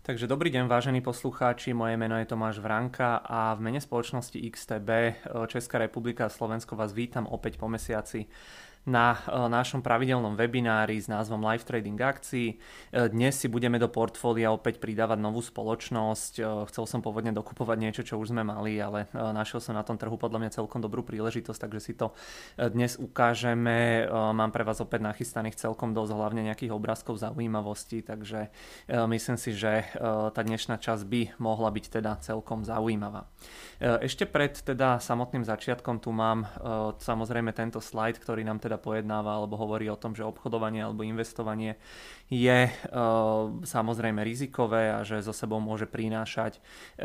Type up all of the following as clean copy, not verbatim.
Takže dobrý deň, vážení poslucháči, moje meno je Tomáš Vranka a v mene spoločnosti XTB Česká republika a Slovensko vás vítam opäť po mesiaci na našom pravidelnom webinári s názvom Live Trading akcií. Dnes si budeme do portfólia opäť pridávať novú spoločnosť. Chcel som pôvodne dokupovať niečo, čo už sme mali, ale našiel som na tom trhu podľa mňa celkom dobrú príležitosť, takže si to dnes ukážeme. Mám pre vás opäť nachystaných celkom dosť, hlavne nejakých obrázkov zaujímavostí, takže myslím si, že tá dnešná časť by mohla byť teda celkom zaujímavá. Ešte pred teda samotným začiatkom tu mám samozrejme tento slajd, ktorý nám teda pojednáva alebo hovorí o tom, že obchodovanie alebo investovanie je samozrejme rizikové a že so sebou môže prinášať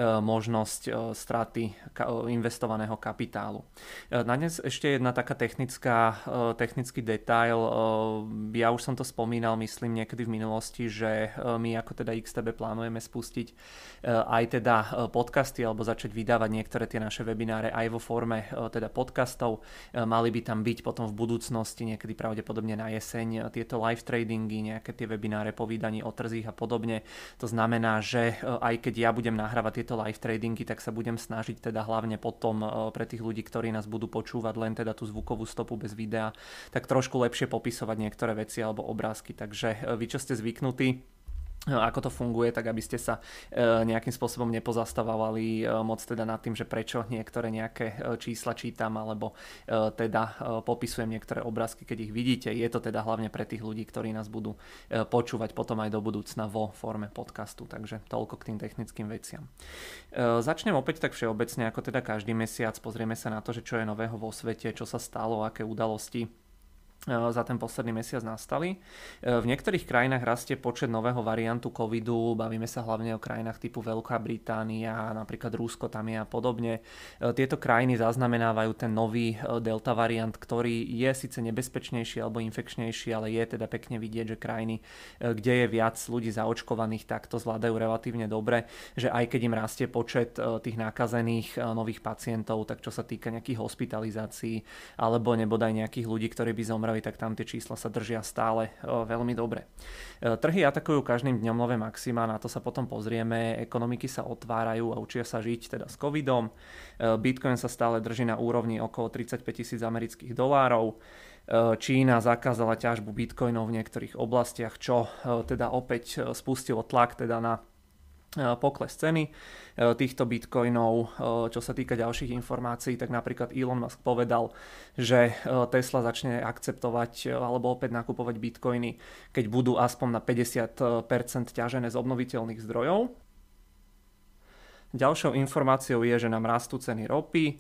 možnosť straty investovaného kapitálu. Na dnes ešte jedna taká technický detail. Ja už som to spomínal, myslím niekedy v minulosti, že my ako teda XTB plánujeme spustiť aj teda podcasty alebo začať vydávať niektoré tie naše webináre aj vo forme teda podcastov. Mali by tam byť potom v budúcnosti, niekedy pravdepodobne na jeseň, tieto live tradingy, nejaké tie webináre po vydaní o trzích a podobne. To znamená, že aj keď ja budem nahrávať tieto live tradingy, tak sa budem snažiť teda hlavne potom pre tých ľudí, ktorí nás budú počúvať len teda tú zvukovú stopu bez videa, tak trošku lepšie popisovať niektoré veci alebo obrázky. Takže vy, čo ste zvyknutí, ako to funguje, tak aby ste sa nejakým spôsobom nepozastávali moc teda nad tým, že prečo niektoré nejaké čísla čítam alebo teda popisujem niektoré obrázky, keď ich vidíte. Je to teda hlavne pre tých ľudí, ktorí nás budú počúvať potom aj do budúcna vo forme podcastu, takže toľko k tým technickým veciam. Začnem opäť tak všeobecne, ako teda každý mesiac, pozrieme sa na to, že čo je nového vo svete, čo sa stalo, aké udalosti za ten posledný mesiac nastali. V niektorých krajinách rastie počet nového variantu covidu, bavíme sa hlavne o krajinách typu Veľká Británia, napríklad Rusko tam je a podobne. Tieto krajiny zaznamenávajú ten nový delta variant, ktorý je síce nebezpečnejší alebo infekčnejší, ale je teda pekne vidieť, že krajiny, kde je viac ľudí zaočkovaných, tak to zvládajú relatívne dobre, že aj keď im rastie počet tých nakazených nových pacientov, tak čo sa týka nejakých hospitalizácií alebo nebodaj nejakých ľudí, ktorí by zomreli, tak tam tie čísla sa držia stále veľmi dobre. Trhy atakujú každým dňom nové maxima, na to sa potom pozrieme, ekonomiky sa otvárajú a učia sa žiť teda s covidom. Bitcoin sa stále drží na úrovni okolo 35 000 amerických dolárov. Čína zakázala ťažbu bitcoinov v niektorých oblastiach, čo teda opäť spustilo tlak teda na pokles ceny týchto bitcoinov. Čo sa týka ďalších informácií, tak napríklad Elon Musk povedal, že Tesla začne akceptovať alebo opäť nakupovať bitcoiny, keď budú aspoň na 50% ťažené z obnoviteľných zdrojov. Ďalšou informáciou je, že nám rastú ceny ropy.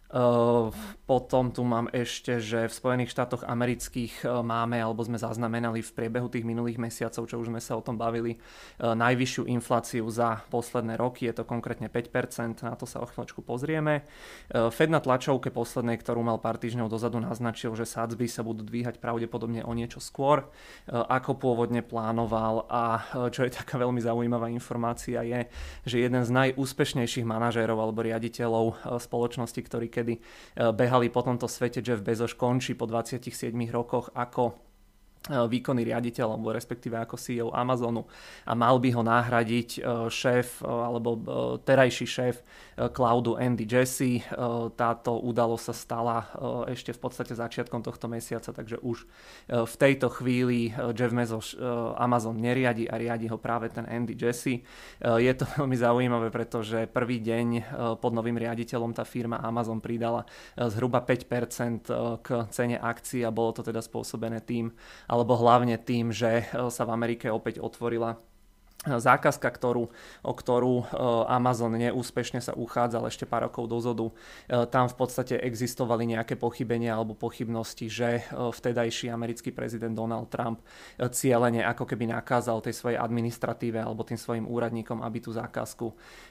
Potom tu mám ešte, že v Spojených štátoch amerických máme, alebo sme zaznamenali v priebehu tých minulých mesiacov, čo už sme sa o tom bavili, najvyššiu infláciu za posledné roky, je to konkrétne 5%, na to sa o chvíľočku pozrieme. Fed na tlačovke poslednej, ktorú mal pár týždňov dozadu, naznačil, že sadzby sa budú dvíhať pravdepodobne o niečo skôr, ako pôvodne plánoval, a čo je taká veľmi zaujímavá informácia je, že jeden z najúspešnejších manažérov alebo riaditeľov spoločnosti, ktorí kedy behali po tomto svete, Jeff Bezos, končí po 27 rokoch ako výkonný riaditeľ alebo respektíve ako CEO Amazonu a mal by ho nahradiť šéf alebo terajší šéf cloudu Andy Jassy. Táto udalosť sa stala ešte v podstate začiatkom tohto mesiaca, takže už v tejto chvíli Jeff Bezos Amazon neriadi a riadi ho práve ten Andy Jassy. Je to veľmi zaujímavé, pretože prvý deň pod novým riaditeľom tá firma Amazon pridala zhruba 5% k cene akcií a bolo to teda spôsobené tým, alebo hlavne tým, že sa v Amerike opäť otvorila zákazka, o ktorú Amazon neúspešne sa uchádzal ešte pár rokov dozadu. Tam v podstate existovali nejaké pochybenia alebo pochybnosti, že vtedajší americký prezident Donald Trump cielene ako keby nakázal tej svojej administratíve alebo tým svojim úradníkom, aby tú zákazku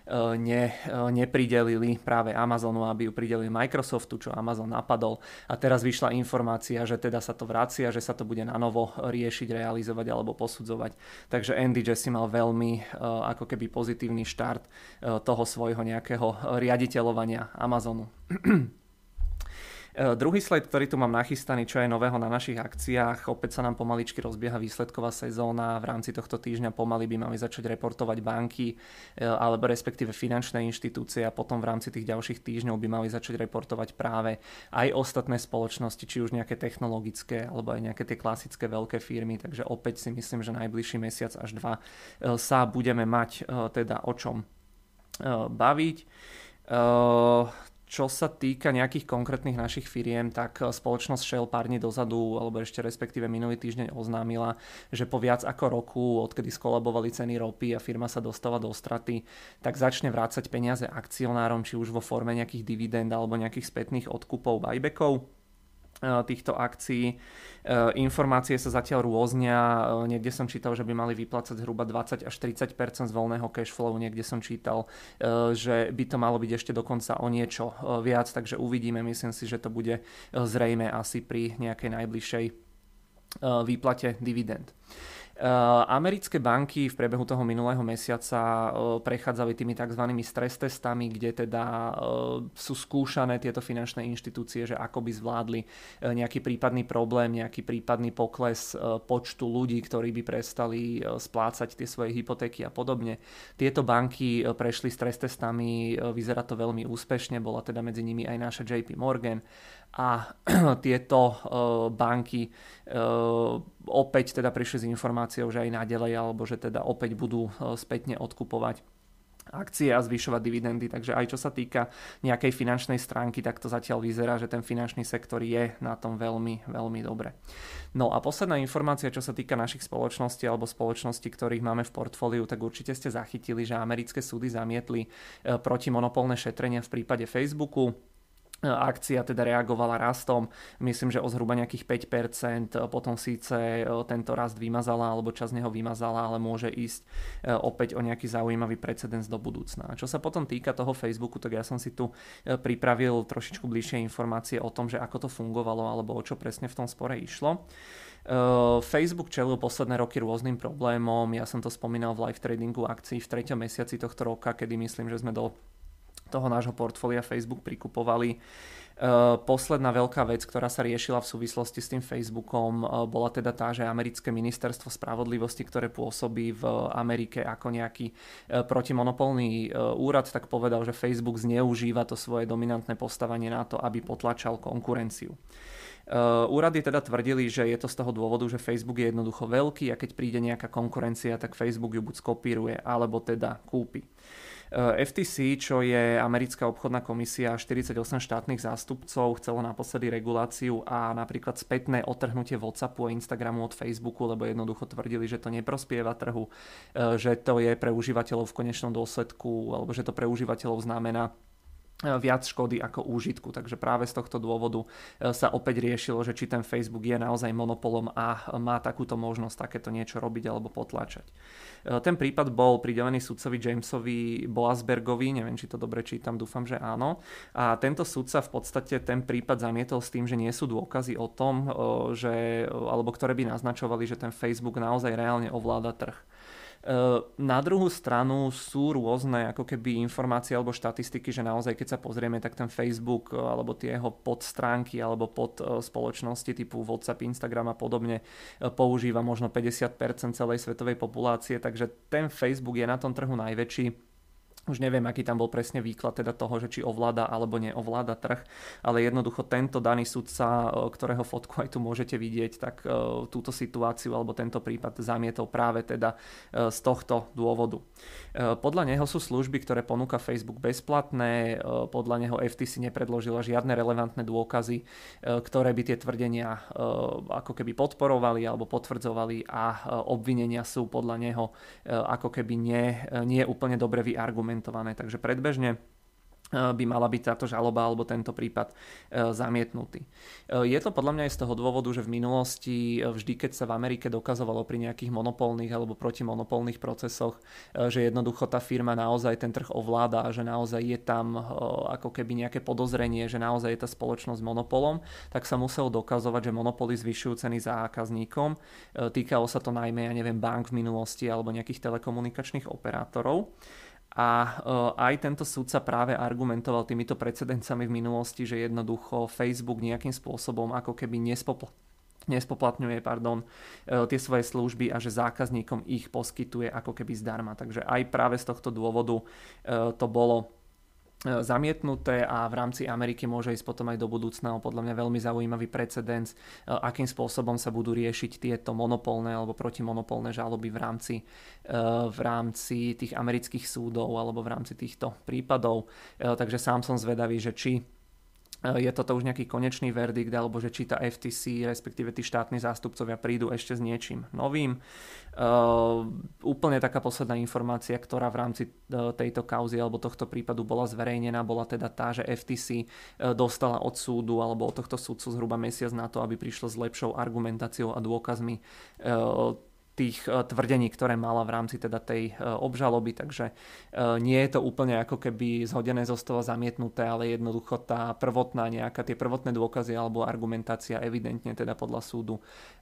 nepridelili práve Amazonu, aby ju pridelili Microsoftu, čo Amazon napadol. A teraz vyšla informácia, že teda sa to vracia, že sa to bude nanovo riešiť, realizovať alebo posudzovať. Takže Andy Jassy mal veľmi ako keby pozitívny štart toho svojho nejakého riaditeľovania Amazonu. Druhý slide, ktorý tu mám nachystaný, čo je nového na našich akciách, opäť sa nám pomaličky rozbieha výsledková sezóna, v rámci tohto týždňa pomaly by mali začať reportovať banky alebo respektíve finančné inštitúcie a potom v rámci tých ďalších týždňov by mali začať reportovať práve aj ostatné spoločnosti, či už nejaké technologické alebo aj nejaké tie klasické veľké firmy, takže opäť si myslím, že najbližší mesiac až dva sa budeme mať teda o čom baviť. Čo sa týka nejakých konkrétnych našich firiem, tak spoločnosť Shell pár dní dozadu, alebo ešte respektíve minulý týždeň oznámila, že po viac ako roku, odkedy skolabovali ceny ropy a firma sa dostala do straty, tak začne vrácať peniaze akcionárom, či už vo forme nejakých dividend alebo nejakých spätných odkupov, buybackov týchto akcií. Informácie sa zatiaľ rôznia. Niekde som čítal, že by mali vyplácať zhruba 20 až 30% z voľného cashflow. Niekde som čítal, že by to malo byť ešte dokonca o niečo viac. Takže uvidíme. Myslím si, že to bude zrejme asi pri nejakej najbližšej výplate dividend. Americké banky v priebehu toho minulého mesiaca prechádzali tými tzv. Stres testami, kde teda sú skúšané tieto finančné inštitúcie, že ako by zvládli nejaký prípadný problém, nejaký prípadný pokles počtu ľudí, ktorí by prestali splácať tie svoje hypotéky a podobne. Tieto banky prešli stres testami, vyzerá to veľmi úspešne, bola teda medzi nimi aj naša JP Morgan a tieto banky opäť teda prišli s informáciou, že aj naďalej, alebo že teda opäť budú spätne odkupovať akcie a zvyšovať dividendy. Takže aj čo sa týka nejakej finančnej stránky, tak to zatiaľ vyzerá, že ten finančný sektor je na tom veľmi, veľmi dobre. No a posledná informácia, čo sa týka našich spoločností alebo spoločností, ktorých máme v portfóliu, tak určite ste zachytili, že americké súdy zamietli protimonopolné šetrenia v prípade Facebooku. Akcia teda reagovala rastom, myslím, že o zhruba nejakých 5%, potom síce tento rast vymazala, alebo časť z neho vymazala, ale môže ísť opäť o nejaký zaujímavý precedens do budúcna. A čo sa potom týka toho Facebooku, tak ja som si tu pripravil trošičku bližšie informácie o tom, že ako to fungovalo, alebo o čo presne v tom spore išlo. Facebook čelil posledné roky rôznym problémom, ja som to spomínal v live tradingu akcií v 3. mesiaci tohto roka, kedy myslím, že sme do toho nášho portfólia Facebook prikupovali. Posledná veľká vec, ktorá sa riešila v súvislosti s tým Facebookom, bola teda tá, že americké ministerstvo spravodlivosti, ktoré pôsobí v Amerike ako nejaký protimonopolný úrad, tak povedal, že Facebook zneužíva to svoje dominantné postavenie na to, aby potlačal konkurenciu. Úrady teda tvrdili, že je to z toho dôvodu, že Facebook je jednoducho veľký a keď príde nejaká konkurencia, tak Facebook ju buď skopíruje, alebo teda kúpi. FTC, čo je americká obchodná komisia, 48 štátnych zástupcov, chcelo naposledy reguláciu a napríklad spätné odtrhnutie WhatsAppu a Instagramu od Facebooku, lebo jednoducho tvrdili, že to neprospieva trhu, že to je pre užívateľov v konečnom dôsledku, alebo že to pre užívateľov znamená viac škody ako úžitku. Takže práve z tohto dôvodu sa opäť riešilo, že či ten Facebook je naozaj monopolom a má takúto možnosť takéto niečo robiť alebo potláčať. Ten prípad bol pridelený sudcovi Jamesovi Boasbergovi, neviem, či to dobre čítam, dúfam, že áno. A tento sudca v podstate ten prípad zamietol s tým, že nie sú dôkazy o tom, alebo ktoré by naznačovali, že ten Facebook naozaj reálne ovláda trh. Na druhú stranu sú rôzne ako keby informácie alebo štatistiky, že naozaj keď sa pozrieme, tak ten Facebook alebo tie jeho podstránky alebo pod spoločnosti typu WhatsApp, Instagram a podobne používa možno 50% celej svetovej populácie, takže ten Facebook je na tom trhu najväčší. Už neviem, aký tam bol presne výklad teda toho, že či ovláda alebo neovláda trh, ale jednoducho tento daný sudca, ktorého fotku aj tu môžete vidieť, tak túto situáciu alebo tento prípad zamietol práve teda z tohto dôvodu. Podľa neho sú služby, ktoré ponúka Facebook bezplatné, podľa neho FTC nepredložila žiadne relevantné dôkazy, ktoré by tie tvrdenia ako keby podporovali alebo potvrdzovali a obvinenia sú podľa neho ako keby nie úplne dobre vyargumentované. Takže predbežne by mala byť táto žaloba alebo tento prípad zamietnutý. Je to podľa mňa aj z toho dôvodu, že v minulosti vždy, keď sa v Amerike dokazovalo pri nejakých monopolných alebo protimonopolných procesoch, že jednoducho tá firma naozaj ten trh ovláda a že naozaj je tam ako keby nejaké podozrenie, že naozaj je tá spoločnosť monopolom, tak sa muselo dokazovať, že monopoly zvyšujú ceny zákazníkom. Týkalo sa to najmä, bank v minulosti alebo nejakých telekomunikačných operátorov. A aj tento súdca práve argumentoval týmito precedencami v minulosti, že jednoducho Facebook nejakým spôsobom ako keby nespoplatňuje tie svoje služby a že zákazníkom ich poskytuje ako keby zdarma. Takže aj práve z tohto dôvodu to bolo zamietnuté a v rámci Ameriky môže ísť potom aj do budúcna podľa mňa veľmi zaujímavý precedens, akým spôsobom sa budú riešiť tieto monopolné alebo protimonopolné žaloby v rámci tých amerických súdov alebo v rámci týchto prípadov. Takže sám som zvedavý, že či je toto už nejaký konečný verdikt, alebo že či tá FTC, respektíve tí štátni zástupcovia prídu ešte s niečím novým. Úplne taká posledná informácia, ktorá v rámci tejto kauzy alebo tohto prípadu bola zverejnená, bola teda tá, že FTC dostala od súdu alebo od tohto súdcu zhruba mesiac na to, aby prišlo s lepšou argumentáciou a dôkazmi tých tvrdení, ktoré mala v rámci teda tej obžaloby, takže nie je to úplne ako keby zhodené zo stola zamietnuté, ale jednoducho tá prvotná tie prvotné dôkazy alebo argumentácia evidentne teda podľa súdu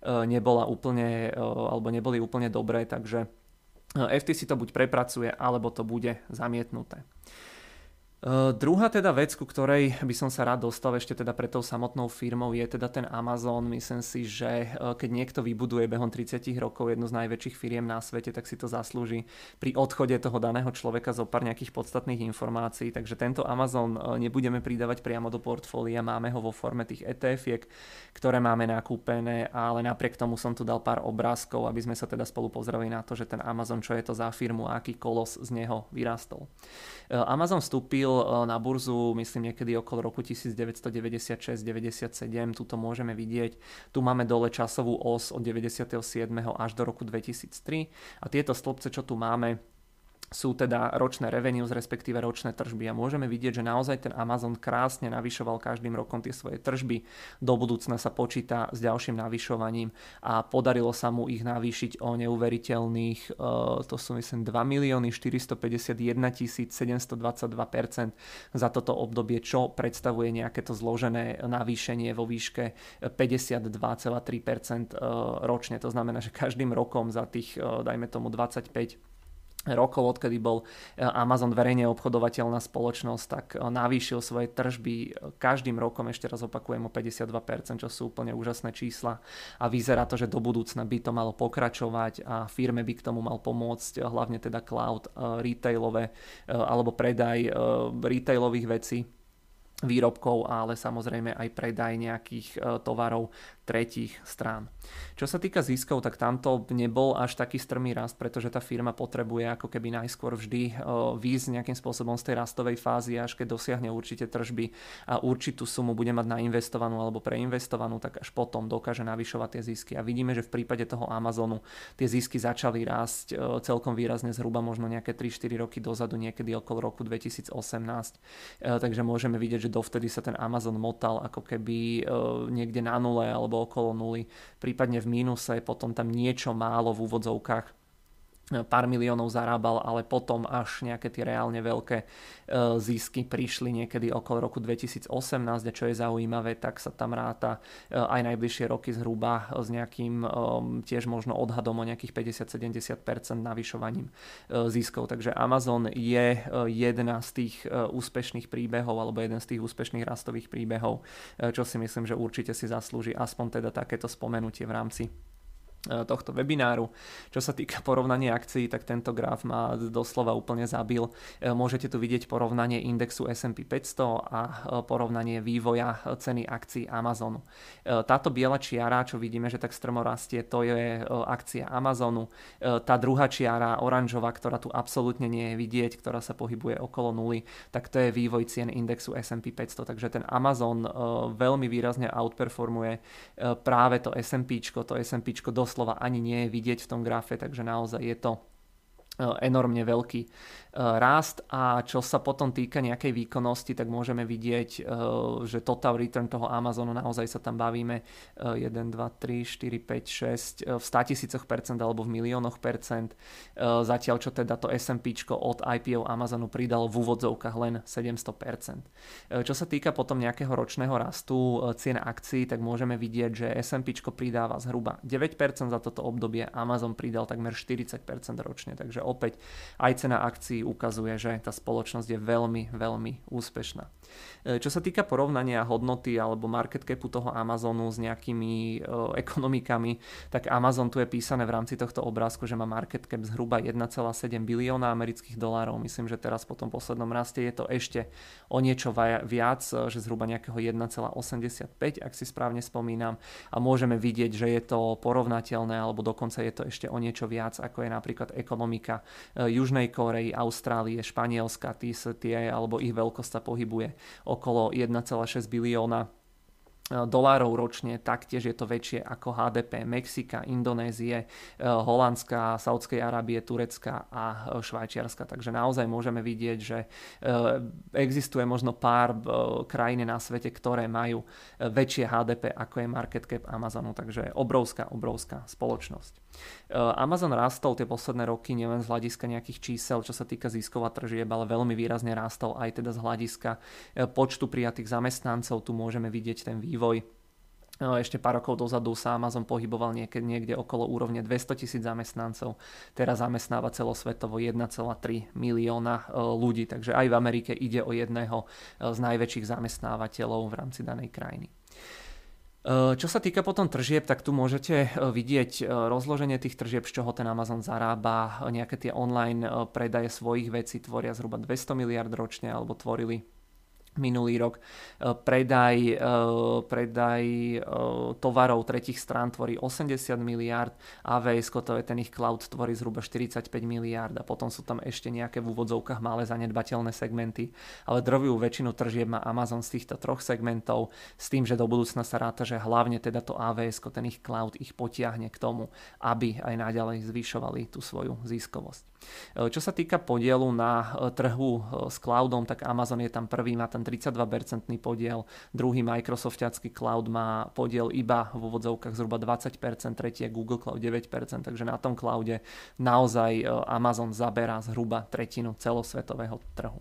neboli úplne dobré, takže FTC to buď prepracuje, alebo to bude zamietnuté. Druhá teda vec, ku ktorej by som sa rád dostal ešte teda pre tou samotnou firmou, je teda ten Amazon. Myslím si, že keď niekto vybuduje behom 30 rokov jednu z najväčších firiem na svete, tak si to zaslúži pri odchode toho daného človeka zo pár nejakých podstatných informácií. Takže tento Amazon nebudeme pridávať priamo do portfólia, máme ho vo forme tých ETF-iek, ktoré máme nakúpené, ale napriek tomu som tu dal pár obrázkov, aby sme sa teda spolu pozreli na to, že ten Amazon, čo je to za firmu a aký kolos z neho vyrastol. Amazon vstúpil na burzu, myslím niekedy okolo roku 1996-97, tuto môžeme vidieť. Tu máme dole časovú os od 97. až do roku 2003 a tieto stĺpce, čo tu máme, sú teda ročné revenues, respektíve ročné tržby a môžeme vidieť, že naozaj ten Amazon krásne navyšoval každým rokom tie svoje tržby. Do budúcna sa počíta s ďalším navyšovaním a podarilo sa mu ich navýšiť o neuveriteľných, to sú myslím 2 451 722% za toto obdobie, čo predstavuje nejaké to zložené navýšenie vo výške 52,3% ročne. To znamená, že každým rokom za tých, dajme tomu 25 rokov, odkedy bol Amazon verejne obchodovateľná spoločnosť, tak navýšil svoje tržby každým rokom, ešte raz opakujem, o 52%, čo sú úplne úžasné čísla a vyzerá to, že do budúcna by to malo pokračovať a firme by k tomu mal pomôcť hlavne teda cloud, retailové alebo predaj retailových vecí, výrobkov, ale samozrejme aj predaj nejakých tovarov tretích strán. Čo sa týka ziskov, tak tamto nebol až taký strmý rast, pretože tá firma potrebuje ako keby najskôr vždy výjsť nejakým spôsobom z tej rastovej fázy, až keď dosiahne určite tržby a určitú sumu bude mať nainvestovanú alebo preinvestovanú, tak až potom dokáže navyšovať tie zisky. A vidíme, že v prípade toho Amazonu tie zisky začali rásť celkom výrazne zhruba možno nejaké 3-4 roky dozadu, niekedy okolo roku 2018. Takže môžeme vidieť, že dovtedy sa ten Amazon motal ako keby niekde na nule alebo okolo nuly, prípadne v mínuse, potom tam niečo málo v úvodzovkách pár miliónov zarábal, ale potom až nejaké tie reálne veľké zisky prišli niekedy okolo roku 2018 a čo je zaujímavé, tak sa tam ráta aj najbližšie roky zhruba s nejakým tiež možno odhadom o nejakých 50-70% navyšovaním ziskov. Takže Amazon je jedna z tých úspešných príbehov alebo jeden z tých úspešných rastových príbehov, čo si myslím, že určite si zaslúži aspoň teda takéto spomenutie v rámci tohto webináru. Čo sa týka porovnania akcií, tak tento graf ma doslova úplne zabil. Môžete tu vidieť porovnanie indexu S&P 500 a porovnanie vývoja ceny akcií Amazonu. Táto biela čiara, čo vidíme, že tak strmo rastie, to je akcia Amazonu. Tá druhá čiara, oranžová, ktorá tu absolútne nie je vidieť, ktorá sa pohybuje okolo nuly, tak to je vývoj cien indexu S&P 500. Takže ten Amazon veľmi výrazne outperformuje práve to S&Pčko. To S&Pčko doslova ani nie je vidieť v tom grafe, takže naozaj je to enormne veľký rast. A čo sa potom týka nejakej výkonnosti, tak môžeme vidieť, že total return toho Amazonu, naozaj sa tam bavíme 1, 2, 3, 4, 5, 6 v 100 000% alebo v miliónoch percent, zatiaľ čo teda to S&Pčko od IPO Amazonu pridalo v úvodzovkách len 700%. Čo sa týka potom nejakého ročného rastu cien akcií, tak môžeme vidieť, že S&Pčko pridáva zhruba 9% za toto obdobie, Amazon pridal takmer 40% ročne, takže opäť aj cena akcií ukazuje, že tá spoločnosť je veľmi, veľmi úspešná. Čo sa týka porovnania hodnoty alebo market capu toho Amazonu s nejakými ekonomikami, tak Amazon tu je písané v rámci tohto obrázku, že má market cap zhruba 1,7 bilióna amerických dolárov. Myslím, že teraz po tom poslednom raste je to ešte o niečo viac, že zhruba nejakého 1,85, ak si správne spomínam. A môžeme vidieť, že je to porovnateľné, alebo dokonca je to ešte o niečo viac, ako je napríklad ekonomika Južnej Kórey, Austrálie, Španielska, tie alebo ich veľkosť sa pohybuje okolo 1,6 bilióna dolárov ročne, taktiež je to väčšie ako HDP Mexika, Indonézie, Holandska, Saudskej Arábie, Turecka a Švajčiarska. Takže naozaj môžeme vidieť, že existuje možno pár krajín na svete, ktoré majú väčšie HDP ako je market cap Amazonu, takže obrovská spoločnosť. Amazon rastol tie posledné roky nielen z hľadiska nejakých čísel, čo sa týka ziskov a tržieb, ale veľmi výrazne rastol aj teda z hľadiska počtu prijatých zamestnancov. Tu môžeme vidieť ten vývoj. Ešte pár rokov dozadu sa Amazon pohyboval niekde okolo úrovne 200 000 zamestnancov. Teraz zamestnáva celosvetovo 1,3 milióna ľudí, takže aj v Amerike ide o jedného z najväčších zamestnávateľov v rámci danej krajiny. Čo sa týka potom tržieb, tak tu môžete vidieť rozloženie tých tržieb, z čoho ten Amazon zarába. Nejaké tie online predaje svojich vecí tvoria zhruba 200 miliard ročne, alebo tvorili minulý rok. Predaj tovarov tretích strán tvorí 80 miliárd, AWS, to je ten ich cloud, tvorí zhruba 45 miliárd a potom sú tam ešte nejaké v úvodzovkách malé zanedbateľné segmenty, ale drvivú väčšinu tržieb má Amazon z týchto troch segmentov, s tým, že do budúcna sa ráta, že hlavne teda to AWS, ten ich cloud ich potiahne k tomu, aby aj naďalej zvyšovali tú svoju ziskovosť. Čo sa týka podielu na trhu s cloudom, tak Amazon je tam prvý, má ten 32% podiel, druhý Microsoftiacký cloud má podiel iba v úvodzovkách zhruba 20%, tretí je Google Cloud 9%, takže na tom cloude naozaj Amazon zaberá zhruba tretinu celosvetového trhu.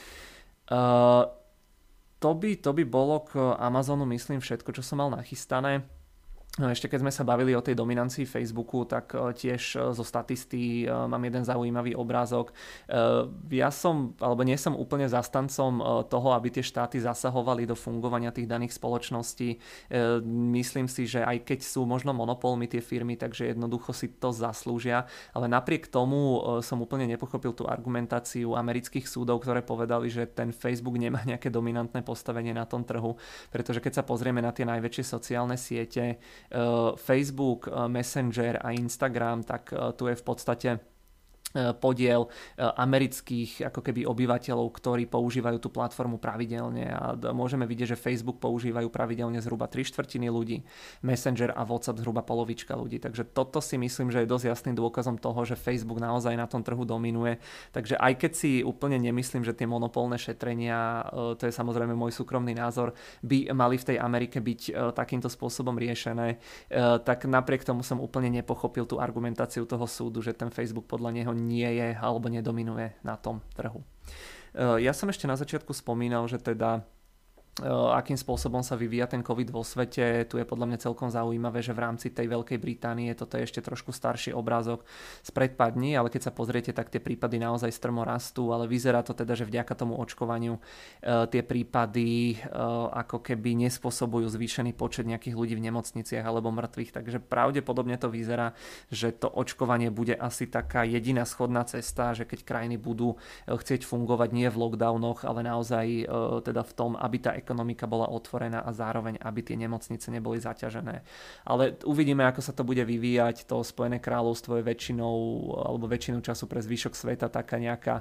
To by bolo k Amazonu, myslím, všetko, čo som mal nachystané. No ešte keď sme sa bavili o tej dominancii Facebooku, tak tiež zo statistík mám jeden zaujímavý obrázok. Ja nie som úplne zastancom toho, aby tie štáty zasahovali do fungovania tých daných spoločností. Myslím si, že aj keď sú možno monopolmi tie firmy, takže jednoducho si to zaslúžia, ale napriek tomu som úplne nepochopil tú argumentáciu amerických súdov, ktoré povedali, že ten Facebook nemá nejaké dominantné postavenie na tom trhu, pretože keď sa pozrieme na tie najväčšie sociálne siete, Facebook, Messenger a Instagram, tak tu je v podstate podiel amerických ako keby obyvateľov, ktorí používajú tú platformu pravidelne a môžeme vidieť, že Facebook používajú pravidelne zhruba 3/4 ľudí, Messenger a WhatsApp zhruba polovička ľudí, takže toto si myslím, že je dosť jasným dôkazom toho, že Facebook naozaj na tom trhu dominuje, takže aj keď si úplne nemyslím, že tie monopolné šetrenia, to je samozrejme môj súkromný názor, by mali v tej Amerike byť takýmto spôsobom riešené, tak napriek tomu som úplne nepochopil tú argumentáciu toho súdu, že ten Facebook podľa neho nie je alebo nedominuje na tom trhu. Ja som ešte na začiatku spomínal, že teda akým spôsobom sa vyvíja ten COVID vo svete. Tu je podľa mňa celkom zaujímavé, že v rámci tej Veľkej Británie, toto je ešte trošku starší obrázok spred pár dní, ale keď sa pozriete, tak tie prípady naozaj strmo rastú, ale vyzerá to teda, že vďaka tomu očkovaniu tie prípady ako keby nespôsobujú zvýšený počet nejakých ľudí v nemocniciach alebo mŕtvych, takže pravdepodobne to vyzerá, že to očkovanie bude asi taká jediná schodná cesta, že keď krajiny budú chcieť fungovať nie v lockdownoch, ale naozaj teda v tom, aby tá ekonomika bola otvorená a zároveň, aby tie nemocnice neboli zaťažené. Ale uvidíme, ako sa to bude vyvíjať. To Spojené kráľovstvo je väčšinu času pre zvyšok sveta také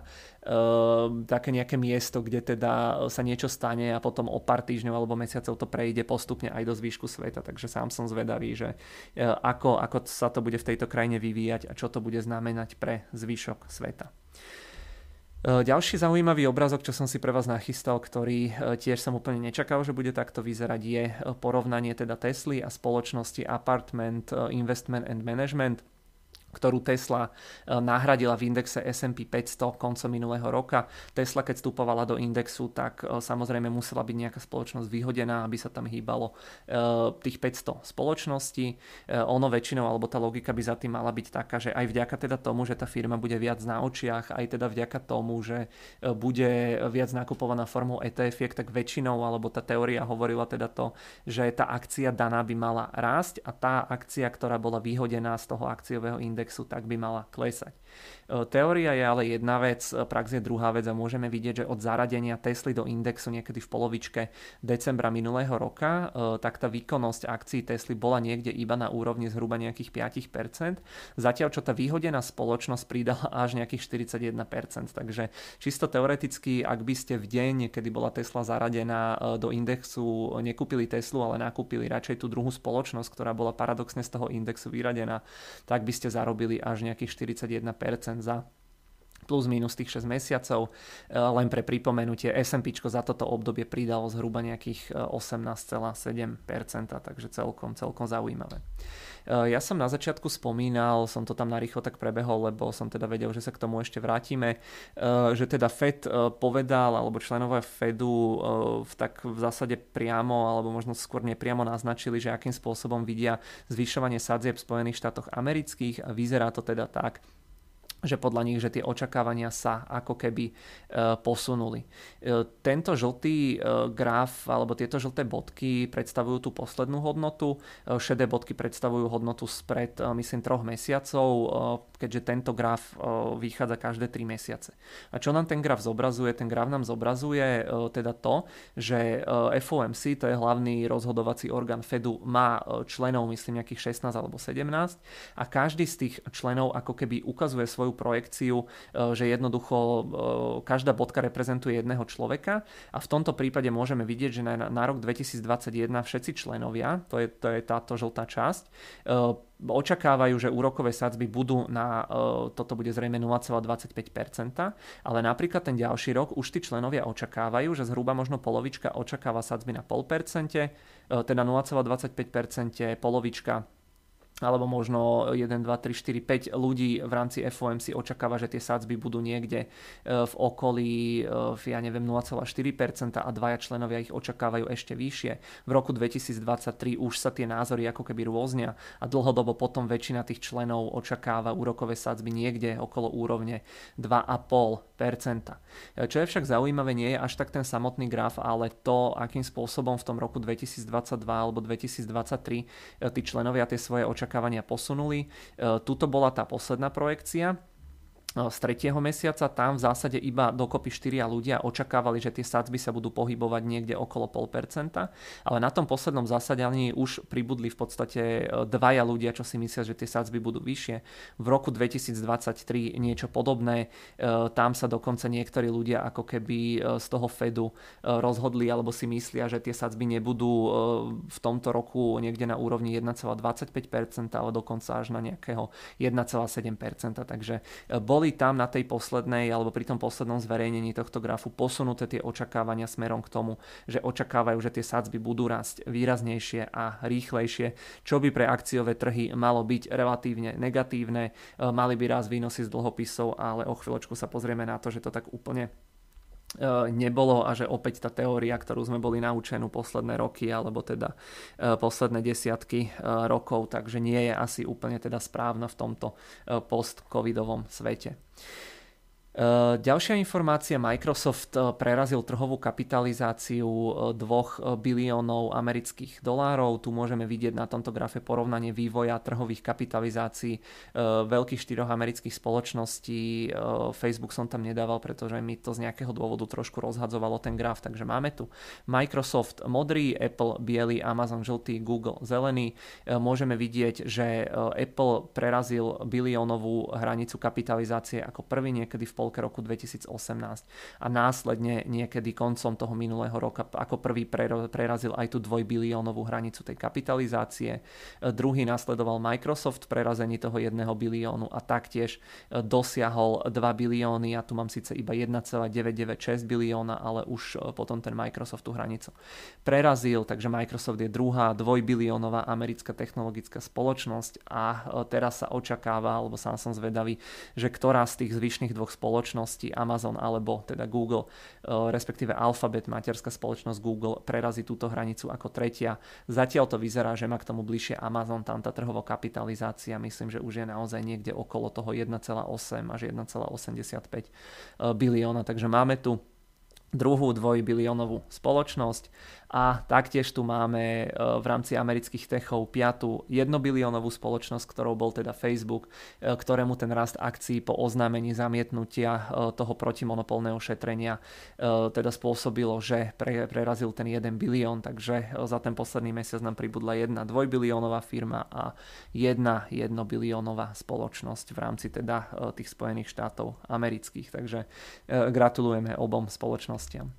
nejaké miesto, kde teda sa niečo stane a potom o pár týždňov alebo mesiacov to prejde postupne aj do zvýšku sveta. Takže sám som zvedavý, že ako sa to bude v tejto krajine vyvíjať a čo to bude znamenať pre zvyšok sveta. Ďalší zaujímavý obrázok, čo som si pre vás nachystal, ktorý tiež som úplne nečakal, že bude takto vyzerať, je porovnanie teda Tesly a spoločnosti Apartment Investment and Management. ktorú Tesla nahradila v indexe S&P 500 koncom minulého roka. Tesla, keď vstupovala do indexu, tak samozrejme musela byť nejaká spoločnosť vyhodená, aby sa tam hýbalo tých 500 spoločností. Ono väčšinou, alebo tá logika by za tým mala byť taká, že aj vďaka teda tomu, že tá firma bude viac na očiach, aj teda vďaka tomu, že bude viac nakupovaná formou ETF, tak väčšinou, alebo tá teória hovorila teda to, že tá akcia daná by mala rásť a tá akcia, ktorá bola vyhodená z toho akciového indexu, tak by mala klesať. Teória je ale jedna vec, prax je druhá vec a môžeme vidieť, že od zaradenia Tesly do indexu niekedy v polovičke decembra minulého roka, tak tá výkonnosť akcií Tesly bola niekde iba na úrovni zhruba nejakých 5%, zatiaľ čo tá vyhodená spoločnosť pridala až nejakých 41%. Takže čisto teoreticky, ak by ste v deň, kedy bola Tesla zaradená do indexu, nekúpili Teslu, ale nakúpili radšej tú druhú spoločnosť, ktorá bola paradoxne z toho indexu vyradená, tak by ste zarobili až nejakých 41% za plus minus tých 6 mesiacov. Len pre pripomenutie, S&P za toto obdobie pridalo zhruba nejakých 18,7%, takže celkom zaujímavé. Ja som na začiatku spomínal, som to tam narýchlo tak prebehol, lebo som teda vedel, že sa k tomu ešte vrátime, že teda Fed povedal, alebo členovia Fedu tak v zásade priamo, alebo možno skôr nepriamo naznačili, že akým spôsobom vidia zvyšovanie sadzieb v Spojených štátoch amerických a vyzerá to teda tak, že podľa nich, že tie očakávania sa ako keby posunuli. Tento žltý graf, alebo tieto žlté bodky predstavujú tú poslednú hodnotu, šedé bodky predstavujú hodnotu spred, myslím, 3 mesiacov, keďže tento graf vychádza každé 3 mesiace. A čo nám ten graf zobrazuje? Ten graf nám zobrazuje teda to, že FOMC, to je hlavný rozhodovací orgán Fedu, má členov, myslím, nejakých 16 alebo 17 a každý z tých členov ako keby ukazuje svoju projekciu, že jednoducho každá bodka reprezentuje jedného človeka a v tomto prípade môžeme vidieť, že na rok 2021 všetci členovia, to je táto žltá časť, očakávajú, že úrokové sadzby budú toto bude zrejme 0,25%, ale napríklad ten ďalší rok už tí členovia očakávajú, že zhruba možno polovička očakáva sadzby na 0,5%, teda 0,25%, polovička alebo možno 1, 2, 3, 4, 5 ľudí v rámci FOMC očakáva, že tie sadzby budú niekde v okolí, ja neviem, 0,4% a dvaja členovia ich očakávajú ešte vyššie. V roku 2023 už sa tie názory ako keby rôznia a dlhodobo potom väčšina tých členov očakáva úrokové sadzby niekde okolo úrovne 2,5%. Čo je však zaujímavé, nie je až tak ten samotný graf, ale to, akým spôsobom v tom roku 2022 alebo 2023 tí členovia tie svoje očakávania posunuli. Tuto bola tá posledná projekcia z 3. mesiaca, tam v zásade iba dokopy 4 ľudia očakávali, že tie sadzby sa budú pohybovať niekde okolo 0,5%, ale na tom poslednom zasadaní už pribudli v podstate 2 ľudia, čo si myslia, že tie sadzby budú vyššie. V roku 2023 niečo podobné, tam sa dokonca niektorí ľudia ako keby z toho Fedu rozhodli alebo si myslia, že tie sadzby nebudú v tomto roku niekde na úrovni 1,25%, ale dokonca až na nejakého 1,7%, takže boli tam na tej poslednej alebo pri tom poslednom zverejnení tohto grafu posunuté tie očakávania smerom k tomu, že očakávajú, že tie sadzby budú rásť výraznejšie a rýchlejšie, čo by pre akciové trhy malo byť relatívne negatívne. Mali by rásť výnosy z dlhopisov, ale o chvíľočku sa pozrieme na to, že to tak úplne nebolo a že opäť tá teória, ktorú sme boli naučení posledné roky alebo teda posledné desiatky rokov, takže nie je asi úplne teda správna v tomto post-covidovom svete. Ďalšia informácia, Microsoft prerazil trhovú kapitalizáciu 2 biliónov amerických dolárov. Tu môžeme vidieť na tomto grafe porovnanie vývoja trhových kapitalizácií veľkých 4 amerických spoločností. Facebook som tam nedával, pretože mi to z nejakého dôvodu trošku rozhadzovalo ten graf, takže máme tu Microsoft modrý, Apple biely, Amazon žltý, Google zelený. Môžeme vidieť, že Apple prerazil biliónovú hranicu kapitalizácie ako prvý niekedy v polke roku 2018 a následne niekedy koncom toho minulého roka ako prvý prerazil aj tú 2 biliónovú hranicu tej kapitalizácie. Druhý nasledoval Microsoft v prerazení toho 1 biliónu a taktiež dosiahol 2 bilióny. Ja tu mám síce iba 1,996 bilióna, ale už potom ten Microsoft tú hranicu prerazil, takže Microsoft je druhá 2-biliónová americká technologická spoločnosť a teraz sa očakáva, alebo sám som zvedavý, že ktorá z tých zvyšných dvoch spoločností, Amazon alebo teda Google, respektíve Alphabet, materská spoločnosť Google, prerazí túto hranicu ako tretia. Zatiaľ to vyzerá, že má k tomu bližšie Amazon, tam tá trhová kapitalizácia myslím, že už je naozaj niekde okolo toho 1,8 až 1,85 bilióna, takže máme tu druhú 2-biliónovú spoločnosť a taktiež tu máme v rámci amerických techov 5. 1-biliónovú spoločnosť, ktorou bol teda Facebook, ktorému ten rast akcií po oznámení zamietnutia toho protimonopolného šetrenia teda spôsobilo, že prerazil ten 1 bilión, takže za ten posledný mesiac nám pribudla 1 2-biliónová firma a 1 1-biliónová spoločnosť v rámci teda tých Spojených štátov amerických, takže gratulujeme obom spoločnostiam.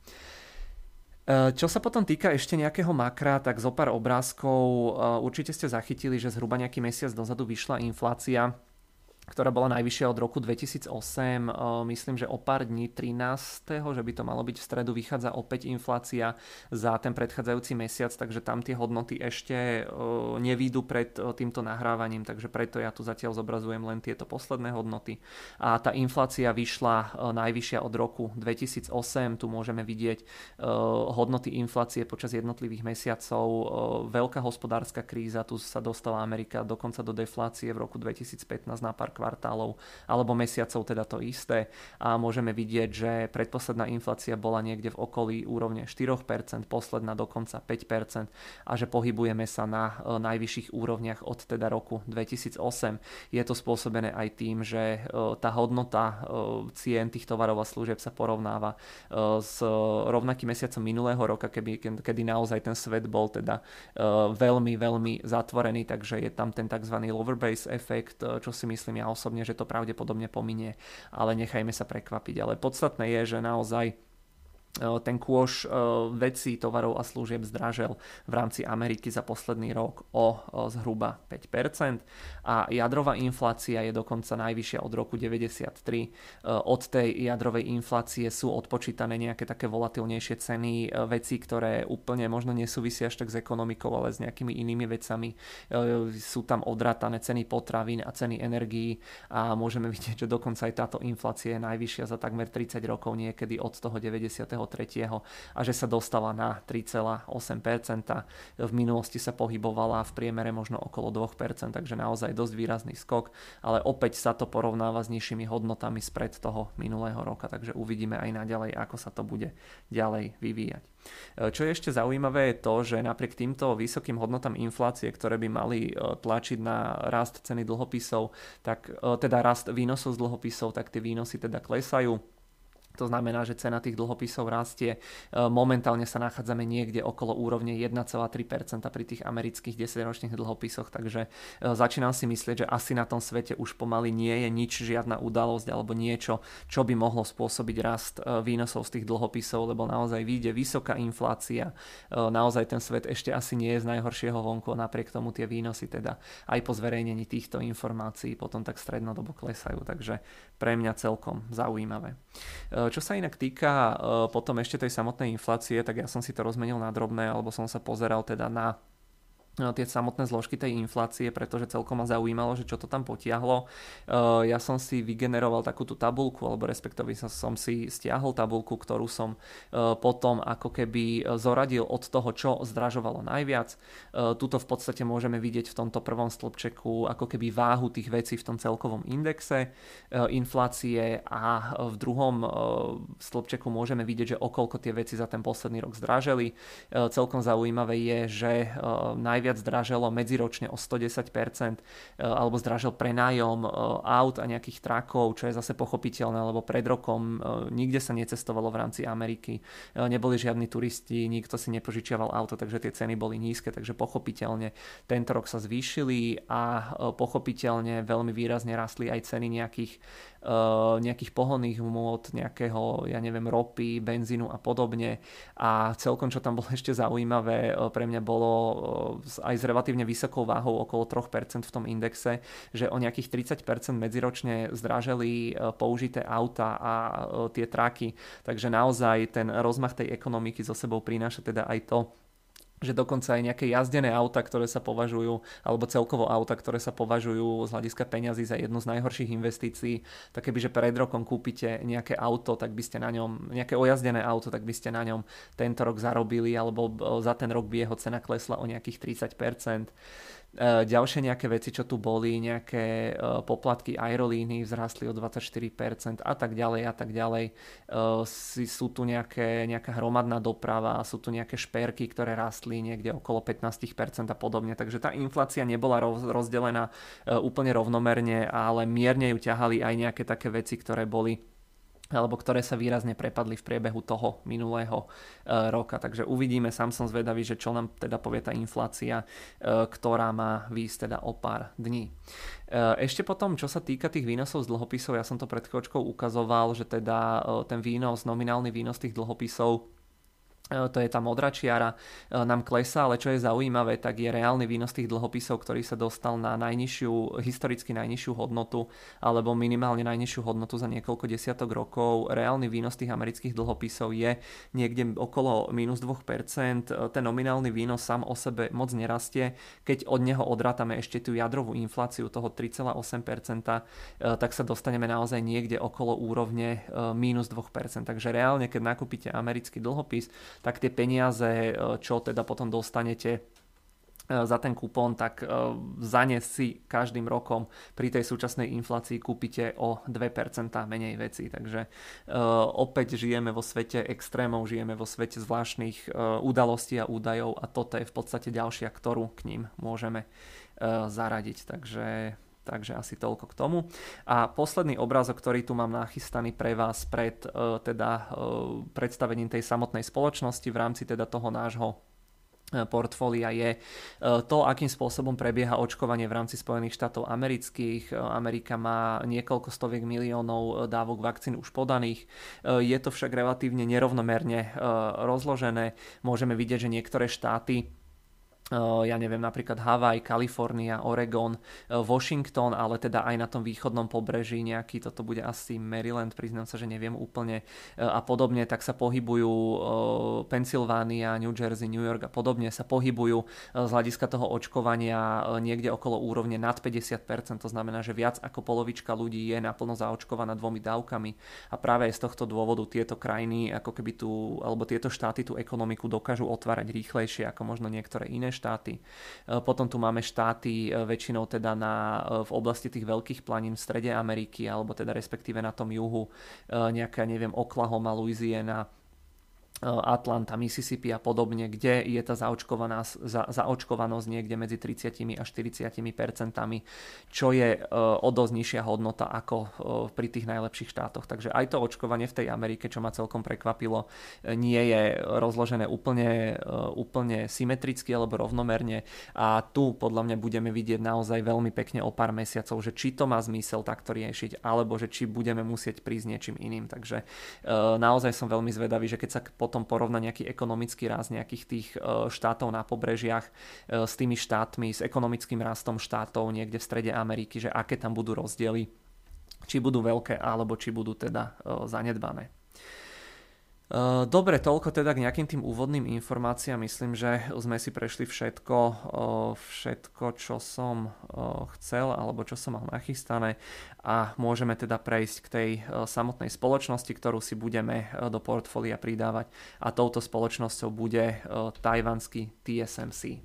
Čo sa potom týka ešte nejakého makra, tak zo pár obrázkov určite ste zachytili, že zhruba nejaký mesiac dozadu vyšla inflácia, ktorá bola najvyššia od roku 2008, myslím, že o pár dní 13., že by to malo byť v stredu, vychádza opäť inflácia za ten predchádzajúci mesiac, takže tam tie hodnoty ešte nevídu pred týmto nahrávaním, takže preto ja tu zatiaľ zobrazujem len tieto posledné hodnoty. A tá inflácia vyšla najvyššia od roku 2008, tu môžeme vidieť hodnoty inflácie počas jednotlivých mesiacov, veľká hospodárska kríza, tu sa dostala Amerika dokonca do deflácie v roku 2015 na pár kvartálov alebo mesiacov, teda to isté, a môžeme vidieť, že predposledná inflácia bola niekde v okolí úrovne 4%, posledná dokonca 5% a že pohybujeme sa na najvyšších úrovniach od teda roku 2008. Je to spôsobené aj tým, že tá hodnota cien tých tovarov a služieb sa porovnáva s rovnakým mesiacom minulého roka, kedy naozaj ten svet bol teda veľmi, veľmi zatvorený, takže je tam ten tzv. Lower base efekt, čo si myslím ja osobne, že to pravdepodobne pominie, ale nechajme sa prekvapiť. Ale podstatné je, že naozaj ten kôš vecí, tovarov a služieb zdražel v rámci Ameriky za posledný rok o zhruba 5% a jadrová inflácia je dokonca najvyššia od roku 93. Od tej jadrovej inflácie sú odpočítané nejaké také volatilnejšie ceny vecí, ktoré úplne možno nesúvisia až tak s ekonomikou, ale s nejakými inými vecami. Sú tam odrátané ceny potravín a ceny energií a môžeme vidieť, že dokonca aj táto inflácia je najvyššia za takmer 30 rokov, niekedy od toho 93. a že sa dostala na 3,8%. V minulosti sa pohybovala v priemere možno okolo 2%, takže naozaj dosť výrazný skok, ale opäť sa to porovnáva s nižšími hodnotami spred toho minulého roka, takže uvidíme aj naďalej, ako sa to bude ďalej vyvíjať. Čo je ešte zaujímavé je to, že napriek týmto vysokým hodnotám inflácie, ktoré by mali tlačiť na rast ceny dlhopisov, tak teda rast výnosov z dlhopisov, tak tie výnosy teda klesajú. To znamená, že cena tých dlhopisov rastie. Momentálne sa nachádzame niekde okolo úrovne 1,3% pri tých amerických 10-ročných dlhopisoch, takže začínam si myslieť, že asi na tom svete už pomaly nie je nič, žiadna udalosť alebo niečo, čo by mohlo spôsobiť rast výnosov z tých dlhopisov, lebo naozaj vyjde vysoká inflácia. Naozaj ten svet ešte asi nie je z najhoršieho vonku, napriek tomu tie výnosy teda aj po zverejnení týchto informácií potom tak strednodobo klesajú, takže pre mňa celkom zaujímavé. Čo sa inak týka potom ešte tej samotnej inflácie, tak ja som si to rozmenil na drobné, alebo som sa pozeral teda na tie samotné zložky tej inflácie, pretože celkom ma zaujímalo, že čo to tam potiahlo. Ja som si vygeneroval takúto tabuľku, alebo respektíve som si stiahol tabuľku, ktorú som potom ako keby zoradil od toho, čo zdražovalo najviac. Tuto v podstate môžeme vidieť v tomto prvom stĺpčeku ako keby váhu tých vecí v tom celkovom indexe inflácie a v druhom stĺpčeku môžeme vidieť, že okolko tie veci za ten posledný rok zdraželi. Celkom zaujímavé je, že najviac zdraželo medziročne o 110%, alebo zdražil prenájom aut a nejakých trakov, čo je zase pochopiteľné, lebo pred rokom nikde sa necestovalo v rámci Ameriky, neboli žiadni turisti, nikto si nepožičiaval auto, takže tie ceny boli nízke, takže pochopiteľne tento rok sa zvýšili a pochopiteľne veľmi výrazne rastli aj ceny nejakých nejakých pohonných hmôt, nejakého, ja neviem, ropy, benzínu a podobne. A celkom, čo tam bolo ešte zaujímavé, pre mňa bolo aj s relatívne vysokou váhou okolo 3% v tom indexe, že o nejakých 30% medziročne zdraželi použité auta a tie traky. Takže naozaj ten rozmach tej ekonomiky so sebou prináša teda aj to, že dokonca aj nejaké jazdené auta, ktoré sa považujú, alebo celkovo auta, ktoré sa považujú z hľadiska peňazí za jednu z najhorších investícií, tak kebyže pred rokom kúpite nejaké auto, tak by ste na ňom, nejaké ojazdené auto, tak by ste na ňom tento rok zarobili, alebo za ten rok by jeho cena klesla o nejakých 30%. Ďalšie nejaké veci, čo tu boli, nejaké poplatky aerolíny vzrastli o 24% a tak ďalej a tak ďalej. Sú tu nejaká hromadná doprava, sú tu nejaké šperky, ktoré rastli niekde okolo 15% a podobne. Takže tá inflácia nebola rozdelená úplne rovnomerne, ale mierne ju ťahali aj nejaké také veci, ktoré boli alebo ktoré sa výrazne prepadli v priebehu toho minulého roka. Takže uvidíme, sám som zvedavý, že čo nám teda povie tá inflácia, ktorá má výjsť teda o pár dní. Ešte potom, čo sa týka tých výnosov z dlhopisov, ja som to pred chvíľočkou ukazoval, že teda ten výnos, nominálny výnos tých dlhopisov, to je tá modrá čiara, nám klesá, ale čo je zaujímavé, tak je reálny výnos tých dlhopisov, ktorý sa dostal na historicky najnižšiu hodnotu, alebo minimálne najnižšiu hodnotu za niekoľko desiatok rokov. Reálny výnos tých amerických dlhopisov je niekde okolo minus 2%. Ten nominálny výnos sám o sebe moc nerastie. Keď od neho odrátame ešte tú jadrovú infláciu toho 3,8%, tak sa dostaneme naozaj niekde okolo úrovne minus 2%. Takže reálne, keď nakúpite americký dlhopis, tak tie peniaze, čo teda potom dostanete za ten kupón, tak za ne si každým rokom pri tej súčasnej inflácii kúpite o 2% menej veci. Takže opäť žijeme vo svete extrémov, žijeme vo svete zvláštnych udalostí a údajov a toto je v podstate ďalšia, ktorú k ním môžeme zaradiť. Takže asi toľko k tomu. A posledný obrázok, ktorý tu mám nachystaný pre vás pred predstavením tej samotnej spoločnosti v rámci teda toho nášho portfólia je to, akým spôsobom prebieha očkovanie v rámci Spojených štátov amerických. Amerika má niekoľko stoviek miliónov dávok vakcín už podaných. Je to však relatívne nerovnomerne rozložené. Môžeme vidieť, že niektoré štáty, ja neviem, napríklad Havaj, Kalifornia, Oregon, Washington, ale teda aj na tom východnom pobreží nejaký, toto bude asi Maryland, priznám sa, že neviem úplne a podobne, tak sa pohybujú Pennsylvania, New Jersey, New York a podobne sa pohybujú z hľadiska toho očkovania niekde okolo úrovne nad 50%, to znamená, že viac ako polovička ľudí je naplno zaočkovaná 2 dávkami a práve z tohto dôvodu tieto krajiny, ako keby alebo tieto štáty tú ekonomiku dokážu otvárať rýchlejšie ako možno niektoré iné štáty. Potom tu máme štáty väčšinou teda v oblasti tých veľkých planín v strede Ameriky, alebo teda respektíve na tom juhu, nejaká, neviem, Oklahoma, Louisiana, Atlanta, Mississippi a podobne, kde je tá zaočkovanosť niekde medzi 30 až 40%, čo je o dosť nižšia hodnota ako pri tých najlepších štátoch. Takže aj to očkovanie v tej Amerike, čo ma celkom prekvapilo, nie je rozložené úplne symetricky alebo rovnomerne a tu podľa mňa budeme vidieť naozaj veľmi pekne o pár mesiacov, že či to má zmysel takto riešiť, alebo že či budeme musieť prísť niečím iným. Takže naozaj som veľmi zvedavý, že keď sa potom porovná nejaký ekonomický rast nejakých tých štátov na pobrežiach s tými štátmi, s ekonomickým rastom štátov niekde v strede Ameriky, že aké tam budú rozdiely, či budú veľké, alebo či budú teda zanedbané. Dobre, toľko teda k nejakým tým úvodným informáciám. Myslím, že sme si prešli všetko, čo som chcel alebo čo som mal nachystané a môžeme teda prejsť k tej samotnej spoločnosti, ktorú si budeme do portfólia pridávať a touto spoločnosťou bude tajvanský TSMC.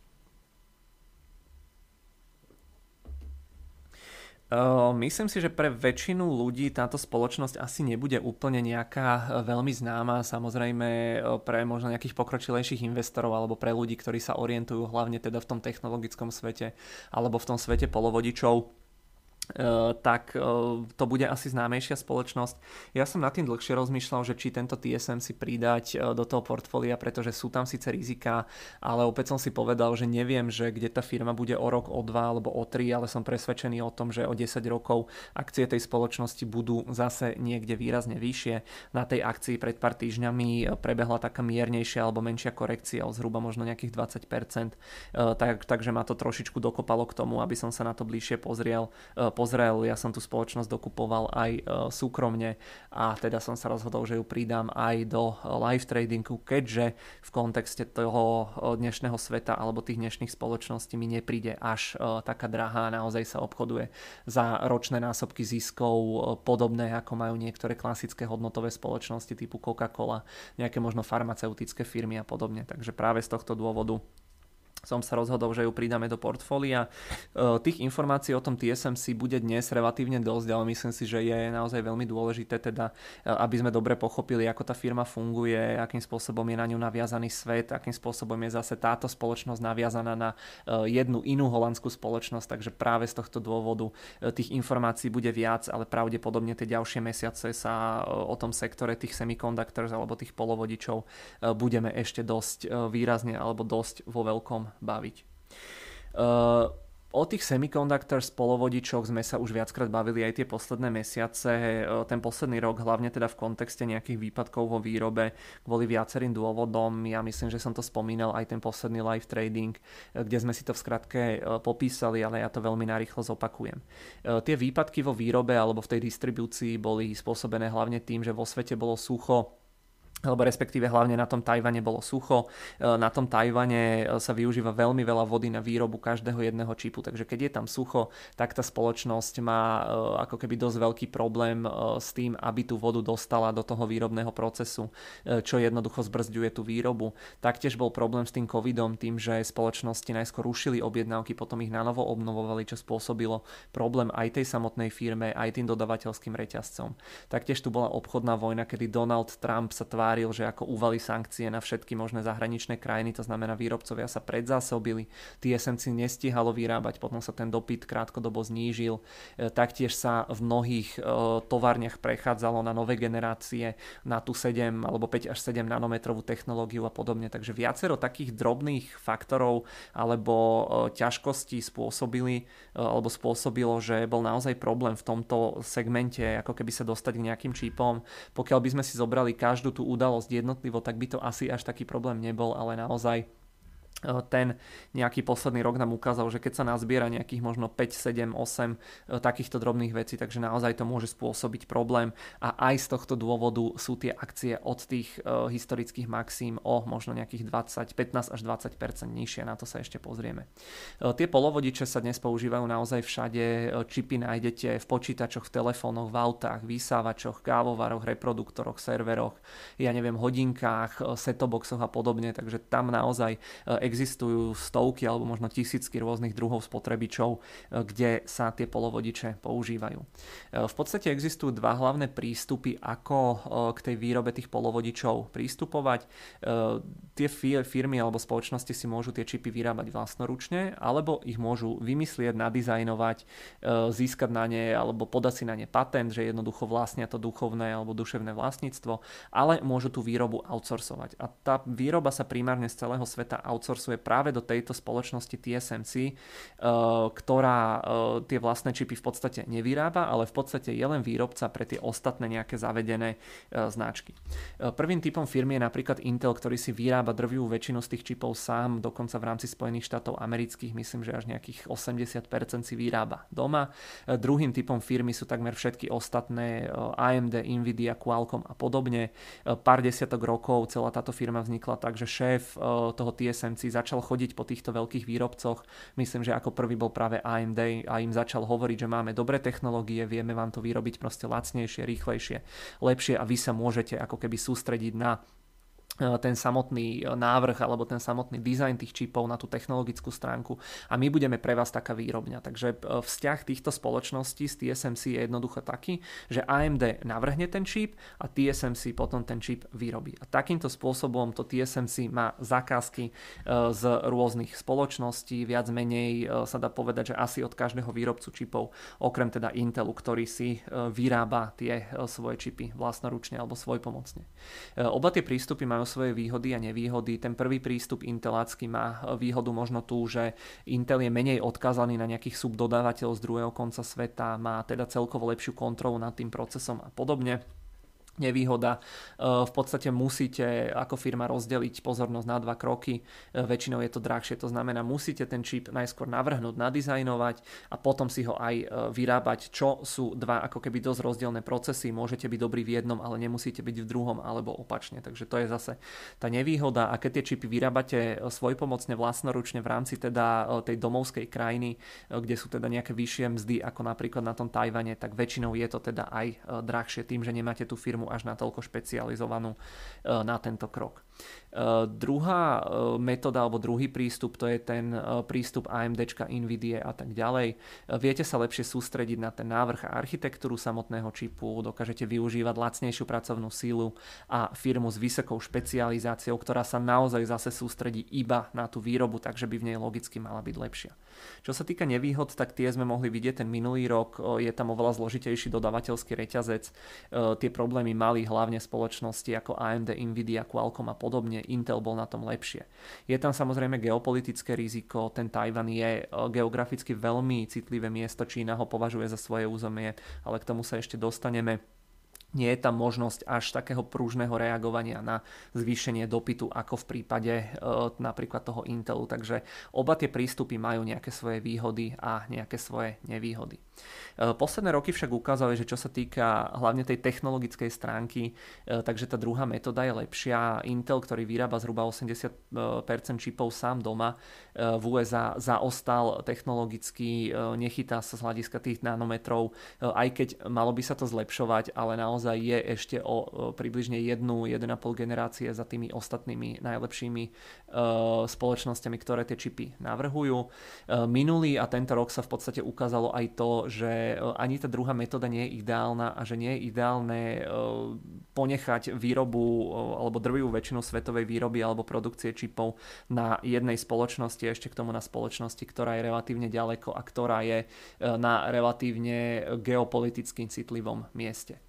Myslím si, že pre väčšinu ľudí táto spoločnosť asi nebude úplne nejaká veľmi známa, samozrejme pre možno nejakých pokročilejších investorov alebo pre ľudí, ktorí sa orientujú hlavne teda v tom technologickom svete alebo v tom svete polovodičov. tak to bude asi známejšia spoločnosť. Ja som nad tým dlhšie rozmýšľal, že či tento TSMC pridať do toho portfólia, pretože sú tam síce rizika, ale opäť som si povedal, že neviem, že kde tá firma bude o rok, o 2 alebo o 3, ale som presvedčený o tom, že o 10 rokov akcie tej spoločnosti budú zase niekde výrazne vyššie. Na tej akcii pred pár týždňami prebehla taká miernejšia alebo menšia korekcia o zhruba možno nejakých 20%, takže ma to trošičku dokopalo k tomu, aby som sa na to bližšie pozrel. Ja som tú spoločnosť dokupoval aj súkromne a teda som sa rozhodol, že ju pridám aj do live tradingu, keďže v kontexte toho dnešného sveta alebo tých dnešných spoločností mi nepríde až taká drahá, naozaj sa obchoduje za ročné násobky ziskov podobné ako majú niektoré klasické hodnotové spoločnosti typu Coca-Cola, nejaké možno farmaceutické firmy a podobne, takže práve z tohto dôvodu som sa rozhodol, že ju pridáme do portfólia. Tých informácií o tom TSMC bude dnes relatívne dosť, ale myslím si, že je naozaj veľmi dôležité teda, aby sme dobre pochopili, ako tá firma funguje, akým spôsobom je na ňu naviazaný svet, akým spôsobom je zase táto spoločnosť naviazaná na jednu inú holandskú spoločnosť, takže práve z tohto dôvodu tých informácií bude viac, ale pravdepodobne tie ďalšie mesiace sa o tom sektore tých semiconductors alebo tých polovodičov budeme ešte dosť výrazne alebo dosť vo veľkom baviť. O tých semiconductors, polovodičoch sme sa už viackrát bavili aj tie posledné mesiace. Ten posledný rok, hlavne teda v kontexte nejakých výpadkov vo výrobe, kvôli viacerým dôvodom. Ja myslím, že som to spomínal aj ten posledný live trading, kde sme si to v skratke popísali, ale ja to veľmi narýchlo zopakujem. Tie výpadky vo výrobe alebo v tej distribúcii boli spôsobené hlavne tým, že vo svete bolo sucho, alebo respektíve hlavne na tom Tajvane bolo sucho. Na tom Tajvane sa využíva veľmi veľa vody na výrobu každého jedného čipu, takže keď je tam sucho, tak tá spoločnosť má ako keby dosť veľký problém s tým, aby tú vodu dostala do toho výrobného procesu, čo jednoducho zbrzďuje tú výrobu. Taktiež bol problém s tým covidom, tým, že spoločnosti najskôr rušili objednávky, potom ich nanovo obnovovali, čo spôsobilo problém aj tej samotnej firme, aj tým dodavateľským reťazcom. Taktiež tu bola obchodná vojna, kedy Donald Trump sa že ako uvalí sankcie na všetky možné zahraničné krajiny, to znamená výrobcovia sa predzásobili, TSMC nestíhalo vyrábať, potom sa ten dopyt krátkodobo znížil, taktiež sa v mnohých továrniach prechádzalo na nové generácie, na tú 7 alebo 5 až 7 nanometrovú technológiu a podobne, takže viacero takých drobných faktorov alebo ťažkostí spôsobilo, že bol naozaj problém v tomto segmente, ako keby sa dostať k nejakým čipom. Pokiaľ by sme si zobrali každú tú udalosť jednotlivo, tak by to asi až taký problém nebol, ale naozaj ten nejaký posledný rok nám ukázal, že keď sa nazbiera nejakých možno 5, 7, 8 takýchto drobných vecí, takže naozaj to môže spôsobiť problém a aj z tohto dôvodu sú tie akcie od tých historických maxím o možno nejakých 15 až 20% nižšie, na to sa ešte pozrieme. Tie polovodiče sa dnes používajú naozaj všade, čipy nájdete v počítačoch, v telefónoch, v autách, vysávačoch, kávovaroch, reproduktoroch, serveroch, hodinkách, set-top-boxoch a podobne, takže tam naozaj existujú stovky alebo možno tisícky rôznych druhov spotrebičov, kde sa tie polovodiče používajú. V podstate existujú dva hlavné prístupy, ako k tej výrobe tých polovodičov prístupovať. Tie firmy alebo spoločnosti si môžu tie čipy vyrábať vlastnoručne, alebo ich môžu vymyslieť, nadizajnovať, získať na ne alebo podať si na ne patent, že jednoducho vlastnia to duchovné alebo duševné vlastníctvo, ale môžu tú výrobu outsourcovať. A tá výroba sa primárne z celého sveta outsourcuje práve do tejto spoločnosti TSMC, ktorá tie vlastné čipy v podstate nevyrába, ale v podstate je len výrobca pre tie ostatné nejaké zavedené značky. Prvým typom firmy je napríklad Intel, ktorý si vyrába drvivú väčšinu z tých čipov sám, dokonca v rámci Spojených štátov amerických, myslím, že až nejakých 80% si vyrába doma. Druhým typom firmy sú takmer všetky ostatné, AMD, Nvidia, Qualcomm a podobne. Pár desiatok rokov celá táto firma vznikla tak, že šéf toho TSMC začal chodiť po týchto veľkých výrobcoch. Myslím, že ako prvý bol práve AMD a im začal hovoriť, že máme dobré technológie, vieme vám to vyrobiť proste lacnejšie, rýchlejšie, lepšie a vy sa môžete ako keby sústrediť na ten samotný návrh alebo ten samotný dizajn tých čipov na tú technologickú stránku a my budeme pre vás taká výrobňa. Takže vzťah týchto spoločností s TSMC je jednoducho taký, že AMD navrhne ten čip a TSMC potom ten čip vyrobí. A takýmto spôsobom to TSMC má zákazky z rôznych spoločností, viac menej sa dá povedať, že asi od každého výrobcu čipov, okrem teda Intelu, ktorý si vyrába tie svoje čipy vlastnoručne alebo svojpomocne. Oba tie prístupy majú svoje výhody a nevýhody. Ten prvý prístup intelácky má výhodu možno tú, že Intel je menej odkázaný na nejakých subdodávateľov z druhého konca sveta, má teda celkovo lepšiu kontrolu nad tým procesom a podobne. Nevýhoda, v podstate musíte ako firma rozdeliť pozornosť na 2 kroky, väčšinou je to drahšie, to znamená musíte ten čip najskôr navrhnúť, nadizajnovať a potom si ho aj vyrábať, čo sú dva ako keby dosť rozdielne procesy, môžete byť dobrý v jednom, ale nemusíte byť v druhom alebo opačne, takže to je zase tá nevýhoda a keď tie čipy vyrábate svojpomocne vlastnoručne v rámci teda tej domovskej krajiny, kde sú teda nejaké vyššie mzdy ako napríklad na tom Tajvane, tak väčšinou je to teda aj drahšie tým, že nemáte tú firmu až natoľko špecializovanú na tento krok. Druhá metóda alebo druhý prístup, to je ten prístup AMDčka, Nvidia a tak ďalej. Viete sa lepšie sústrediť na ten návrh a architektúru samotného čipu, dokážete využívať lacnejšiu pracovnú sílu a firmu s vysokou špecializáciou, ktorá sa naozaj zase sústredí iba na tú výrobu, takže by v nej logicky mala byť lepšia. Čo sa týka nevýhod, tak tie sme mohli vidieť ten minulý rok, je tam oveľa zložitejší dodávateľský reťazec, tie problémy mali hlavne spoločnosti ako AMD, Nvidia, Qualcomm a podobne, Intel bol na tom lepšie. Je tam samozrejme geopolitické riziko, ten Tajvan je geograficky veľmi citlivé miesto, Čína ho považuje za svoje územie, ale k tomu sa ešte dostaneme. Nie je tam možnosť až takého pružného reagovania na zvýšenie dopytu ako v prípade napríklad toho Intelu. Takže oba tie prístupy majú nejaké svoje výhody a nejaké svoje nevýhody. Posledné roky však ukázali, že čo sa týka hlavne tej technologickej stránky, takže tá druhá metóda je lepšia. Intel, ktorý vyrába zhruba 80% čipov sám doma, v USA zaostal technologicky, nechytá sa z hľadiska tých nanometrov, aj keď malo by sa to zlepšovať, ale naozaj je ešte o približne 1,5 generácie za tými ostatnými najlepšími spoločnosťami, ktoré tie čipy navrhujú. Minulý a tento rok sa v podstate ukázalo aj to, že ani tá druhá metóda nie je ideálna a že nie je ideálne ponechať výrobu alebo drvivú väčšinu svetovej výroby alebo produkcie čipov na jednej spoločnosti, ešte k tomu na spoločnosti, ktorá je relatívne ďaleko a ktorá je na relatívne geopoliticky citlivom mieste.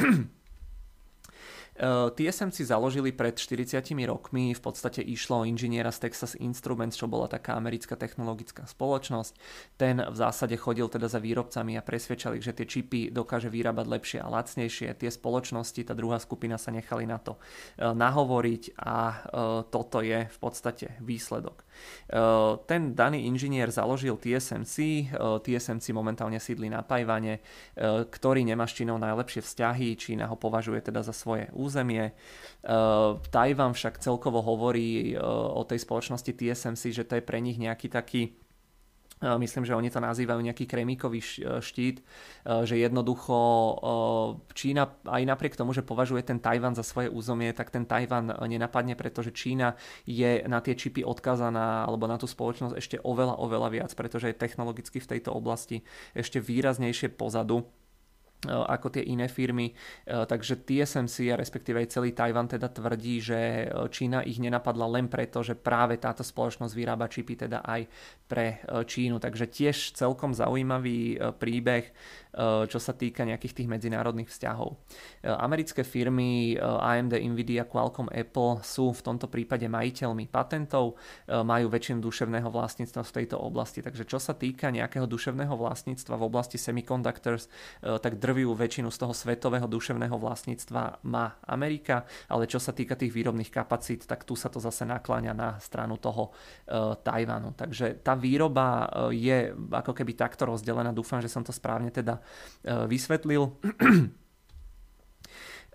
TSMC založili pred 40 rokmi, v podstate išlo o inžiniera z Texas Instruments, čo bola taká americká technologická spoločnosť. Ten v zásade chodil teda za výrobcami a presvedčali, že tie čipy dokáže vyrábať lepšie a lacnejšie. Tie spoločnosti, tá druhá skupina sa nechali na to nahovoriť a toto je v podstate výsledok. Ten daný inžinier založil TSMC, TSMC momentálne sídli na Tajvane, ktorý nemá s Čínou najlepšie vzťahy, Čína ho považuje teda za svoje územie. Tajvan však celkovo hovorí o tej spoločnosti TSMC, že to je pre nich nejaký taký, myslím, že oni to nazývajú nejaký kremíkový štít, že jednoducho Čína aj napriek tomu, že považuje ten Tajvan za svoje územie, tak ten Tajvan nenapadne, pretože Čína je na tie čipy odkazaná alebo na tú spoločnosť ešte oveľa viac, pretože je technologicky v tejto oblasti ešte výraznejšie pozadu ako tie iné firmy, takže TSMC a respektíve aj celý Tajvan teda tvrdí, že Čína ich nenapadla len preto, že práve táto spoločnosť vyrába čipy teda aj pre Čínu, takže tiež celkom zaujímavý príbeh, čo sa týka nejakých tých medzinárodných vzťahov. Americké firmy AMD, Nvidia, Qualcomm, Apple sú v tomto prípade majiteľmi patentov, majú väčšinu duševného vlastníctva v tejto oblasti, takže čo sa týka nejakého duševného vlastníctva v oblasti semiconductors, tak drvivú väčšinu z toho svetového duševného vlastníctva má Amerika, ale čo sa týka tých výrobných kapacít, tak tu sa to zase nakláňa na stranu toho Tajvanu. Takže tá výroba je ako keby takto rozdelená, dúfam, že som to správne teda vysvetlil.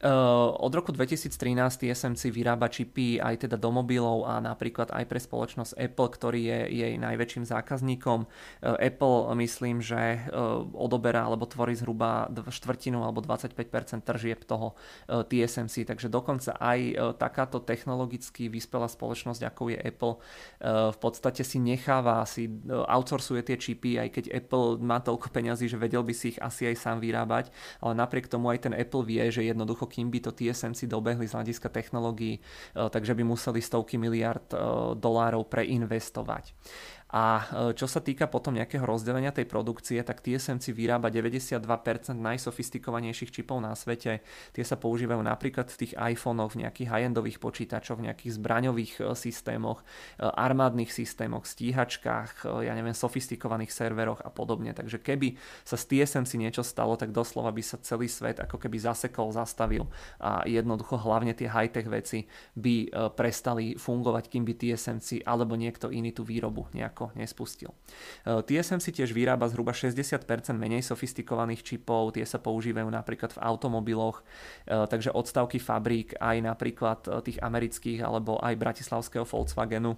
Od roku 2013 TSMC vyrába čipy aj teda do mobilov a napríklad aj pre spoločnosť Apple, ktorý je jej najväčším zákazníkom. Apple myslím, že odoberá alebo tvorí zhruba štvrtinu alebo 25% tržieb toho TSMC, takže dokonca aj takáto technologicky vyspelá spoločnosť, ako je Apple, v podstate si necháva, si outsourcuje tie čipy, aj keď Apple má toľko peňazí, že vedel by si ich asi aj sám vyrábať, ale napriek tomu aj ten Apple vie, že jednoducho kým by to TSMC dobehli z hľadiska technológií, takže by museli stovky miliard dolárov preinvestovať. A čo sa týka potom nejakého rozdelenia tej produkcie, tak TSMC vyrába 92% najsofistikovanejších čipov na svete. Tie sa používajú napríklad v tých iPhonech, v nejakých high-endových počítačoch, v nejakých zbraňových systémoch, armádnych systémoch, stíhačkách, ja neviem, sofistikovaných serveroch a podobne. Takže keby sa z TSMC niečo stalo, tak doslova by sa celý svet ako keby zasekol, zastavil a jednoducho hlavne tie high-tech veci by prestali fungovať, kým by TSMC alebo niekto iný tú výrobu nejako nespustil. TSMC tiež vyrába zhruba 60% menej sofistikovaných čipov, tie sa používajú napríklad v automobiloch, takže odstavky fabrík aj napríklad tých amerických alebo aj bratislavského Volkswagenu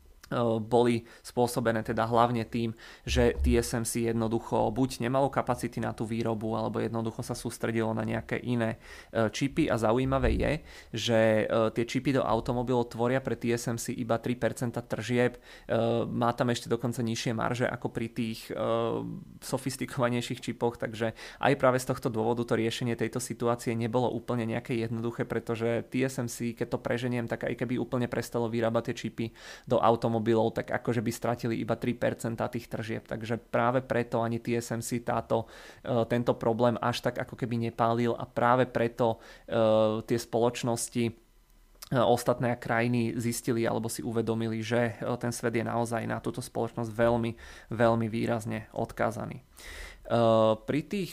boli spôsobené teda hlavne tým, že TSMC jednoducho buď nemalo kapacity na tú výrobu, alebo jednoducho sa sústredilo na nejaké iné čipy a zaujímavé je, že tie čipy do automobilov tvoria pre TSMC iba 3% tržieb, má tam ešte dokonca nižšie marže ako pri tých sofistikovanejších čipoch, takže aj práve z tohto dôvodu to riešenie tejto situácie nebolo úplne nejaké jednoduché, pretože TSMC, keď to preženiem, tak aj keby úplne prestalo vyrábať tie čipy do automobilov, tak akože by stratili iba 3% tých tržieb. Takže práve preto ani TSMC tento problém až tak ako keby nepálil a práve preto tie spoločnosti ostatné krajiny zistili alebo si uvedomili, že ten svet je naozaj na túto spoločnosť veľmi, veľmi výrazne odkázaný. Pri tých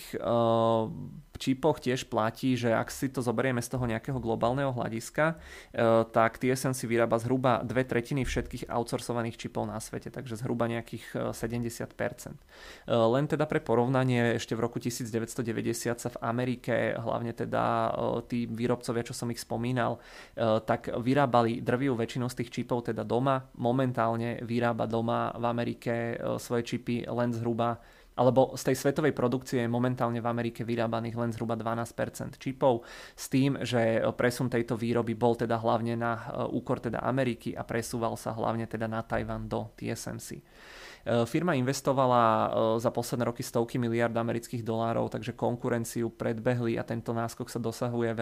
čipoch tiež platí, že ak si to zoberieme z toho nejakého globálneho hľadiska, tak TSMC vyrába zhruba 2/3 všetkých outsourcovaných čipov na svete, takže zhruba nejakých 70%. Len teda pre porovnanie, ešte v roku 1990 sa v Amerike, hlavne teda tí výrobcovia, čo som ich spomínal, tak vyrábali drvivú väčšinu z tých čipov teda doma. Momentálne vyrába doma v Amerike svoje čipy len zhruba, alebo z tej svetovej produkcie je momentálne v Amerike vyrábaných len zhruba 12% čipov, s tým, že presun tejto výroby bol teda hlavne na úkor teda Ameriky a presúval sa hlavne teda na Tajvan do TSMC. Firma investovala za posledné roky stovky miliárd amerických dolárov, takže konkurenciu predbehli a tento náskok sa dosahuje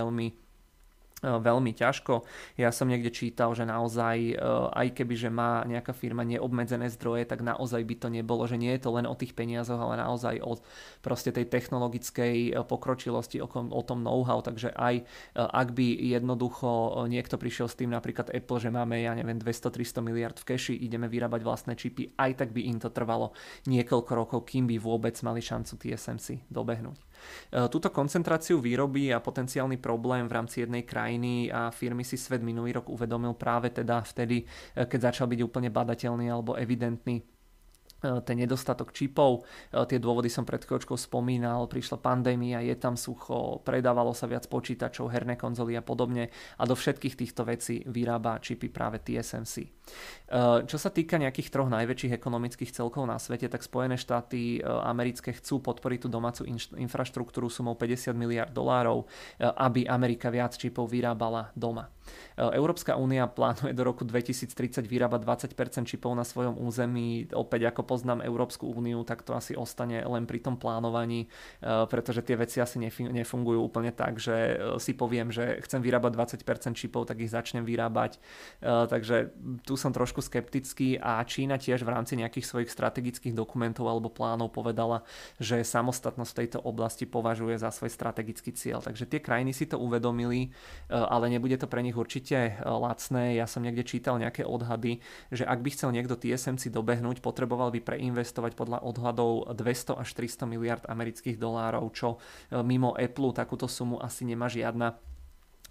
veľmi ťažko. Ja som niekde čítal, že naozaj, aj keby že má nejaká firma neobmedzené zdroje, tak naozaj by to nebolo, že nie je to len o tých peniazoch, ale naozaj o proste tej technologickej pokročilosti, o tom know-how, takže aj ak by jednoducho niekto prišiel s tým, napríklad Apple, že máme, ja neviem, 200-300 miliard v keši, ideme vyrábať vlastné čipy, aj tak by im to trvalo niekoľko rokov, kým by vôbec mali šancu TSMC dobehnúť. Túto koncentráciu výroby a potenciálny problém v rámci jednej krajiny a firmy si svet minulý rok uvedomil práve teda vtedy, keď začal byť úplne badateľný alebo evidentný ten nedostatok čipov. Tie dôvody som pred chvíľočkou spomínal, prišla pandémia, je tam sucho, predávalo sa viac počítačov, herné konzoly a podobne a do všetkých týchto vecí vyrába čipy práve TSMC. Čo sa týka nejakých troch najväčších ekonomických celkov na svete, tak Spojené štáty americké chcú podporiť tú domácu infraštruktúru sumou 50 miliard dolárov, aby Amerika viac čipov vyrábala doma. Európska únia plánuje do roku 2030 vyrábať 20% čipov na svojom území. Opäť ako poznám Európsku úniu, tak to asi ostane len pri tom plánovaní, pretože tie veci asi nefungujú úplne tak, že si poviem, že chcem vyrábať 20% čipov, tak ich začnem vyrábať. Takže tu som trošku skeptický a Čína tiež v rámci nejakých svojich strategických dokumentov alebo plánov povedala, že samostatnosť v tejto oblasti považuje za svoj strategický cieľ. Takže tie krajiny si to uvedomili, ale nebude to pre nich určite lacné. Ja som niekde čítal nejaké odhady, že ak by chcel niekto TSMC dobehnúť, potreboval by preinvestovať podľa odhadov 200 až 300 miliard amerických dolárov, čo mimo Apple takúto sumu asi nemá žiadna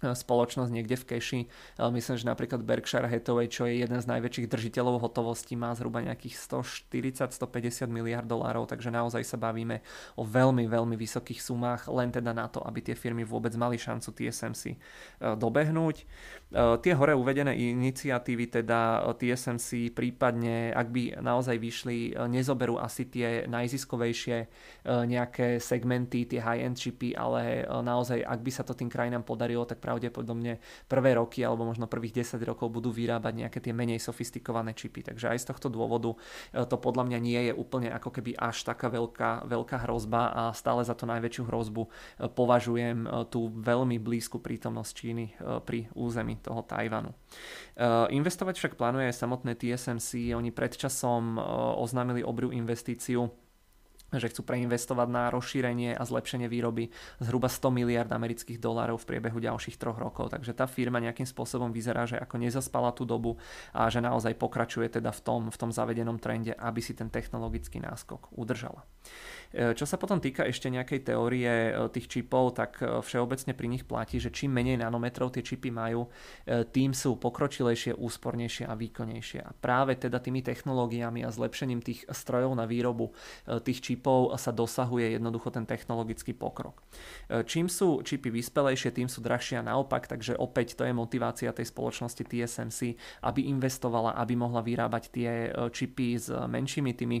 spoločnosť niekde v keši. Myslím, že napríklad Berkshire Hathaway, čo je jeden z najväčších držiteľov hotovosti, má zhruba nejakých 140-150 miliard dolárov, takže naozaj sa bavíme o veľmi, veľmi vysokých sumách, len teda na to, aby tie firmy vôbec mali šancu TSMC dobehnúť. Tie hore uvedené iniciatívy, teda TSMC prípadne, ak by naozaj vyšli, nezoberú asi tie najziskovejšie nejaké segmenty, tie high-end čipy, ale naozaj, ak by sa to tým krajinám podarilo, tak pravdepodobne prvé roky alebo možno prvých 10 rokov budú vyrábať nejaké tie menej sofistikované čipy. Takže aj z tohto dôvodu to podľa mňa nie je úplne ako keby až taká veľká hrozba a stále za to najväčšiu hrozbu považujem tú veľmi blízku prítomnosť Číny pri území toho Tajvanu. Investovať však plánuje aj samotné TSMC. Oni predčasom oznámili obrú investíciu, že chcú preinvestovať na rozšírenie a zlepšenie výroby zhruba 100 miliard amerických dolárov v priebehu ďalších 3 rokov. Takže tá firma nejakým spôsobom vyzerá, že ako nezaspala tú dobu a že naozaj pokračuje teda v tom zavedenom trende, aby si ten technologický náskok udržala. Čo sa potom týka ešte nejakej teórie tých čipov, tak všeobecne pri nich platí, že čím menej nanometrov tie čipy majú, tým sú pokročilejšie, úspornejšie a výkonnejšie. A práve teda tými technológiami a zlepšením tých strojov na výrobu tých čipov sa dosahuje jednoducho ten technologický pokrok. Čím sú čipy vyspelejšie, tým sú drahšie a naopak, takže opäť to je motivácia tej spoločnosti TSMC, aby investovala, aby mohla vyrábať tie čipy s menšími tými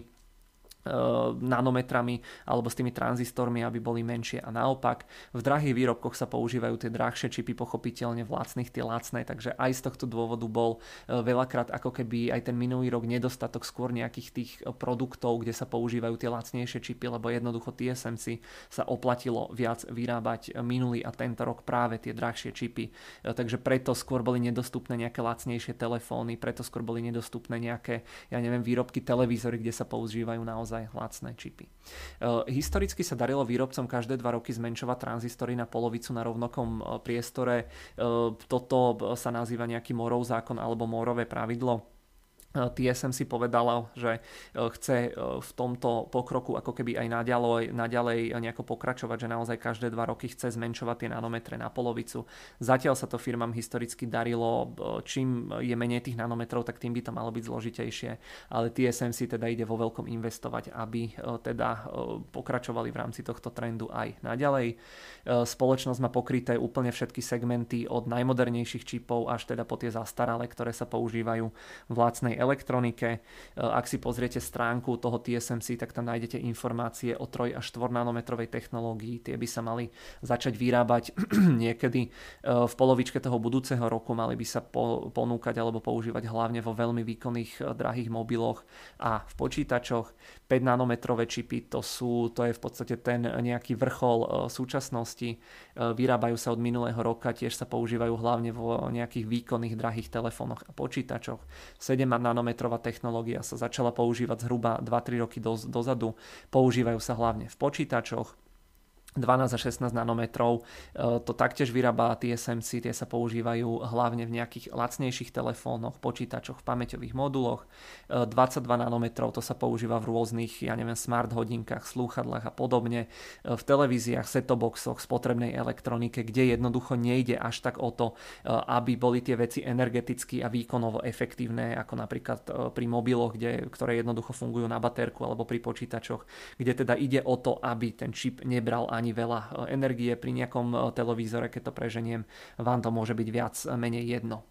nanometrami alebo s tými tranzistormi, aby boli menšie a naopak. V drahých výrobkoch sa používajú tie drahšie čipy, pochopiteľne v lacných tie lacné, takže aj z tohto dôvodu bol veľakrát ako keby aj ten minulý rok nedostatok skôr nejakých tých produktov, kde sa používajú tie lacnejšie čipy, lebo jednoducho TSMC sa oplatilo viac vyrábať minulý a tento rok práve tie drahšie čipy, takže preto skôr boli nedostupné nejaké lacnejšie telefóny, preto skôr boli nedostupné nejaké, výrobky televízory, kde sa používajú naozaj lacné čipy. Historicky sa darilo výrobcom každé 2 roky zmenšovať tranzistory na polovicu na rovnakom priestore. Toto sa nazýva nejaký Moorov zákon alebo Moorové pravidlo. TSMC povedala, že chce v tomto pokroku ako keby aj naďalej nejako pokračovať, že naozaj každé 2 roky chce zmenšovať tie nanometre na polovicu. Zatiaľ sa to firmám historicky darilo, čím je menej tých nanometrov, tak tým by to malo byť zložitejšie, ale TSMC teda ide vo veľkom investovať, aby teda pokračovali v rámci tohto trendu aj naďalej. Spoločnosť má pokryté úplne všetky segmenty od najmodernejších čipov až teda po tie zastaralé, ktoré sa používajú v lacnej elektronike. Ak si pozriete stránku toho TSMC, tak tam nájdete informácie o 3 až 4 nanometrovej technológii. Tie by sa mali začať vyrábať niekedy v polovičke toho budúceho roku. Mali by sa ponúkať alebo používať hlavne vo veľmi výkonných drahých mobiloch a v počítačoch. 5 nanometrové čipy, to je v podstate ten nejaký vrchol súčasnosti. Vyrábajú sa od minulého roka, tiež sa používajú hlavne vo nejakých výkonných drahých telefónoch a počítačoch. 7 nanometrová technológia sa začala používať zhruba 2-3 roky dozadu. Používajú sa hlavne v počítačoch. 12 a 16 nanometrov, to taktiež vyrába TSMC, tie sa používajú hlavne v nejakých lacnejších telefónoch, počítačoch, v pamäťových moduloch. 22 nanometrov, to sa používa v rôznych, smart hodinkách, slúchadlách a podobne, v televíziách, set-top-boxoch, spotrebnej elektronike, kde jednoducho nejde až tak o to, aby boli tie veci energeticky a výkonovo efektívne, ako napríklad pri mobiloch, ktoré jednoducho fungujú na batérku, alebo pri počítačoch, kde teda ide o to, aby ten čip nebral ani veľa energie. Pri nejakom televízore, keď to preženiem, vám to môže byť viac menej jedno.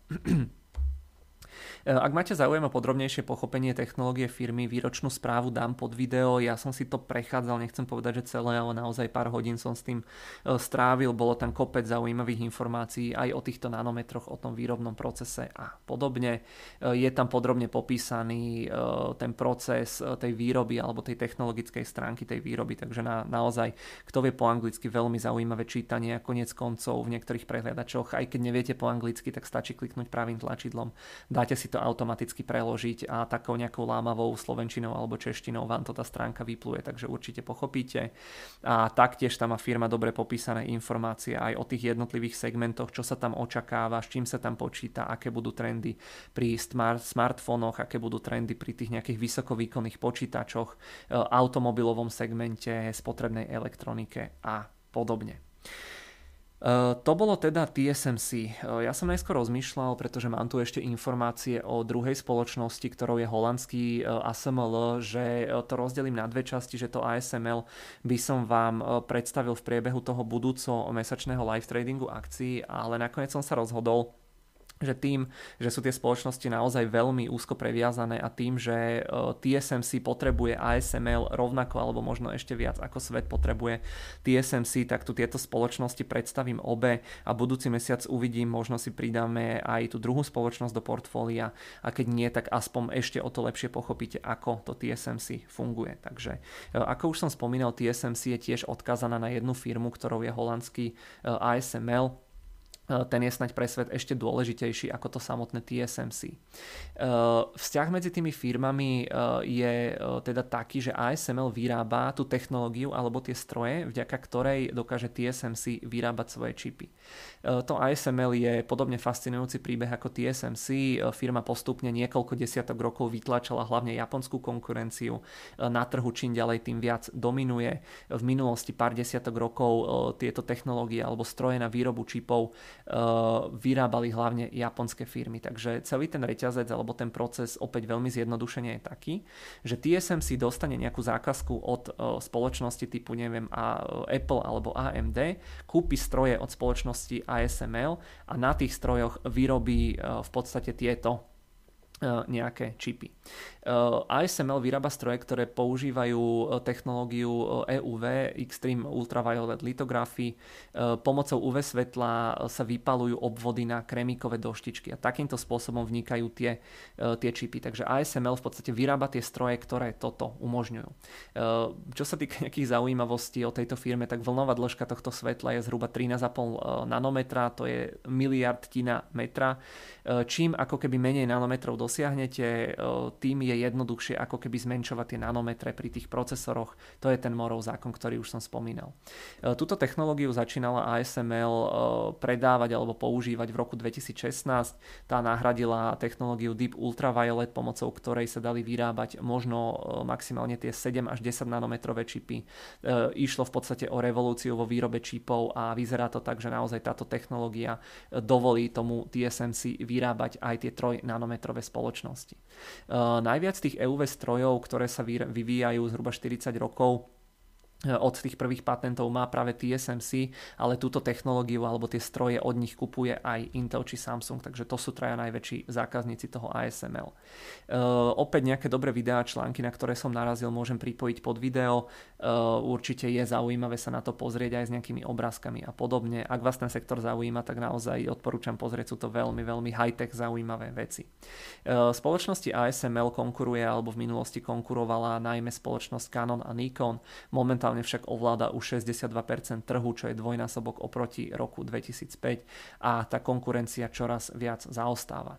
Ak máte záujem o podrobnejšie pochopenie technológie firmy, výročnú správu dám pod video. Ja som si to prechádzal, nechcem povedať, že celé, ale naozaj pár hodín som s tým strávil. Bolo tam kopec zaujímavých informácií aj o týchto nanometroch, o tom výrobnom procese a podobne. Je tam podrobne popísaný ten proces tej výroby alebo tej technologickej stránky tej výroby, takže naozaj, kto vie po anglicky, veľmi zaujímavé čítanie a koniec koncov v niektorých prehliadačoch. Aj keď neviete po anglicky, tak stačí kliknúť pravým tlačidlom. Dáte si to automaticky preložiť a takou nejakou lámavou slovenčinou alebo češtinou vám to tá stránka vypluje, takže určite pochopíte. A taktiež tam má firma dobre popísané informácie aj o tých jednotlivých segmentoch, čo sa tam očakáva, s čím sa tam počíta, aké budú trendy pri smartfónoch, aké budú trendy pri tých nejakých vysokovýkonných počítačoch, automobilovom segmente, spotrebnej elektronike a podobne. To bolo teda TSMC. Ja som najskôr rozmýšľal, pretože mám tu ešte informácie o druhej spoločnosti, ktorou je holandský ASML, že to rozdelím na dve časti, že to ASML by som vám predstavil v priebehu toho budúco mesačného live tradingu akcií, ale nakoniec som sa rozhodol, že tým, že sú tie spoločnosti naozaj veľmi úzko previazané a tým, že TSMC potrebuje ASML rovnako alebo možno ešte viac ako svet potrebuje TSMC, tak tu tieto spoločnosti predstavím obe a budúci mesiac uvidím, možno si pridáme aj tú druhú spoločnosť do portfólia a keď nie, tak aspoň ešte o to lepšie pochopíte, ako to TSMC funguje. Takže ako už som spomínal, TSMC je tiež odkázaná na jednu firmu, ktorou je holandský ASML. Ten je snaď pre svet ešte dôležitejší ako to samotné TSMC. Vzťah medzi tými firmami je teda taký, že ASML vyrába tú technológiu alebo tie stroje, vďaka ktorej dokáže TSMC vyrábať svoje čipy. To ASML je podobne fascinujúci príbeh ako TSMC. Firma postupne niekoľko desiatok rokov vytlačala hlavne japonskú konkurenciu. Na trhu čím ďalej tým viac dominuje. V minulosti pár desiatok rokov tieto technológie alebo stroje na výrobu čipov vyrábali hlavne japonské firmy. Takže celý ten reťazec alebo ten proces opäť veľmi zjednodušene je taký, že TSMC dostane nejakú zákazku od spoločnosti typu neviem Apple alebo AMD, kúpi stroje od spoločnosti ASML a na tých strojoch vyrobí v podstate tieto nejaké čipy. ASML vyrába stroje, ktoré používajú technológiu EUV, Extreme Ultraviolet Lithography. Pomocou UV svetla sa vypalujú obvody na kremíkové doštičky a takýmto spôsobom vnikajú tie čipy. Takže ASML v podstate vyrába tie stroje, ktoré toto umožňujú. Čo sa týka nejakých zaujímavostí o tejto firme, tak vlnová dĺžka tohto svetla je zhruba 13,5 nanometra, to je miliardtina metra. Čím ako keby menej nanometrov dosiahnete, tým je jednoduchšie ako keby zmenšovať tie nanometre pri tých procesoroch. To je ten Moorov zákon, ktorý už som spomínal. Túto technológiu začínala ASML predávať alebo používať v roku 2016. Tá nahradila technológiu Deep Ultraviolet, pomocou ktorej sa dali vyrábať možno maximálne tie 7 až 10 nanometrové čipy. Išlo v podstate o revolúciu vo výrobe čipov a vyzerá to tak, že naozaj táto technológia dovolí tomu TSMC vyrábať aj tie 3 nanometrové spoločnosti. Najviac tých EUV strojov, ktoré sa vyvíjajú zhruba 40 rokov, od tých prvých patentov má práve TSMC, ale túto technológiu alebo tie stroje od nich kupuje aj Intel či Samsung, takže to sú traja najväčší zákazníci toho ASML. Opäť nejaké dobré videá, články, na ktoré som narazil, môžem pripojiť pod video. Určite je zaujímavé sa na to pozrieť aj s nejakými obrázkami a podobne. Ak vás ten sektor zaujíma, tak naozaj odporúčam pozrieť, sú to veľmi, veľmi high-tech zaujímavé veci. Spoločnosti ASML konkuruje alebo v minulosti konkurovala najmä spoločnosť Canon a Nikon. Momentálne však ovláda už 62% trhu, čo je dvojnásobok oproti roku 2005 a tá konkurencia čoraz viac zaostáva.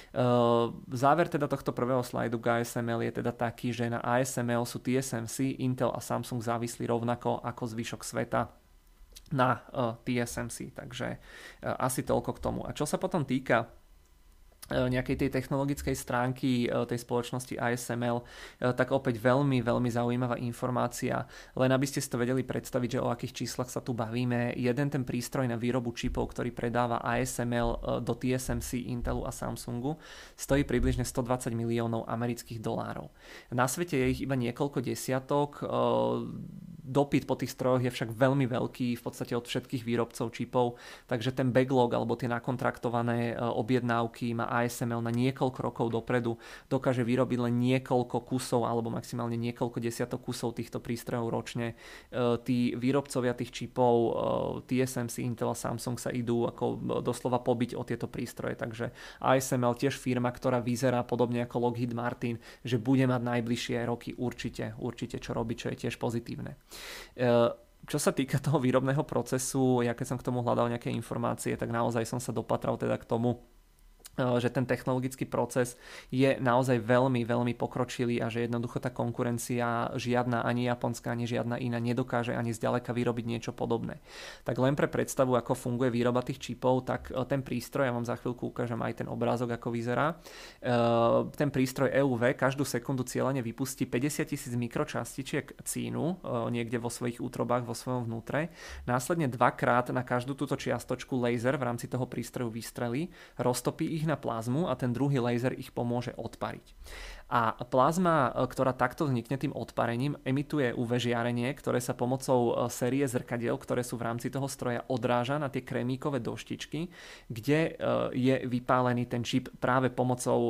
Záver teda tohto prvého slajdu k ASML je teda taký, že na ASML sú TSMC, Intel a Samsung závislí rovnako ako zvyšok sveta na TSMC, takže asi toľko k tomu. A čo sa potom týka nejakej tej technologickej stránky tej spoločnosti ASML, tak opäť veľmi, veľmi zaujímavá informácia. Len aby ste si to vedeli predstaviť, že o akých číslach sa tu bavíme. Jeden ten prístroj na výrobu čipov, ktorý predáva ASML do TSMC, Intelu a Samsungu, stojí približne 120 miliónov amerických dolárov. Na svete je ich iba niekoľko desiatok. Dopyt po tých strojoch je však veľmi veľký v podstate od všetkých výrobcov čipov, takže ten backlog alebo tie nakontraktované objednávky má ASML na niekoľko rokov dopredu, dokáže vyrobiť len niekoľko kusov alebo maximálne niekoľko desiatok kusov týchto prístrojov ročne. Tí výrobcovia tých čipov TSMC, Intel a Samsung sa idú ako doslova pobiť o tieto prístroje, takže ASML tiež firma, ktorá vyzerá podobne ako Lockheed Martin, že bude mať najbližšie roky určite čo robiť, čo je tiež pozitívne. Čo sa týka toho výrobného procesu, ja keď som k tomu hľadal nejaké informácie, tak naozaj som sa dopatral teda k tomu, že ten technologický proces je naozaj veľmi, veľmi pokročilý a že jednoducho tá konkurencia žiadna, ani japonská, ani žiadna iná nedokáže ani zďaleka vyrobiť niečo podobné. Tak len pre predstavu, ako funguje výroba tých čipov, tak ten prístroj, ja vám za chvíľku ukážem aj ten obrázok, ako vyzerá. Ten prístroj EUV každú sekundu cieľene vypustí 50 000 mikročastičiek cínu niekde vo svojich útrobách, vo svojom vnútre. Následne dvakrát na každú túto čiastočku laser v rámci toho prístroju vystrelí, roztopí ich na plazmu a ten druhý laser ich pomôže odpariť. A plazma, ktorá takto vznikne tým odparením, emituje UV žiarenie, ktoré sa pomocou série zrkadiel, ktoré sú v rámci toho stroja, odráža na tie krémíkové doštičky, kde je vypálený ten čip práve pomocou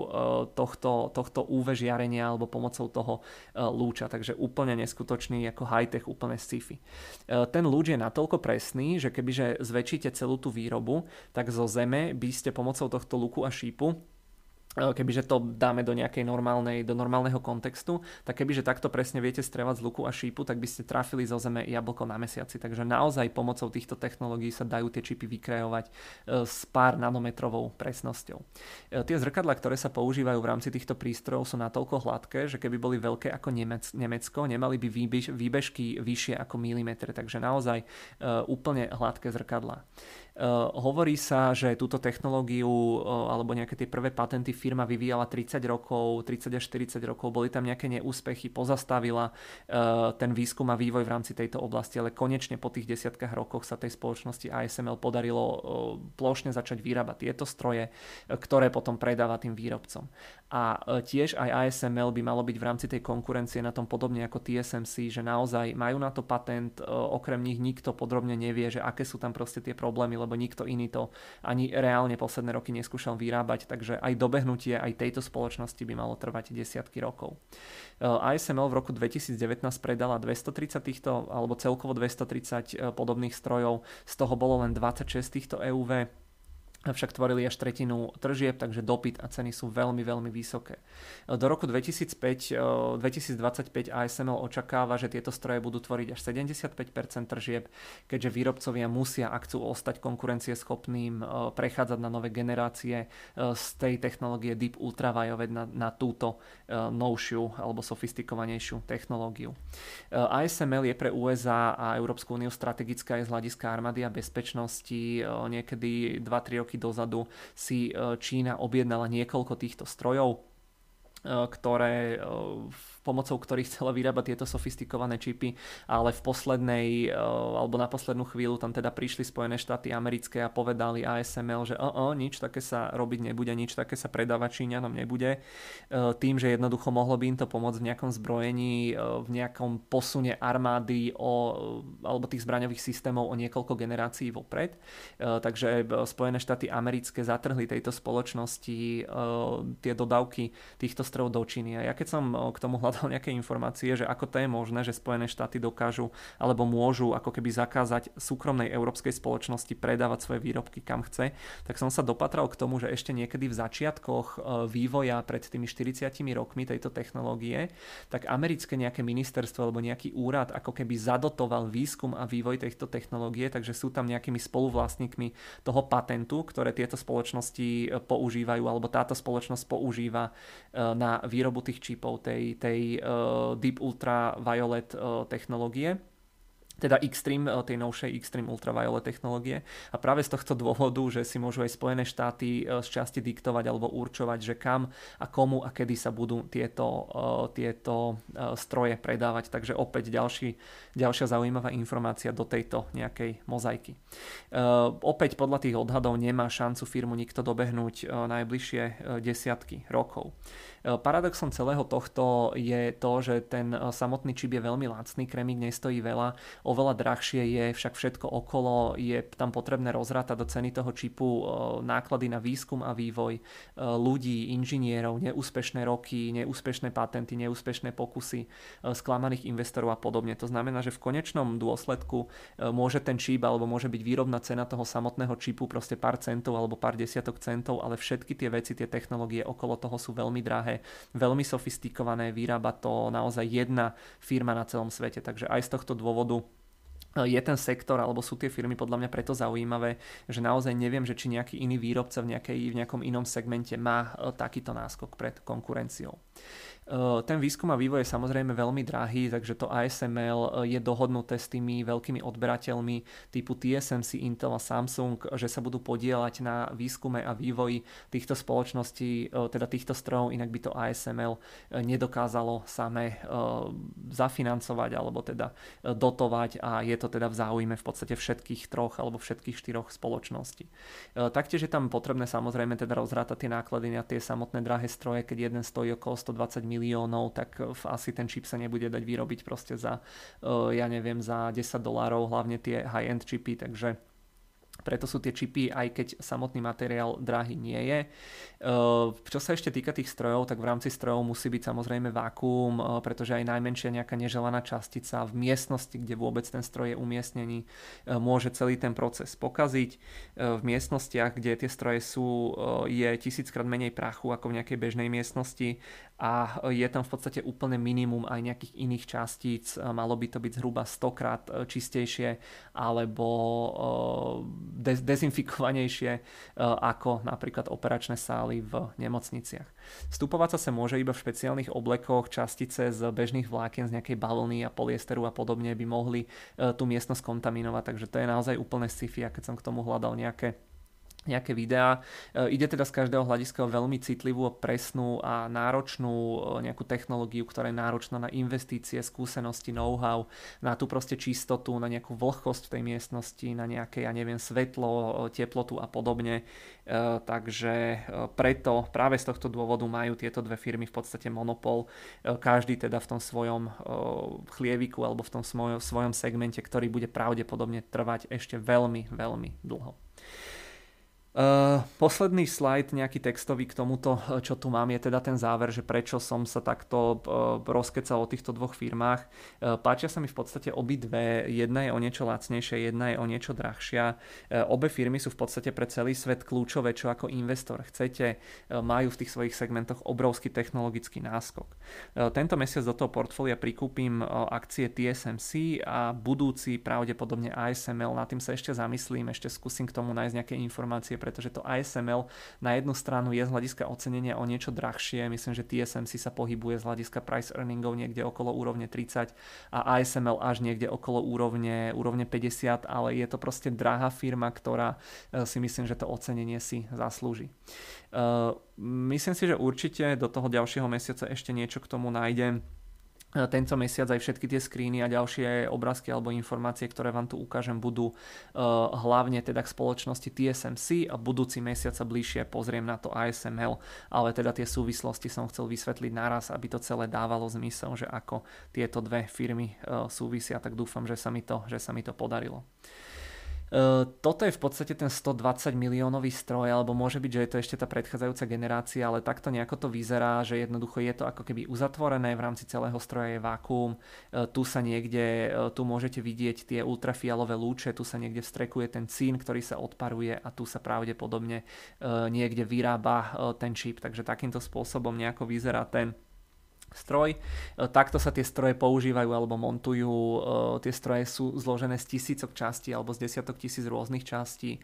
tohto UV žiarenia alebo pomocou toho lúča. Takže úplne neskutočný, ako high-tech, úplne sci-fi. Ten lúč je natoľko presný, že kebyže zväčšíte celú tú výrobu, tak zo Zeme by ste pomocou tohto luku a šípu, kebyže to dáme do normálneho kontextu, tak kebyže takto presne viete strieľať z luku a šípu, tak by ste trafili zo Zeme jablko na mesiaci. Takže naozaj pomocou týchto technológií sa dajú tie čipy vykreovať s pár nanometrovou presnosťou. Tie zrkadlá, ktoré sa používajú v rámci týchto prístrojov, sú natoľko hladké, že keby boli veľké ako Nemecko, nemali by výbežky vyššie ako milimetre, takže naozaj úplne hladké zrkadlá. Hovorí sa, že túto technológiu alebo nejaké tie prvé patenty firma vyvíjala 30 až 40 rokov, boli tam nejaké neúspechy, pozastavila ten výskum a vývoj v rámci tejto oblasti, ale konečne po tých desiatkách rokoch sa tej spoločnosti ASML podarilo plošne začať vyrábať tieto stroje, ktoré potom predáva tým výrobcom. A tiež aj ASML by malo byť v rámci tej konkurencie na tom podobne ako TSMC, že naozaj majú na to patent, okrem nich nikto podrobne nevie, že aké sú tam proste tie problémy, lebo nikto iný to ani reálne posledné roky neskúšal vyrábať, takže aj dobehnutie aj tejto spoločnosti by malo trvať desiatky rokov. ASML v roku 2019 predala 230 týchto, alebo celkovo 230 podobných strojov, z toho bolo len 26 týchto EUV, však tvorili až tretinu tržieb, takže dopyt a ceny sú veľmi, veľmi vysoké. Do roku 2025 ASML očakáva, že tieto stroje budú tvoriť až 75% tržieb, keďže výrobcovia musia, ak chcú ostať konkurencieschopným, prechádzať na nové generácie z tej technológie Deep Ultraviolet na túto novšiu alebo sofistikovanejšiu technológiu. ASML je pre USA a Európsku úniu strategická aj z hľadiska armády a bezpečnosti. Niekedy 2-3 roky dozadu si Čína objednala niekoľko týchto strojov, pomocou ktorých chcela vyrábať tieto sofistikované čipy, ale v poslednej, alebo na poslednú chvíľu tam teda prišli Spojené štáty americké a povedali ASML, že nič také sa robiť nebude, nič také sa predávať Číňanom nebude. Tým, že jednoducho mohlo by im to pomôcť v nejakom zbrojení, v nejakom posune armády alebo tých zbraňových systémov o niekoľko generácií vopred. Takže Spojené štáty americké zatrhli tejto spoločnosti tie dodávky týchto strojov do Číny. A ja keď som k tomu hľadal nejaké informácie, že ako to je možné, že Spojené štáty dokážu alebo môžu ako keby zakázať súkromnej európskej spoločnosti predávať svoje výrobky kam chce, tak som sa dopatral k tomu, že ešte niekedy v začiatkoch vývoja pred tými 40 rokmi tejto technológie, tak americké nejaké ministerstvo alebo nejaký úrad ako keby zadotoval výskum a vývoj tejto technológie, takže sú tam nejakými spoluvlastníkmi toho patentu, ktoré tieto spoločnosti používajú alebo táto spoločnosť používa na výrobu tých čipov tej Deep Ultraviolet technológie, teda Xtreme, tej novšej Xtreme Ultraviolet technológie. A práve z tohto dôvodu, že si môžu aj Spojené štáty z časti diktovať alebo určovať, že kam a komu a kedy sa budú tieto stroje predávať. Takže opäť ďalšia zaujímavá informácia do tejto nejakej mozaiky. Opäť podľa tých odhadov nemá šancu firmu nikto dobehnúť najbližšie desiatky rokov. Paradoxom celého tohto je to, že ten samotný čip je veľmi lacný, krémik nestojí veľa, oveľa drahšie je však všetko okolo, je tam potrebné rozrátať do ceny toho čipu náklady na výskum a vývoj ľudí, inžinierov, neúspešné roky, neúspešné patenty, neúspešné pokusy, sklamaných investorov a podobne. To znamená, že v konečnom dôsledku môže ten čip alebo môže byť výrobná cena toho samotného čipu proste pár centov alebo pár desiatok centov, ale všetky tie veci, tie technológie okolo toho sú veľmi drahé, veľmi sofistikované, vyrába to naozaj jedna firma na celom svete, takže aj z tohto dôvodu je ten sektor, alebo sú tie firmy podľa mňa preto zaujímavé, že naozaj neviem, že či nejaký iný výrobca v nejakom inom segmente má takýto náskok pred konkurenciou. Ten výskum a vývoj je samozrejme veľmi drahý, takže to ASML je dohodnuté s tými veľkými odberateľmi typu TSMC, Intel a Samsung, že sa budú podieľať na výskume a vývoji týchto spoločností, teda týchto strojov, inak by to ASML nedokázalo samé zafinancovať alebo teda dotovať, a je to teda v záujme v podstate všetkých troch alebo všetkých štyroch spoločností. Taktiež je tam potrebné samozrejme teda rozrátať tie náklady na tie samotné drahé stroje, keď jeden stojí okolo 120 miliónov, tak asi ten čip sa nebude dať vyrobiť proste za, ja neviem, za $10, hlavne tie high-end čipy, takže preto sú tie čipy, aj keď samotný materiál drahý nie je. Čo sa ešte týka tých strojov, tak v rámci strojov musí byť samozrejme vákuum, pretože aj najmenšia nejaká neželaná častica v miestnosti, kde vôbec ten stroj je umiestnený, môže celý ten proces pokaziť. V miestnostiach, kde tie stroje sú, je 1000-krát menej prachu ako v nejakej bežnej miestnosti a je tam v podstate úplne minimum aj nejakých iných častíc. Malo by to byť zhruba 100-krát čistejšie alebo dezinfikovanejšie ako napríklad operačné sály v nemocniciach. Vstupovať sa môže iba v špeciálnych oblekoch, častice z bežných vlákien, z nejakej balóny a polyesteru a podobne by mohli tú miestnosť kontaminovať, takže to je naozaj úplne sci-fi, a keď som k tomu hľadal nejaké videá. Ide teda z každého hľadiska o veľmi citlivú, presnú a náročnú nejakú technológiu, ktorá je náročná na investície, skúsenosti, know-how, na tú proste čistotu, na nejakú vlhkosť v tej miestnosti, na nejaké, ja neviem, svetlo, teplotu a podobne. Takže preto práve z tohto dôvodu majú tieto dve firmy v podstate monopol. Každý teda v tom svojom chlieviku alebo v tom svojom segmente, ktorý bude pravdepodobne trvať ešte veľmi, veľmi dlho. Posledný slajd, nejaký textový k tomuto, čo tu mám, je teda ten záver, že prečo som sa takto rozkecal o týchto dvoch firmách. Páčia sa mi v podstate obidve, jedna je o niečo lacnejšia, jedna je o niečo drahšia. Obe firmy sú v podstate pre celý svet kľúčové, čo ako investor chcete, majú v tých svojich segmentoch obrovský technologický náskok. Tento mesiac do toho portfólia prikúpim akcie TSMC a budúci pravdepodobne ASML, nad tým sa ešte zamyslím, ešte skúsim k tomu nájsť nejaké informácie, pretože to ASML na jednu stranu je z hľadiska ocenenia o niečo drahšie, myslím, že TSMC sa pohybuje z hľadiska price earningov niekde okolo úrovne 30 a ASML až niekde okolo úrovne 50, ale je to proste drahá firma, ktorá si myslím, že to ocenenie si zaslúži. Myslím si, že určite do toho ďalšieho mesiaca ešte niečo k tomu nájdem. Tento mesiac aj všetky tie screeny a ďalšie obrázky alebo informácie, ktoré vám tu ukážem, budú hlavne teda k spoločnosti TSMC a budúci mesiac sa bližšie pozriem na to ASML, ale teda tie súvislosti som chcel vysvetliť naraz, aby to celé dávalo zmysel, že ako tieto dve firmy súvisia, tak dúfam, že sa mi to podarilo. Toto je v podstate ten 120 miliónový stroj, alebo môže byť, že je to ešte tá predchádzajúca generácia, ale takto nejako to vyzerá, že jednoducho je to ako keby uzatvorené, v rámci celého stroja je vákuum, tu môžete vidieť tie ultrafialové lúče, tu sa niekde vstrekuje ten cín, ktorý sa odparuje a tu sa pravdepodobne niekde vyrába ten čip, takže takýmto spôsobom nejako vyzerá ten stroj. Takto sa tie stroje používajú alebo montujú. Tie stroje sú zložené z tisícok častí alebo z desiatok tisíc rôznych častí.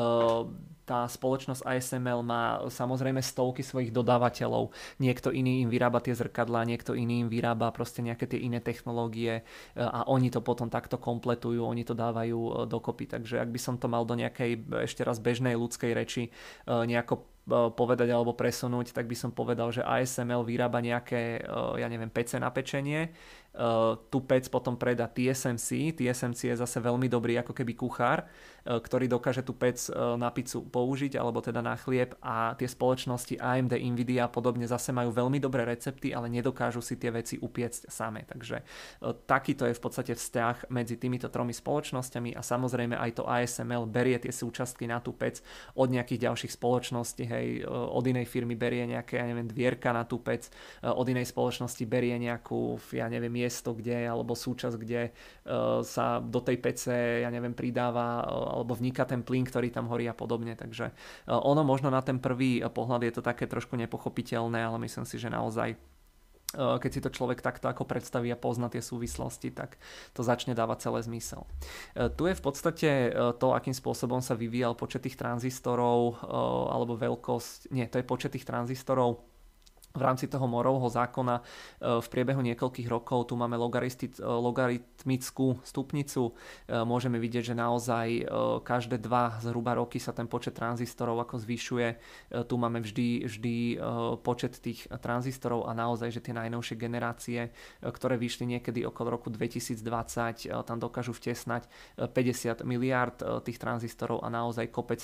Tá spoločnosť ASML má samozrejme stovky svojich dodávateľov. Niekto iný im vyrába tie zrkadlá, niekto iný im vyrába proste nejaké tie iné technológie a oni to potom takto kompletujú, oni to dávajú dokopy. Takže ak by som to mal do nejakej ešte raz bežnej ľudskej reči nejako povedať alebo presunúť, tak by som povedal, že ASML vyrába nejaké, ja neviem, pece na pečenie. Tú pec potom predá TSMC. TSMC je zase veľmi dobrý ako keby kuchár, ktorý dokáže tú pec na pizzu použiť alebo teda na chlieb, a tie spoločnosti AMD, Nvidia a podobne zase majú veľmi dobré recepty, ale nedokážu si tie veci upiecť same. Takže takýto je v podstate vzťah medzi týmito tromi spoločnosťami a samozrejme aj to ASML berie tie súčastky na tú pec od nejakých ďalších spoločností, od inej firmy berie nejaké, ja neviem, dvierka na tú pec, od inej spoločnosti berie nejakú, ja neviem, miesto, kde, alebo súčasť, kde sa do tej pece, ja neviem, pridáva alebo vniká ten plyn, ktorý tam horí a podobne. Takže ono možno na ten prvý pohľad je to také trošku nepochopiteľné, ale myslím si, že naozaj keď si to človek takto ako predstaví a pozná tie súvislosti, tak to začne dávať celé zmysel. Tu je v podstate to, akým spôsobom sa vyvíjal počet tých tranzistorov, alebo to je počet tých tranzistorov v rámci toho Moorovho zákona v priebehu niekoľkých rokov. Tu máme logaritmickú stupnicu. Môžeme vidieť, že naozaj každé 2 zhruba roky sa ten počet tranzistorov ako zvyšuje. Tu máme vždy počet tých tranzistorov a naozaj, že tie najnovšie generácie, ktoré vyšli niekedy okolo roku 2020, tam dokážu vtesnať 50 miliárd tých tranzistorov a naozaj kopec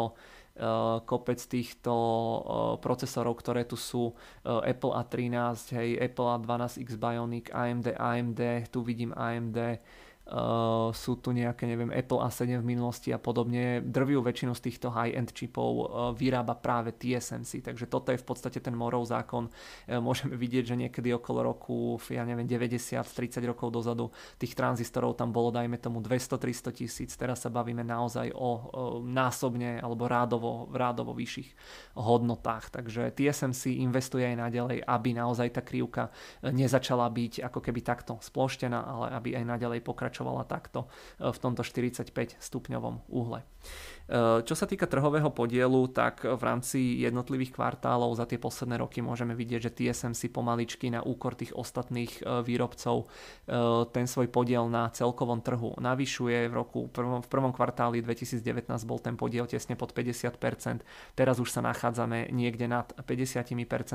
týchto procesorov, ktoré tu sú, Apple A13, Apple A12X Bionic, AMD, tu vidím AMD, sú tu nejaké, Apple A7 v minulosti a podobne. Drvivú väčšinu z týchto high-end čipov vyrába práve TSMC, takže toto je v podstate ten Moorov zákon. Môžeme vidieť, že niekedy okolo roku 90, 30 rokov dozadu tých tranzistorov tam bolo, dajme tomu 200-300 tisíc, teraz sa bavíme naozaj o násobne alebo rádovo vyšších hodnotách, takže TSMC investuje aj naďalej, aby naozaj tá krivka nezačala byť ako keby takto sploštená, ale aby aj naďalej pokračovala takto v tomto 45 stupňovom uhle. Čo sa týka trhového podielu, tak v rámci jednotlivých kvartálov za tie posledné roky môžeme vidieť, že TSMC pomaličky na úkor tých ostatných výrobcov ten svoj podiel na celkovom trhu navyšuje. V prvom kvartáli 2019 bol ten podiel tesne pod 50%, teraz už sa nachádzame niekde nad 50%.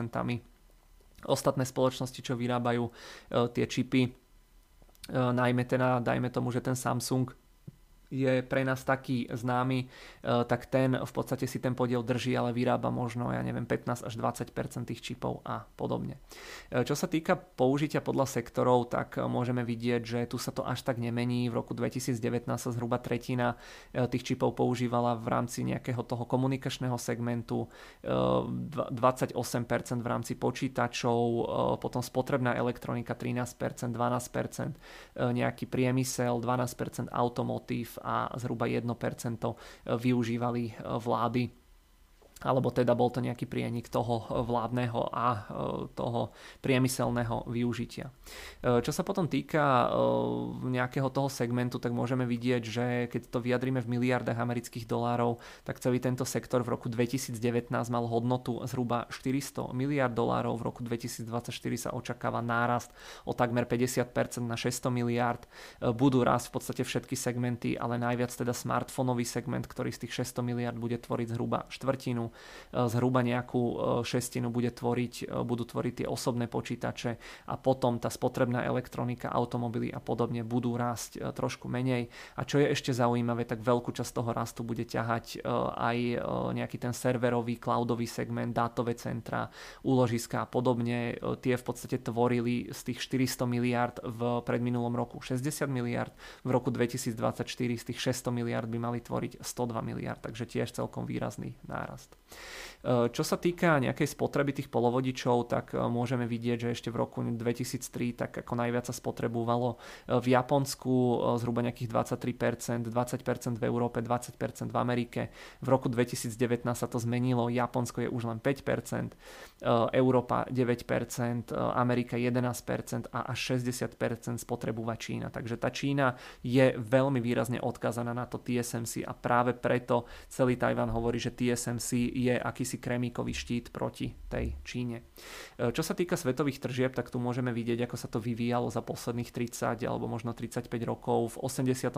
Ostatné spoločnosti, čo vyrábajú tie čipy, najmä teda, dajme tomu, že ten Samsung je pre nás taký známy, tak ten v podstate si ten podiel drží, ale vyrába možno, 15 až 20% tých čipov a podobne. Čo sa týka použitia podľa sektorov, tak môžeme vidieť, že tu sa to až tak nemení. V roku 2019 sa zhruba tretina tých čipov používala v rámci nejakého toho komunikačného segmentu, 28% v rámci počítačov, potom spotrebná elektronika 13%, 12%, nejaký priemysel, 12% automotív a zhruba 1% využívali vlády, alebo teda bol to nejaký prienik toho vládneho a toho priemyselného využitia. Čo sa potom týka nejakého toho segmentu, tak môžeme vidieť, že keď to vyjadríme v miliardách amerických dolárov, tak celý tento sektor v roku 2019 mal hodnotu zhruba 400 miliard dolárov, v roku 2024 sa očakáva nárast o takmer 50% na 600 miliard. Budú rásť v podstate všetky segmenty, ale najviac teda smartfónový segment, ktorý z tých 600 miliard bude tvoriť zhruba štvrtinu, zhruba nejakú šestinu budú tvoriť tie osobné počítače a potom tá spotrebná elektronika, automobily a podobne budú rásť trošku menej. A čo je ešte zaujímavé, tak veľkú časť toho rastu bude ťahať aj nejaký ten serverový, cloudový segment, dátové centra, úložiska a podobne. Tie v podstate tvorili z tých 400 miliard v predminulom roku 60 miliard, v roku 2024 z tých 600 miliard by mali tvoriť 102 miliard, takže tiež celkom výrazný nárast. Čo sa týka nejakej spotreby tých polovodičov, tak môžeme vidieť, že ešte v roku 2003 tak ako najviac sa spotrebovalo v Japonsku zhruba nejakých 23%, 20% v Európe, 20% v Amerike. V roku 2019 sa to zmenilo, Japonsko je už len 5%, Európa 9%, Amerika 11% a až 60% spotrebúva Čína. Takže tá Čína je veľmi výrazne odkázaná na to TSMC a práve preto celý Tajvan hovorí, že TSMC je akýsi kremíkový štít proti tej Číne. Čo sa týka svetových tržieb, tak tu môžeme vidieť, ako sa to vyvíjalo za posledných 30 alebo možno 35 rokov. V 87.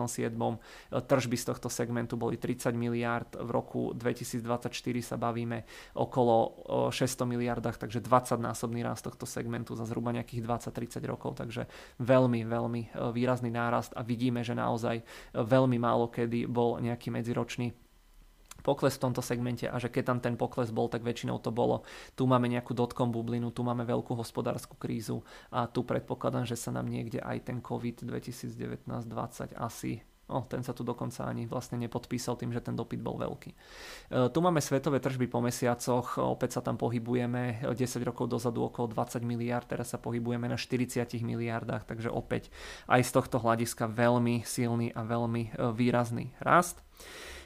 tržby z tohto segmentu boli 30 miliárd, v roku 2024 sa bavíme okolo 600 miliardách, takže 20-násobný rast tohto segmentu za zhruba nejakých 20-30 rokov, takže veľmi, veľmi výrazný nárast a vidíme, že naozaj veľmi málo kedy bol nejaký medziročný pokles v tomto segmente a že keď tam ten pokles bol, tak väčšinou to bolo. Tu máme nejakú dotcom bublinu, tu máme veľkú hospodárskú krízu a tu predpokladám, že sa nám niekde aj ten COVID 2019-20 asi ten sa tu dokonca ani vlastne nepodpísal tým, že ten dopyt bol veľký. Tu máme svetové tržby po mesiacoch, opäť sa tam pohybujeme 10 rokov dozadu okolo 20 miliard, teraz sa pohybujeme na 40 miliardách, takže opäť aj z tohto hľadiska veľmi silný a veľmi výrazný rast.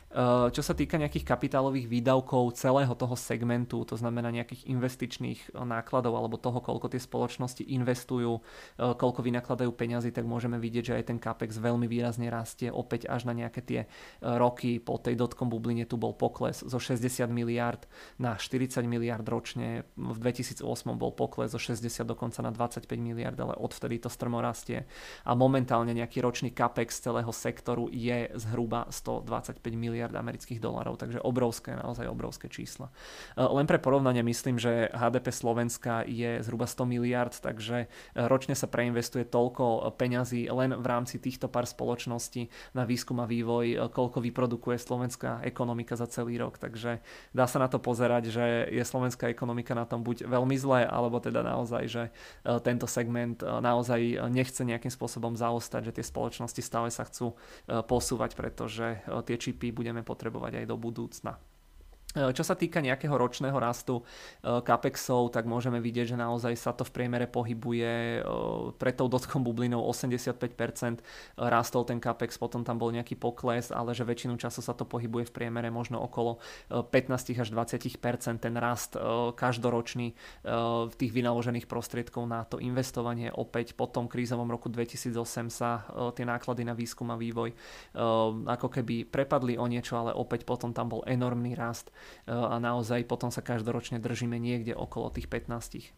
Čo sa týka nejakých kapitálových výdavkov celého toho segmentu, to znamená nejakých investičných nákladov alebo toho, koľko tie spoločnosti investujú, koľko vynakladajú peňazí, tak môžeme vidieť, že aj ten capex veľmi výrazne rastie. Opäť až na nejaké tie roky po tej dotcom bubline tu bol pokles zo 60 miliard na 40 miliard ročne. V 2008 bol pokles zo 60 dokonca na 25 miliard, ale odvtedy to strmo rastie. A momentálne nejaký ročný capex celého sektoru je zhruba 125 miliard amerických dolárov, takže naozaj obrovské čísla. Len pre porovnanie myslím, že HDP Slovenska je zhruba 100 miliard, takže ročne sa preinvestuje toľko peňazí len v rámci týchto pár spoločností na výskum a vývoj, koľko vyprodukuje slovenská ekonomika za celý rok, takže dá sa na to pozerať, že je slovenská ekonomika na tom buď veľmi zle, alebo teda naozaj, že tento segment naozaj nechce nejakým spôsobom zaostať, že tie spoločnosti stále sa chcú posúvať, pretože tie čipy budeme potrebovať aj do budúcna. Čo sa týka nejakého ročného rastu capexov, tak môžeme vidieť, že naozaj sa to v priemere pohybuje pred tou dotcom bublinou 85% rastol ten capex, potom tam bol nejaký pokles, ale že väčšinu času sa to pohybuje v priemere možno okolo 15 až 20% ten rast každoročný tých vynaložených prostriedkov na to investovanie. Opäť po tom krízovom roku 2008 sa tie náklady na výskum a vývoj ako keby prepadli o niečo, ale opäť potom tam bol enormný rast a naozaj potom sa každoročne držíme niekde okolo tých 15%.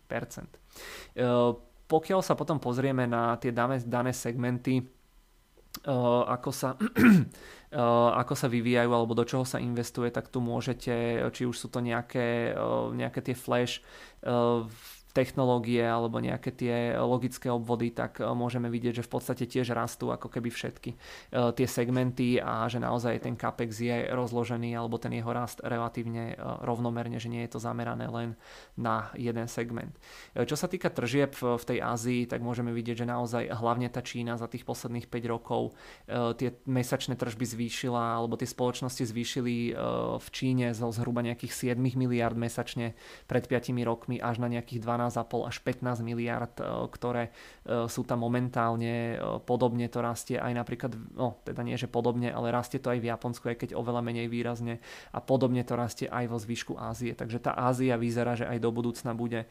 Pokiaľ sa potom pozrieme na tie dané segmenty, ako sa vyvíjajú alebo do čoho sa investuje, tak tu môžete, či už sú to nejaké tie flash technológie alebo nejaké tie logické obvody, tak môžeme vidieť, že v podstate tiež rastú ako keby všetky tie segmenty a že naozaj ten capex je rozložený alebo ten jeho rast relatívne rovnomerne, že nie je to zamerané len na jeden segment. Čo sa týka tržieb v tej Ázii, tak môžeme vidieť, že naozaj hlavne tá Čína za tých posledných 5 rokov tie mesačné tržby zvýšila alebo tie spoločnosti zvýšili v Číne zo zhruba nejakých 7 miliard mesačne pred 5 rokmi až na nejakých 12,5 až 15 miliard, ktoré sú tam momentálne. Podobne to rastie aj napríklad, teda nie, že podobne, ale rastie to aj v Japonsku, aj keď oveľa menej výrazne a podobne to rastie aj vo zvyšku Ázie. Takže tá Ázia vyzerá, že aj do budúcna bude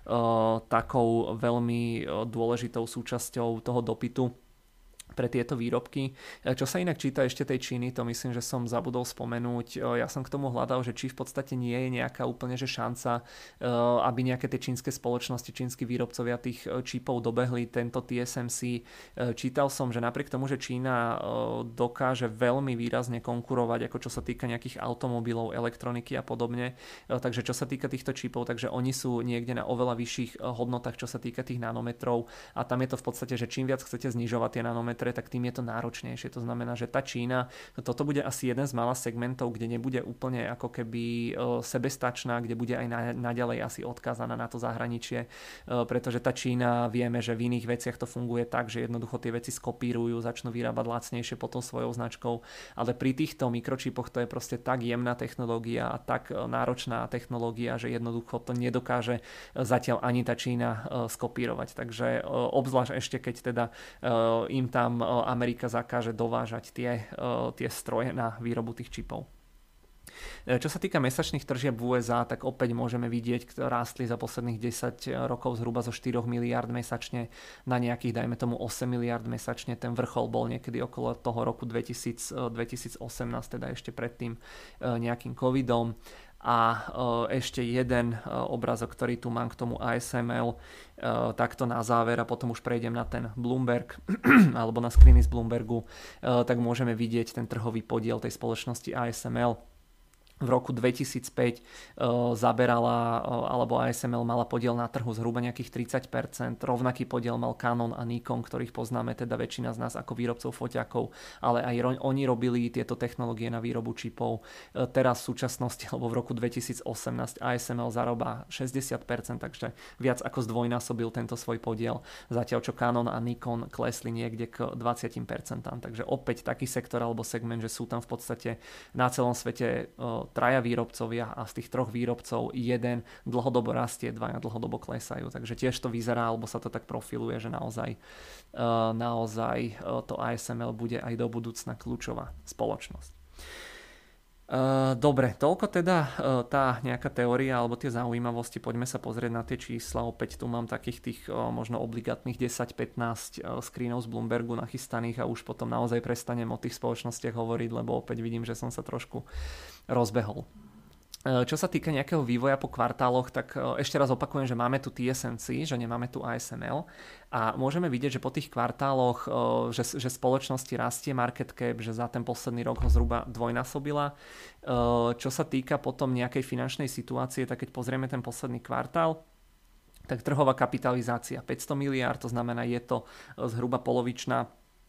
takou veľmi dôležitou súčasťou toho dopytu pre tieto výrobky. Čo sa inak číta ešte tej Číny, to myslím, že som zabudol spomenúť. Ja som k tomu hľadal, že či v podstate nie je nejaká úplne že šanca, aby nejaké tie čínske spoločnosti, čínsky výrobcovia tých čipov dobehli tento TSMC. Čítal som, že napriek tomu, že Čína dokáže veľmi výrazne konkurovať, ako čo sa týka nejakých automobilov, elektroniky a podobne, takže čo sa týka týchto čipov, takže oni sú niekde na oveľa vyšších hodnotách, čo sa týka tých nanometrov a tam je to v podstate, že čím viac chcete znižovať tie nanometre, tak tým je to náročnejšie. To znamená, že tá Čína, toto bude asi jeden z mála segmentov, kde nebude úplne ako keby sebestačná, kde bude aj naďalej asi odkázaná na to zahraničie, pretože tá Čína, vieme, že v iných veciach to funguje tak, že jednoducho tie veci skopírujú, začnú vyrábať lacnejšie potom svojou značkou, ale pri týchto mikročipoch to je proste tak jemná technológia a tak náročná technológia, že jednoducho to nedokáže zatiaľ ani tá Čína skopírovať. Takže obzvlášť ešte keď teda im tam Amerika zakáže dovážať tie stroje na výrobu tých čipov. Čo sa týka mesačných tržieb v USA, tak opäť môžeme vidieť, ktoré rástli za posledných 10 rokov zhruba zo 4 miliard mesačne na nejakých, dajme tomu 8 miliard mesačne. Ten vrchol bol niekedy okolo toho roku 2018, teda ešte predtým nejakým covidom. A ešte jeden obrázok, ktorý tu mám k tomu ASML, takto na záver a potom už prejdem na ten Bloomberg alebo na screeny z Bloombergu, tak môžeme vidieť ten trhový podiel tej spoločnosti ASML. V roku 2005 zaberala, alebo ASML mala podiel na trhu zhruba nejakých 30%. Rovnaký podiel mal Canon a Nikon, ktorých poznáme teda väčšina z nás ako výrobcov foťakov, ale aj oni robili tieto technológie na výrobu čipov. Teraz v súčasnosti, alebo v roku 2018 ASML zarába 60%, takže viac ako zdvojnásobil tento svoj podiel, zatiaľ čo Canon a Nikon klesli niekde k 20%. Takže opäť taký sektor alebo segment, že sú tam v podstate na celom svete traja výrobcovia a z tých troch výrobcov jeden dlhodobo rastie, dvaja dlhodobo klesajú. Takže tiež to vyzerá, alebo sa to tak profiluje, že naozaj to ASML bude aj do budúcna kľúčová spoločnosť. Dobre, toľko teda tá nejaká teória alebo tie zaujímavosti. Poďme sa pozrieť na tie čísla. Opäť tu mám takých tých možno obligátnych 10-15 screenov z Bloombergu nachystaných a už potom naozaj prestanem o tých spoločnostiach hovoriť, lebo opäť vidím, že som sa trošku rozbehol. Čo sa týka nejakého vývoja po kvartáloch, tak ešte raz opakujem, že máme tu TSMC, že nemáme tu ASML a môžeme vidieť, že po tých kvartáloch, že spoločnosti rastie market cap, že za ten posledný rok ho zhruba dvojnásobila. Čo sa týka potom nejakej finančnej situácie, tak keď pozrieme ten posledný kvartál, tak trhová kapitalizácia 500 miliárd, to znamená, je to zhruba polovičná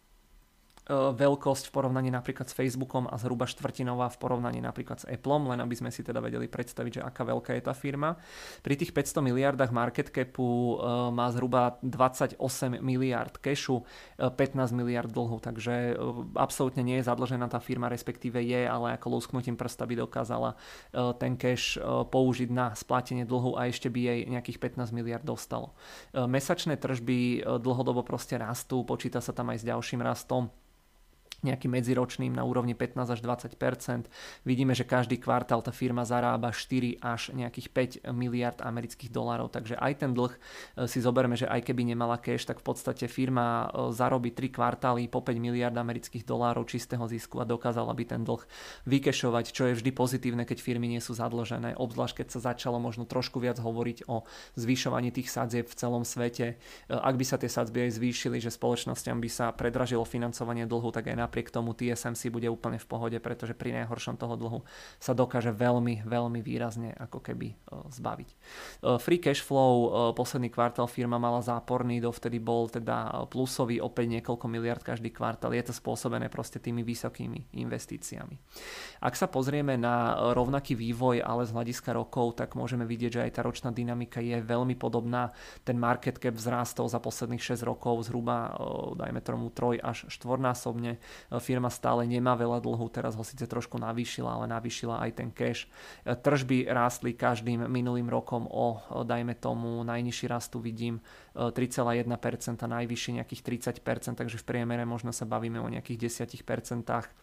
veľkosť v porovnaní napríklad s Facebookom a zhruba štvrtinová v porovnaní napríklad s Appleom, len aby sme si teda vedeli predstaviť, že aká veľká je tá firma. Pri tých 500 miliardách market capu má zhruba 28 miliard cashu, 15 miliard dlhu, takže absolútne nie je zadlžená tá firma, respektíve je, ale ako lusknutím prsta by dokázala ten cash použiť na splatenie dlhu a ešte by jej nejakých 15 miliard dostalo. Mesačné tržby dlhodobo proste rastú, počíta sa tam aj s ďalším rastom, nejakým medziročným na úrovni 15 až 20%. Vidíme, že každý kvartál tá firma zarába 4 až nejakých 5 miliard amerických dolárov, takže aj ten dlh si zoberme, že aj keby nemala cash, tak v podstate firma zarobí 3 kvartály po 5 miliard amerických dolárov čistého zisku a dokázala by ten dlh vykešovať, čo je vždy pozitívne, keď firmy nie sú zadlžené, obzvlášť keď sa začalo možno trošku viac hovoriť o zvyšovaní tých sadzieb v celom svete. Ak by sa tie sadzby aj zvýšili, že spoločnosťam by sa predražilo financovanie dlhu, tak aj napriek tomu TSMC bude úplne v pohode, pretože pri najhoršom toho dlhu sa dokáže veľmi, veľmi výrazne ako keby zbaviť. Free cash flow posledný kvartál firma mala záporný, dovtedy bol teda plusový, opäť niekoľko miliard každý kvartál. Je to spôsobené proste tými vysokými investíciami. Ak sa pozrieme na rovnaký vývoj, ale z hľadiska rokov, tak môžeme vidieť, že aj tá ročná dynamika je veľmi podobná. Ten market cap vzrástol za posledných 6 rokov zhruba, dajme tomu 3 až 4-násobne. Firma stále nemá veľa dlhu, teraz ho síce trošku navýšila, ale navýšila aj ten cash. Tržby rástli každým minulým rokom o, dajme tomu, najnižší rast tu vidím 3,1%, najvyšší nejakých 30%, takže v priemere možno sa bavíme o nejakých 10%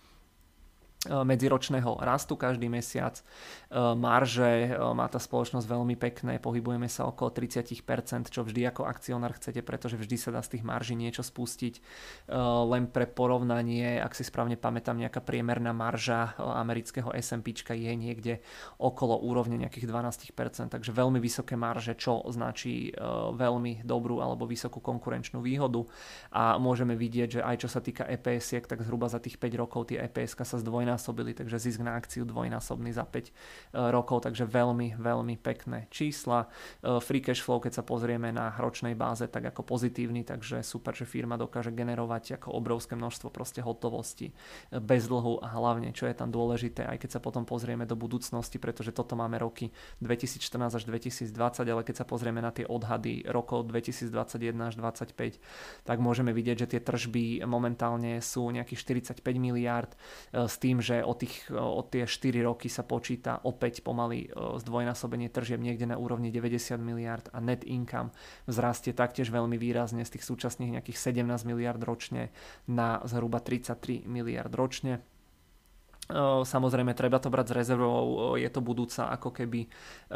medziročného rastu každý mesiac. Marže má tá spoločnosť veľmi pekné, pohybujeme sa okolo 30%, čo vždy ako akcionár chcete, pretože vždy sa dá z tých marží niečo spustiť. Len pre porovnanie, ak si správne pamätám, nejaká priemerná marža amerického S&Pčka je niekde okolo úrovne nejakých 12%, takže veľmi vysoké marže, čo značí veľmi dobrú alebo vysokú konkurenčnú výhodu a môžeme vidieť, že aj čo sa týka EPS-iek, tak zhruba za tých 5 rokov tie EPS-ka sa zdvojnásobili, takže zisk na akciu dvojnásobný za 5 rokov, takže veľmi, veľmi pekné čísla. Free cash flow, keď sa pozrieme na ročnej báze, tak ako pozitívny, takže super, že firma dokáže generovať ako obrovské množstvo proste hotovosti bez dlhu a hlavne, čo je tam dôležité, aj keď sa potom pozrieme do budúcnosti, pretože toto máme roky 2014 až 2020, ale keď sa pozrieme na tie odhady rokov 2021 až 2025, tak môžeme vidieť, že tie tržby momentálne sú nejakých 45 miliárd s tým, že od tie 4 roky sa počíta opäť pomaly zdvojnásobenie tržieb niekde na úrovni 90 miliard a net income vzrastie taktiež veľmi výrazne z tých súčasných nejakých 17 miliard ročne na zhruba 33 miliard ročne. Samozrejme, treba to brať s rezervou, je to budúca ako keby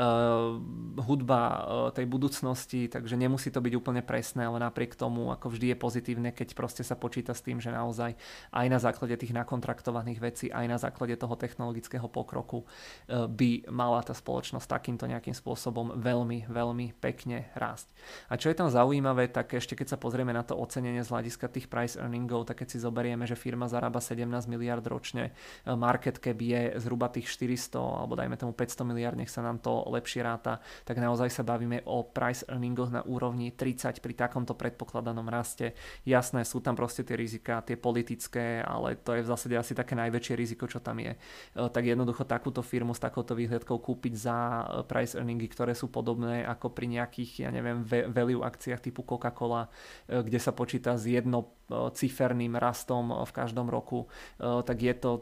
hudba tej budúcnosti, takže nemusí to byť úplne presné, ale napriek tomu ako vždy je pozitívne, keď proste sa počíta s tým, že naozaj aj na základe tých nakontraktovaných vecí, aj na základe toho technologického pokroku by mala tá spoločnosť takýmto nejakým spôsobom veľmi, veľmi pekne rásť. A čo je tam zaujímavé, tak ešte keď sa pozrieme na to ocenenie z hľadiska tých price earningov, tak keď si zoberieme, že firma zarába 17 miliard ročne, market cap je zhruba tých 400 alebo dajme tomu 500 miliard, nech sa nám to lepšie ráta, tak naozaj sa bavíme o price earningoch na úrovni 30 pri takomto predpokladanom raste. Jasné, sú tam proste tie rizika, tie politické, ale to je v zásade asi také najväčšie riziko, čo tam je. Tak jednoducho takúto firmu s takouto výhľadkou kúpiť za price earningy, ktoré sú podobné ako pri nejakých, ja neviem, value akciách typu Coca-Cola, kde sa počíta s jednociferným rastom v každom roku, tak je to tako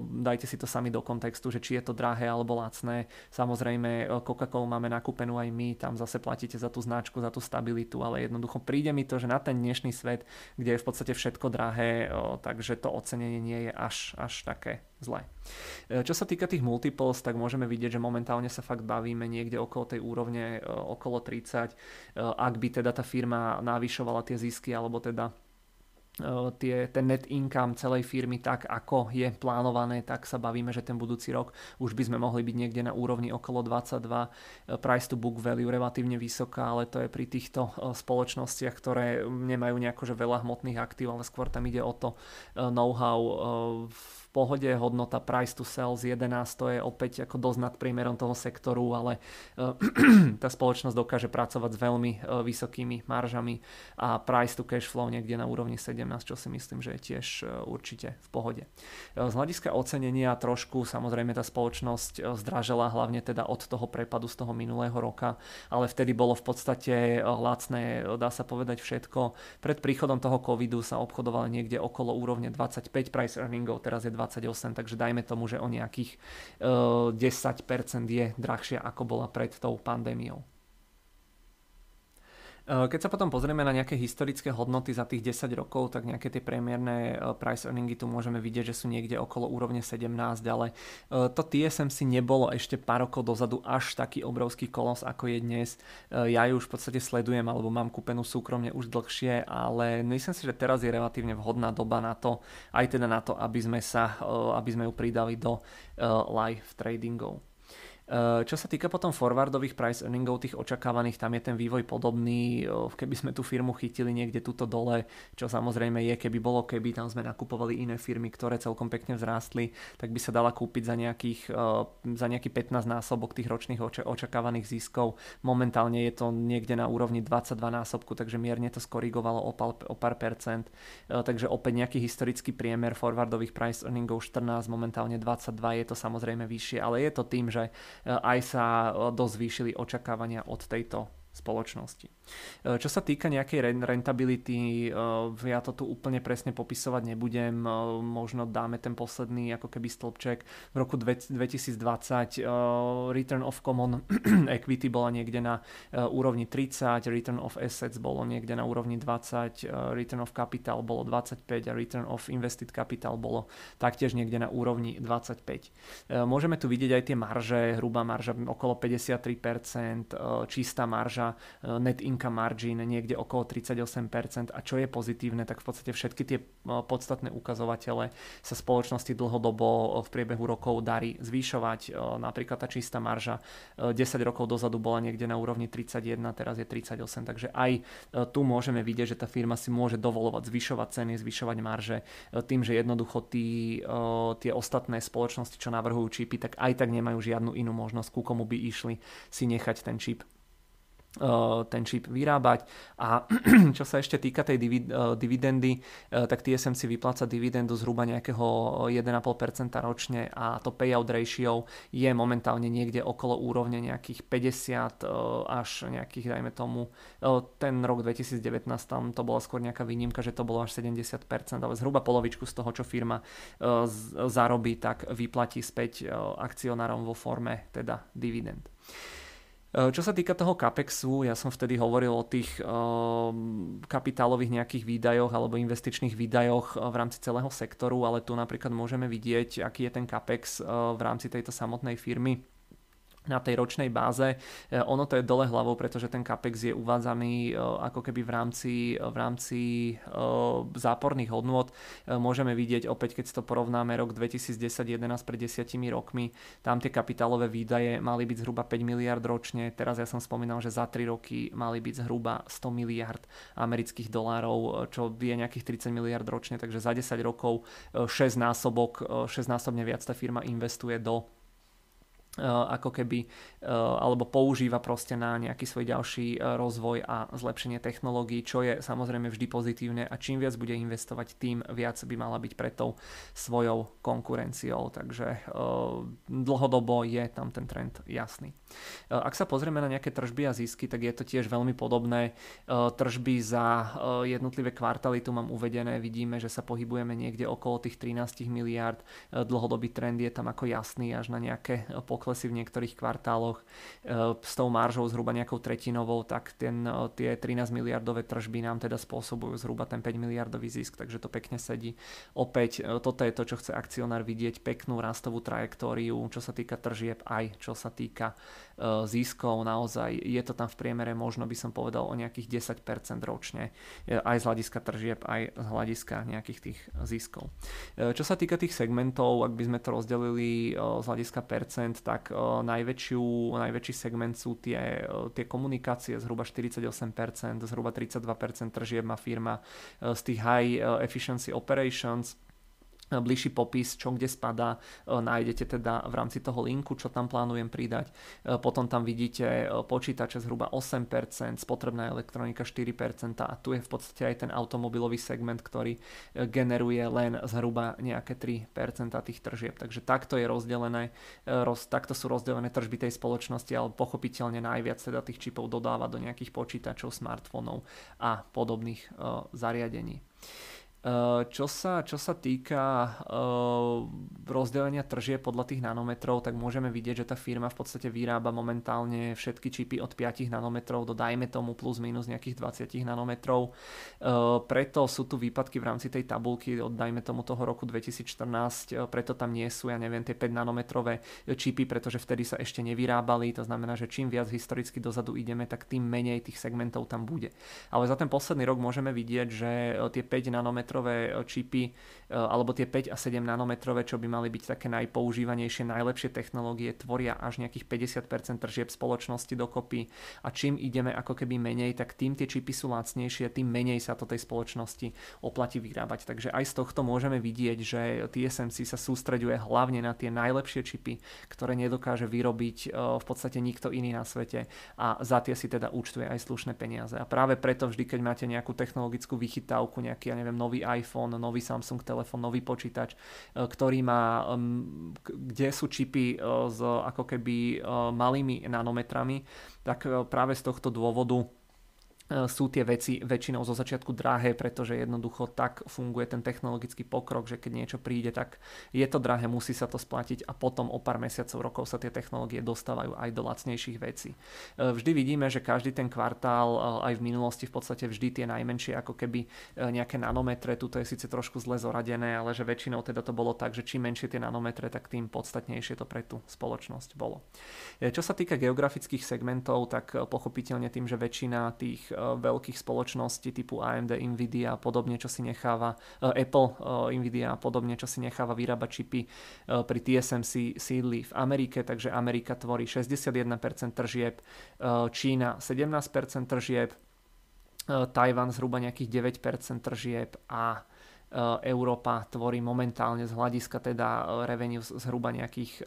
dajte si to sami do kontextu, že či je to drahé alebo lacné. Samozrejme Coca-Colu máme nakúpenú aj my, tam zase platíte za tú značku, za tú stabilitu, ale jednoducho príde mi to, že na ten dnešný svet, kde je v podstate všetko drahé, takže to ocenenie nie je až také zlé. Čo sa týka tých multiples, tak môžeme vidieť, že momentálne sa fakt bavíme niekde okolo tej úrovne okolo 30. Ak by teda tá firma navyšovala tie zisky, alebo teda ten net income celej firmy tak, ako je plánované, tak sa bavíme, že ten budúci rok už by sme mohli byť niekde na úrovni okolo 22. Price to book value relatívne vysoká, ale to je pri týchto spoločnostiach, ktoré nemajú nejako že veľa hmotných aktív, ale skôr tam ide o to know-how v pohode. Hodnota price to sell z 11, to je opäť ako dosť nad priemerom toho sektoru, ale tá spoločnosť dokáže pracovať s veľmi vysokými maržami a price to cash flow niekde na úrovni 17, čo si myslím, že je tiež určite v pohode. Z hľadiska ocenenia trošku samozrejme tá spoločnosť zdražela, hlavne teda od toho prepadu z toho minulého roka, ale vtedy bolo v podstate lacné, dá sa povedať všetko. Pred príchodom toho covidu sa obchodovalo niekde okolo úrovne 25 price earningov, teraz je 28, takže dajme tomu, že o nejakých 10% je drahšia ako bola pred tou pandémiou. Keď sa potom pozrieme na nejaké historické hodnoty za tých 10 rokov, tak nejaké tie priemerné price earningy tu môžeme vidieť, že sú niekde okolo úrovne 17, ale to TSMC nebolo ešte pár rokov dozadu až taký obrovský kolos, ako je dnes. Ja ju už v podstate sledujem, alebo mám kúpenú súkromne už dlhšie, ale myslím si, že teraz je relatívne vhodná doba na to, aj teda na to, aby sme ju pridali do live tradingov. Čo sa týka potom forwardových price earningov, tých očakávaných, tam je ten vývoj podobný. Keby sme tú firmu chytili niekde tuto dole, čo samozrejme je, keby tam sme nakupovali iné firmy, ktoré celkom pekne vzrástli, tak by sa dala kúpiť za nejaký 15 násobok tých ročných očakávaných ziskov. Momentálne je to niekde na úrovni 22 násobku, takže mierne to skorigovalo o pár percent. Takže opäť nejaký historický priemer forwardových price earningov 14, momentálne 22, je to samozrejme vyššie, ale je to tým, že aj sa dosť zvýšili očakávania od tejto spoločnosti. Čo sa týka nejakej rentability, ja to tu úplne presne popisovať nebudem, možno dáme ten posledný ako keby stĺpček. V roku 2020 return of common equity bola niekde na úrovni 30, return of assets bolo niekde na úrovni 20, return of capital bolo 25 a return of invested capital bolo taktiež niekde na úrovni 25. Môžeme tu vidieť aj tie marže, hrubá marža okolo 53%, čistá marža, net income margin niekde okolo 38%, a čo je pozitívne, tak v podstate všetky tie podstatné ukazovatele sa spoločnosti dlhodobo v priebehu rokov darí zvýšovať. Napríklad tá čistá marža 10 rokov dozadu bola niekde na úrovni 31, teraz je 38, takže aj tu môžeme vidieť, že tá firma si môže dovolovať zvyšovať ceny, zvyšovať marže tým, že jednoducho tie ostatné spoločnosti, čo navrhujú čipy, tak aj tak nemajú žiadnu inú možnosť, ku komu by išli si nechať ten čip vyrábať. A čo sa ešte týka tej dividendy, tak TSMC vypláca dividendu zhruba nejakého 1,5% ročne a to payout ratio je momentálne niekde okolo úrovne nejakých 50 až nejakých, dajme tomu, ten rok 2019 tam to bola skôr nejaká výnimka, že to bolo až 70%, ale zhruba polovičku z toho, čo firma zarobí, tak vyplatí späť akcionárom vo forme teda dividend. Čo sa týka toho CAPEXu, ja som vtedy hovoril o tých kapitálových nejakých výdajoch alebo investičných výdajoch v rámci celého sektoru, ale tu napríklad môžeme vidieť, aký je ten CAPEX v rámci tejto samotnej firmy na tej ročnej báze. Ono to je dole hlavou, pretože ten CAPEX je uvádzaný ako keby v rámci záporných hodnôt. Môžeme vidieť opäť, keď si to porovnáme rok 2010-11 pred 10 rokmi, tam tie kapitálové výdaje mali byť zhruba 5 miliard ročne. Teraz ja som spomínal, že za 3 roky mali byť zhruba 100 miliard amerických dolárov, čo je nejakých 30 miliard ročne, takže za 10 rokov 6-násobne viac tá firma investuje do ako keby alebo používa proste na nejaký svoj ďalší rozvoj a zlepšenie technológií, čo je samozrejme vždy pozitívne a čím viac bude investovať, tým viac by mala byť pred tou svojou konkurenciou, takže dlhodobo je tam ten trend jasný. Ak sa pozrieme na nejaké tržby a zisky, tak je to tiež veľmi podobné. Tržby za jednotlivé kvartály tu mám uvedené, vidíme, že sa pohybujeme niekde okolo tých 13 miliárd, dlhodobý trend je tam ako jasný až na nejaké poklesy v niektorých kvartáloch s tou maržou zhruba nejakou tretinovou, tak tie 13 miliardové tržby nám teda spôsobujú zhruba ten 5 miliardový zisk, takže to pekne sedí. Opäť toto je to, čo chce akcionár vidieť, peknú rastovú trajektóriu, čo sa týka tržieb aj čo sa týka ziskov, naozaj je to tam v priemere možno by som povedal o nejakých 10% ročne, aj z hľadiska tržieb, aj z hľadiska nejakých tých ziskov. Čo sa týka tých segmentov, ak by sme to rozdelili z hľadiska percent, tak najväčší segment sú tie komunikácie, zhruba 48%, zhruba 32% tržieb má firma z tých high efficiency operations. Bližší popis, čo kde spadá, nájdete teda v rámci toho linku, čo tam plánujem pridať. Potom tam vidíte počítače zhruba 8%, spotrebná elektronika 4% a tu je v podstate aj ten automobilový segment, ktorý generuje len zhruba nejaké 3% tých tržieb. Takže takto je rozdelené, takto sú rozdelené tržby tej spoločnosti, ale pochopiteľne najviac teda tých čipov dodáva do nejakých počítačov, smartfónov a podobných zariadení. Čo sa týka rozdelenia tržieb podľa tých nanometrov, tak môžeme vidieť, že tá firma v podstate vyrába momentálne všetky čipy od 5 nanometrov do dajme tomu plus minus nejakých 20 nanometrov. Preto sú tu výpadky v rámci tej tabulky od dajme tomu toho roku 2014, preto tam nie sú, ja neviem, tie 5 nanometrové čipy, pretože vtedy sa ešte nevyrábali, to znamená, že čím viac historicky dozadu ideme, tak tým menej tých segmentov tam bude. Ale za ten posledný rok môžeme vidieť, že tie 5 nanometrové čipy alebo tie 5 a 7 nanometrové, čo by mali byť také najpoužívanejšie, najlepšie technológie, tvoria až nejakých 50% tržieb spoločnosti dokopy a čím ideme ako keby menej, tak tým tie čipy sú lacnejšie, tým menej sa to tej spoločnosti oplatí vyrábať. Takže aj z tohto môžeme vidieť, že TSMC sa sústreďuje hlavne na tie najlepšie čipy, ktoré nedokáže vyrobiť v podstate nikto iný na svete a za tie si teda účtuje aj slušné peniaze. A práve preto vždy, keď máte nejakú technologickú vychytávku, nejaký, ja neviem, nový iPhone, nový Samsung telefón, nový počítač, ktorý má, kde sú čipy s ako keby malými nanometrami, tak práve z tohto dôvodu sú tie veci väčšinou zo začiatku drahé, pretože jednoducho tak funguje ten technologický pokrok, že keď niečo príde, tak je to drahé, musí sa to splatiť a potom o pár mesiacov, rokov sa tie technológie dostávajú aj do lacnejších vecí. Vždy vidíme, že každý ten kvartál, aj v minulosti v podstate vždy tie najmenšie ako keby nejaké nanometre, tuto je síce trošku zle zoradené, ale že väčšinou teda to bolo tak, že čím menšie tie nanometre, tak tým podstatnejšie to pre tú spoločnosť bolo. Čo sa týka geografických segmentov, tak pochopiteľne tým, že väčšina tých veľkých spoločností typu AMD, Nvidia a podobne, čo si necháva Apple, Nvidia a podobne, čo si necháva vyrábať čipy pri TSMC sídli v Amerike, takže Amerika tvorí 61% tržieb, Čína 17% tržieb, Tajvan zhruba nejakých 9% tržieb a Európa tvorí momentálne z hľadiska teda revenue zhruba nejakých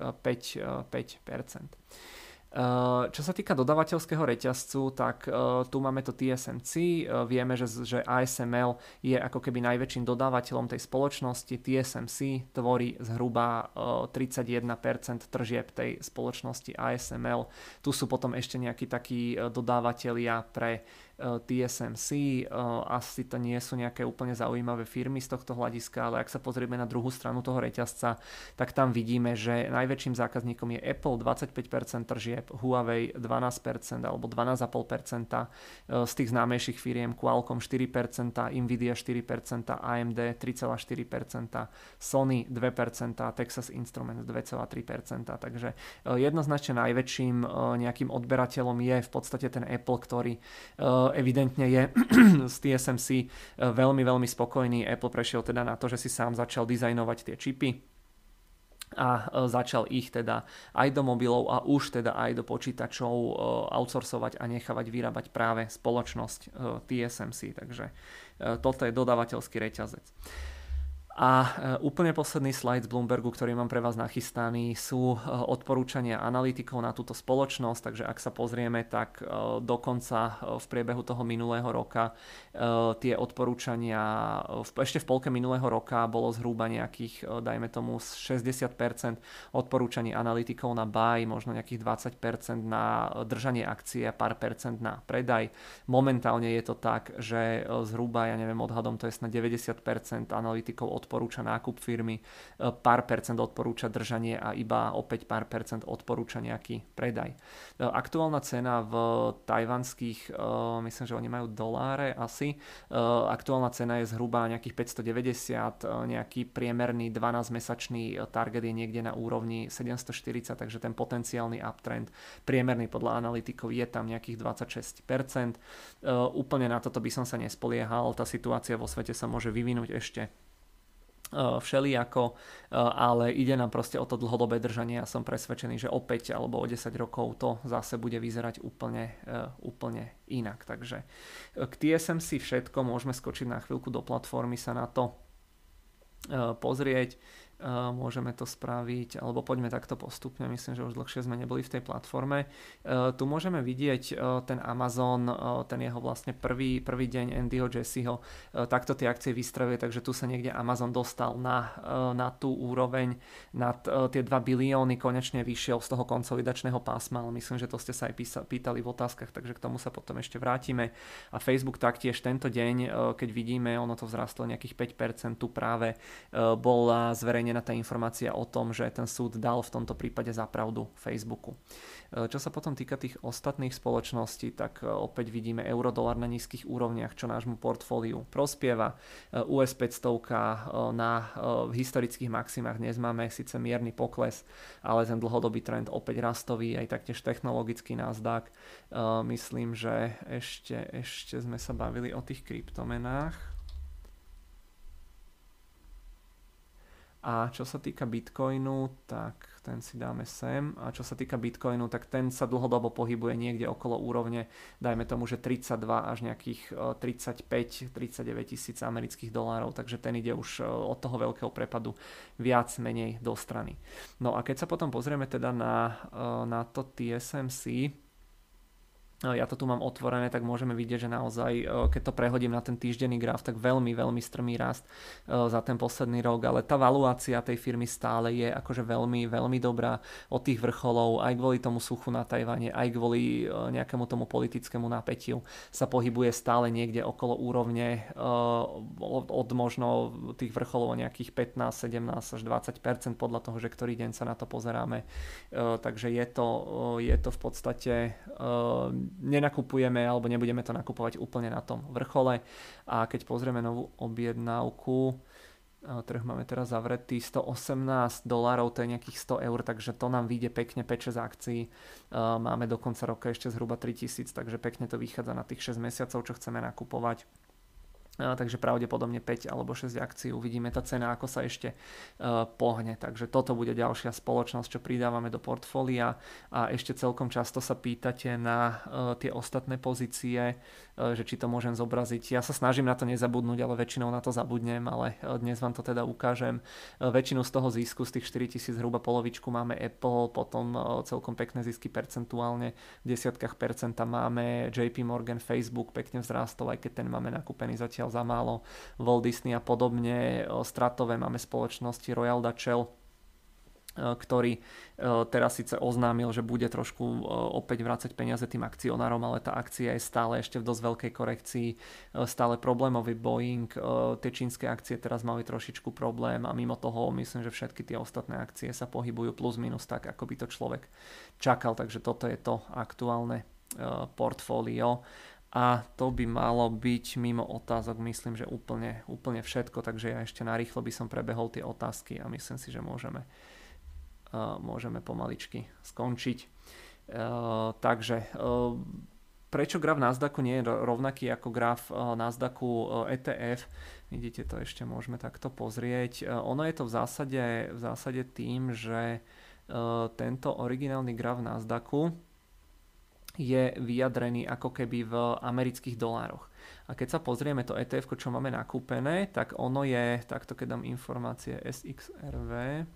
5%. Čo sa týka dodávateľského reťazcu, tak tu máme to TSMC, vieme, že ASML je ako keby najväčším dodávateľom tej spoločnosti, TSMC tvorí zhruba 31% tržieb tej spoločnosti ASML, tu sú potom ešte nejakí takí dodávateľia pre TSMC, asi to nie sú nejaké úplne zaujímavé firmy z tohto hľadiska, ale ak sa pozrieme na druhú stranu toho reťazca, tak tam vidíme, že najväčším zákazníkom je Apple 25% tržieb, Huawei 12% alebo 12,5%, z tých známejších firiem Qualcomm 4%, Nvidia 4%, AMD 3,4%, Sony 2%, Texas Instruments 2,3%, takže jednoznačne najväčším nejakým odberateľom je v podstate ten Apple, ktorý evidentne je z TSMC veľmi, veľmi spokojný. Apple prešiel teda na to, že si sám začal dizajnovať tie čipy a začal ich teda aj do mobilov a už teda aj do počítačov outsourcovať a nechávať vyrábať práve spoločnosť TSMC. Takže toto je dodávateľský reťazec. A úplne posledný slajd z Bloombergu, ktorý mám pre vás nachystaný, sú odporúčania analytikov na túto spoločnosť, takže ak sa pozrieme, tak dokonca v priebehu toho minulého roka tie odporúčania, ešte v polke minulého roka bolo zhruba nejakých, dajme tomu 60% odporúčaní analytikov na buy, možno nejakých 20% na držanie akcie a pár percent na predaj. Momentálne je to tak, že zhruba, ja neviem, odhadom to je na 90% analytikov odporúča nákup firmy, pár percent odporúča držanie a iba opäť pár percent odporúča nejaký predaj. Aktuálna cena v tajvanských, myslím, že oni majú doláre asi, aktuálna cena je zhruba nejakých 590, nejaký priemerný 12-mesačný target je niekde na úrovni 740, takže ten potenciálny uptrend priemerný podľa analytikov je tam nejakých 26%. Úplne na toto by som sa nespoliehal, tá situácia vo svete sa môže vyvinúť ešte všelijako, ale ide nám proste o to dlhodobé držanie a som presvedčený, že o 5 alebo o 10 rokov to zase bude vyzerať úplne inak. Takže k TSMC všetko, môžeme skočiť na chvíľku do platformy, sa na to pozrieť. Môžeme to spraviť, alebo poďme takto postupne, myslím, že už dlhšie sme neboli v tej platforme. Tu môžeme vidieť ten Amazon, ten jeho vlastne prvý deň Andyho Jesseho, takto tie akcie vystreluje, takže tu sa niekde Amazon dostal na tú úroveň, nad tie 2 bilióny, konečne vyšiel z toho konsolidačného pásma, ale myslím, že to ste sa aj pýtali v otázkach, takže k tomu sa potom ešte vrátime. A Facebook taktiež tento deň, keď vidíme, ono to vzrastlo nejakých 5%, tu práve bola zverejnená tá informácia o tom, že ten súd dal v tomto prípade za pravdu Facebooku. Čo sa potom týka tých ostatných spoločností, tak opäť vidíme euro-dolar na nízkych úrovniach, čo nášmu portfóliu prospieva. US 500 na historických maximách dnes máme síce mierny pokles, ale ten dlhodobý trend opäť rastový, aj taktiež technologický Nasdaq. Myslím, že ešte sme sa bavili o tých kryptomenách. A čo sa týka Bitcoinu, tak ten si dáme sem. A čo sa týka Bitcoinu, tak ten sa dlhodobo pohybuje niekde okolo úrovne, dajme tomu, že 32 až nejakých 35-39 tisíc amerických dolárov, takže ten ide už od toho veľkého prepadu viac menej do strany. No a keď sa potom pozrieme teda na to TSMC, ja to tu mám otvorené, tak môžeme vidieť, že naozaj, keď to prehodím na ten týždenný graf, tak veľmi, veľmi strmý rast za ten posledný rok, ale tá valuácia tej firmy stále je akože veľmi, veľmi dobrá od tých vrcholov, aj kvôli tomu suchu na Tajvane, aj kvôli nejakému tomu politickému napätiu sa pohybuje stále niekde okolo úrovne od možno tých vrcholov o nejakých 15, 17 až 20% podľa toho, že ktorý deň sa na to pozeráme. Takže je to v podstate nenakupujeme alebo nebudeme to nakupovať úplne na tom vrchole. A keď pozrieme novú objednávku, trh máme teraz zavretý, $118, to je nejakých 100 eur, takže to nám vyjde pekne 5-6 akcií. Máme do konca roka ešte zhruba 3000, takže pekne to vychádza na tých 6 mesiacov, čo chceme nakupovať. Takže pravdepodobne 5 alebo 6 akcií, uvidíme tá cena, ako sa ešte pohne. Takže toto bude ďalšia spoločnosť, čo pridávame do portfólia. A ešte celkom často sa pýtate na tie ostatné pozície, že či to môžem zobraziť. Ja sa snažím na to nezabudnúť, ale väčšinou na to zabudnem, ale dnes vám to teda ukážem. Väčšinu z toho zisku, z tých 4000 zhruba polovičku máme Apple, potom celkom pekné zisky percentuálne, v desiatkách percenta máme JP Morgan, Facebook pekne vzrástol, aj keď ten máme nakúpený zatiaľ za málo, Walt Disney a podobne. Stratové máme spoločnosti Royal Dutch Shell, ktorý teraz síce oznámil, že bude trošku opäť vrácať peniaze tým akcionárom, ale tá akcia je stále ešte v dosť veľkej korekcii, stále problémový Boeing, tie čínske akcie teraz mali trošičku problém a mimo toho myslím, že všetky tie ostatné akcie sa pohybujú plus minus tak, ako by to človek čakal, takže toto je to aktuálne portfólio. A to by malo byť mimo otázok, myslím, že úplne všetko, takže ja ešte narýchlo by som prebehol tie otázky a myslím si, že môžeme pomaličky skončiť. Takže prečo graf Nasdaqu nie je rovnaký ako graf Nasdaqu ETF? Vidíte, to ešte môžeme takto pozrieť. Ono je to v zásade tým, že tento originálny graf Nasdaqu je vyjadrený ako keby v amerických dolároch. A keď sa pozrieme to ETF, čo máme nakúpené, tak ono je, takto keď dám informácie SXRV,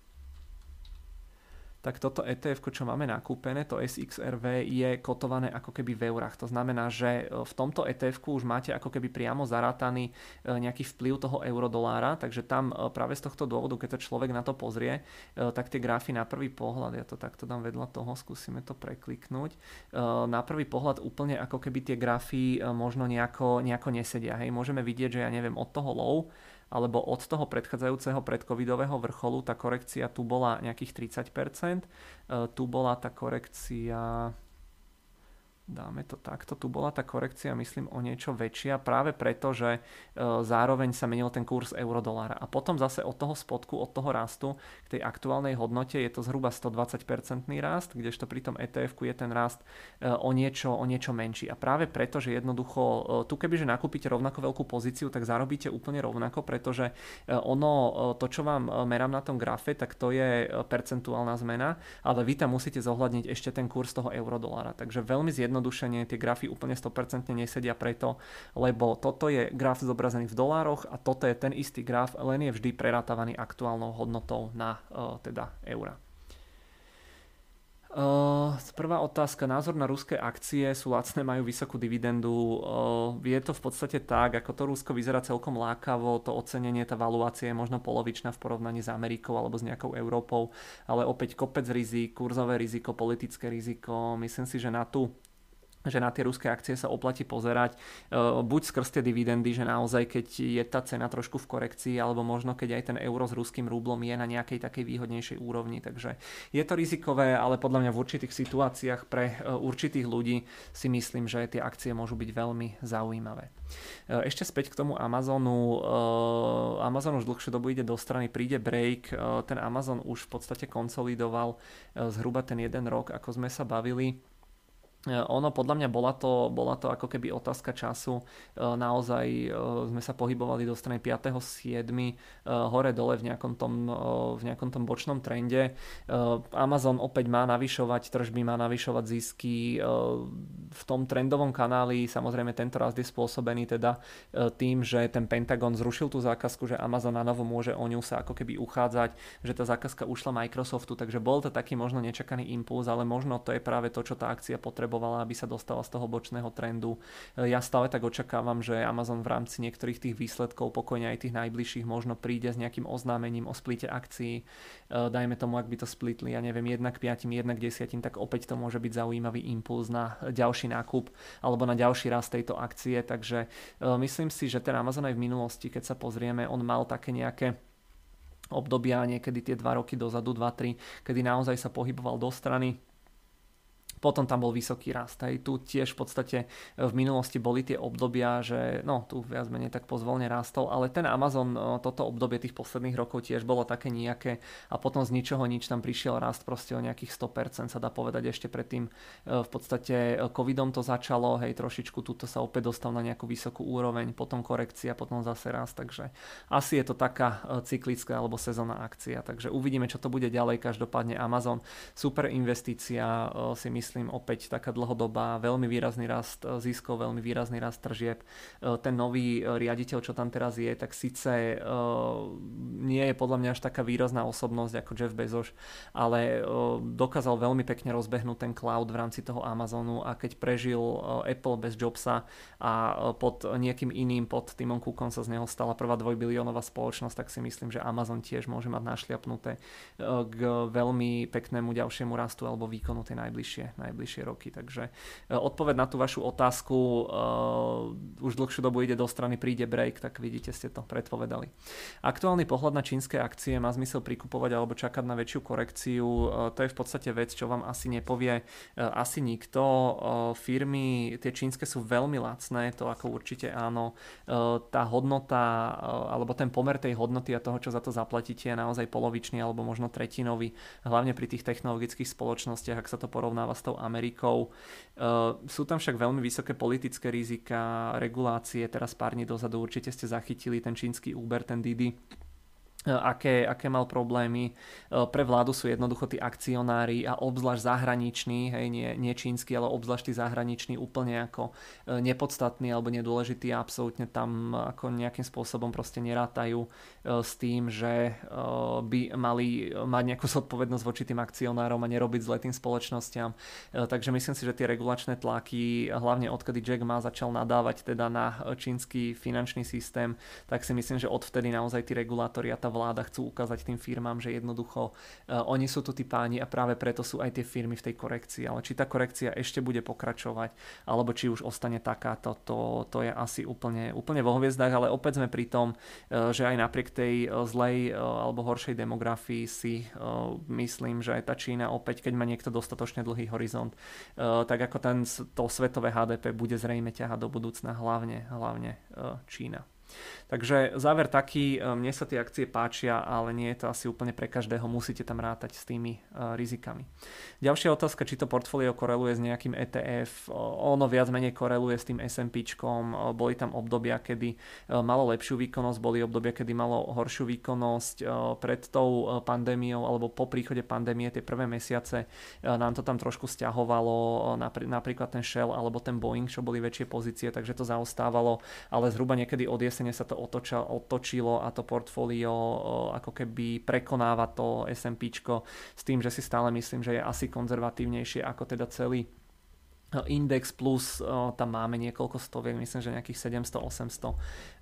tak toto ETF, čo máme nakúpené, to SXRV je kotované ako keby v eurách. To znamená, že v tomto ETF už máte ako keby priamo zarátaný nejaký vplyv toho eurodolára, takže tam práve z tohto dôvodu, keď to človek na to pozrie, tak tie grafy na prvý pohľad, ja to takto dám vedľa toho, skúsime to prekliknúť, na prvý pohľad úplne ako keby tie grafy možno nejako nesedia. Hej. Môžeme vidieť, že ja neviem, od toho low alebo od toho predchádzajúceho predcovidového vrcholu tá korekcia tu bola nejakých 30%, tu bola tá korekcia, dáme to takto, tu bola tá korekcia myslím o niečo väčšia práve preto, že zároveň sa menil ten kurz eurodolára a potom zase od toho spodku, od toho rastu k tej aktuálnej hodnote je to zhruba 120% rast, kdežto pri tom ETF-ku je ten rast o niečo menší a práve preto, že jednoducho tu kebyže nakúpite rovnako veľkú pozíciu, tak zarobíte úplne rovnako, pretože to čo vám merám na tom grafe, tak to je percentuálna zmena, ale vy tam musíte zohľadniť ešte ten kurz toho eurodolára, takže veľmi zjednodušene tie grafy úplne 100% nesedia preto, lebo toto je graf zobrazený v dolároch a toto je ten istý graf, len je vždy prerátavaný aktuálnou hodnotou na teda eura. Prvá otázka, názor na ruské akcie, sú lacné, majú vysokú dividendu, je to v podstate tak, ako to Rusko vyzerá celkom lákavo, to ocenenie, tá valuácia je možno polovičná v porovnaní s Amerikou alebo s nejakou Európou, ale opäť kopec rizik, kurzové riziko, politické riziko, myslím si, že na tie ruské akcie sa oplatí pozerať buď skrz tie dividendy, že naozaj keď je tá cena trošku v korekcii, alebo možno keď aj ten euro s ruským rublom je na nejakej takej výhodnejšej úrovni, takže je to rizikové, ale podľa mňa v určitých situáciách pre určitých ľudí si myslím, že tie akcie môžu byť veľmi zaujímavé. Ešte späť k tomu Amazonu. Amazon už dlhšiu dobu ide do strany, príde break, ten Amazon už v podstate konsolidoval zhruba ten 1 rok, ako sme sa bavili. Ono podľa mňa bola to ako keby otázka času. Naozaj sme sa pohybovali do strany 5.7. Hore dole v nejakom tom bočnom trende. Amazon opäť má navyšovať tržby, má navyšovať zisky. V tom trendovom kanáli samozrejme tento rast je spôsobený teda tým, že ten Pentagon zrušil tú zákazku, že Amazon na novo môže o ňu sa ako keby uchádzať, že tá zákazka ušla Microsoftu, takže bol to taký možno nečakaný impuls, ale možno to je práve to, čo tá akcia potrebovala, aby sa dostala z toho bočného trendu. Ja stále tak očakávam, že Amazon v rámci niektorých tých výsledkov, pokojne aj tých najbližších, možno príde s nejakým oznámením o splite akcií. Dajme tomu, ak by to splitli, ja neviem, 1 k 5, 1 k 10, tak opäť to môže byť zaujímavý impuls na ďalší nákup alebo na ďalší rast tejto akcie, takže myslím si, že ten Amazon aj v minulosti, keď sa pozrieme, on mal také nejaké obdobia, niekedy tie 2 roky dozadu, 2-3, kedy naozaj sa pohyboval do strany. Potom tam bol vysoký rast. Hej. Tu tiež v podstate v minulosti boli tie obdobia, že tu viac menej tak pozvolne rástol, ale ten Amazon, toto obdobie tých posledných rokov tiež bolo také nejaké a potom z ničoho nič tam prišiel rast proste o nejakých 100%, sa dá povedať ešte predtým. V podstate covidom to začalo, hej, trošičku tuto sa opäť dostal na nejakú vysokú úroveň, potom korekcia, potom zase rast, takže asi je to taká cyklická alebo sezónna akcia, takže uvidíme, čo to bude ďalej. Každopádne Amazon, super investícia, si myslím opäť taká dlhodobá, veľmi výrazný rast ziskov, veľmi výrazný rast tržieb. Ten nový riaditeľ, čo tam teraz je, tak síce nie je podľa mňa až taká výrazná osobnosť ako Jeff Bezos, ale dokázal veľmi pekne rozbehnúť ten cloud v rámci toho Amazonu a keď prežil Apple bez Jobsa a pod niekým iným, pod Timom Cookom sa z neho stala prvá 2-biliónová spoločnosť, tak si myslím, že Amazon tiež môže mať našliapnuté k veľmi peknému ďalšiemu rastu alebo výkonu tej najbližšie roky. Takže odpoveď na tú vašu otázku, už dlhšiu dobu ide do strany, príde break, tak vidíte, ste to predpovedali. Aktuálny pohľad na čínske akcie, má zmysel prikupovať alebo čakať na väčšiu korekciu, to je v podstate vec, čo vám asi nepovie asi nikto. Firmy, tie čínske sú veľmi lacné, to ako určite áno. Tá hodnota, alebo ten pomer tej hodnoty a toho, čo za to zaplatíte, je naozaj polovičný alebo možno tretinový, hlavne pri tých technologických spoločnostiach, ak sa to porovnáva s tou Amerikou. Sú tam však veľmi vysoké politické rizika, regulácie, teraz pár dní dozadu určite ste zachytili ten čínsky Uber, ten Didi, aké mal problémy. Pre vládu sú jednoducho tí akcionári a obzvlášť zahraniční, hej, nie čínsky, ale obzvlášť tí zahraniční úplne ako nepodstatný alebo nedôležitý a absolútne tam ako nejakým spôsobom proste nerátajú s tým, že by mali mať nejakú zodpovednosť voči tým akcionárom a nerobiť zle tým spoločnostiam. Takže myslím si, že tie regulačné tlaky, hlavne odkedy Jack Ma začal nadávať teda na čínsky finančný systém, tak si myslím, že odvtedy naozaj tí regulátori a tá vláda chcú ukázať tým firmám, že jednoducho oni sú tu tí páni a práve preto sú aj tie firmy v tej korekcii. Ale či tá korekcia ešte bude pokračovať, alebo či už ostane takáto, to je asi úplne vo hviezdách, ale opäť sme pri tom, že aj napriek tej zlej alebo horšej demografii si myslím, že aj tá Čína opäť, keď má niekto dostatočne dlhý horizont, tak ako to svetové HDP bude zrejme ťahať do budúcna hlavne Čína. Takže záver taký, mne sa tie akcie páčia, ale nie je to asi úplne pre každého, musíte tam rátať s tými rizikami. Ďalšia otázka, či to portfólio koreluje s nejakým ETF, ono viac menej koreluje s tým S&Pčkom, boli tam obdobia, kedy malo lepšiu výkonnosť, boli obdobia, kedy malo horšiu výkonnosť, pred tou pandémiou alebo po príchode pandémie tie prvé mesiace nám to tam trošku sťahovalo, napríklad ten Shell alebo ten Boeing, čo boli väčšie pozície, takže to zaostávalo, ale zhruba niekedy od jesene sa to otočilo a to portfólio ako keby prekonáva to S&Pčko s tým, že si stále myslím, že je asi konzervatívnejšie ako teda celý index, plus tam máme niekoľko stoviek, myslím, že nejakých 700-800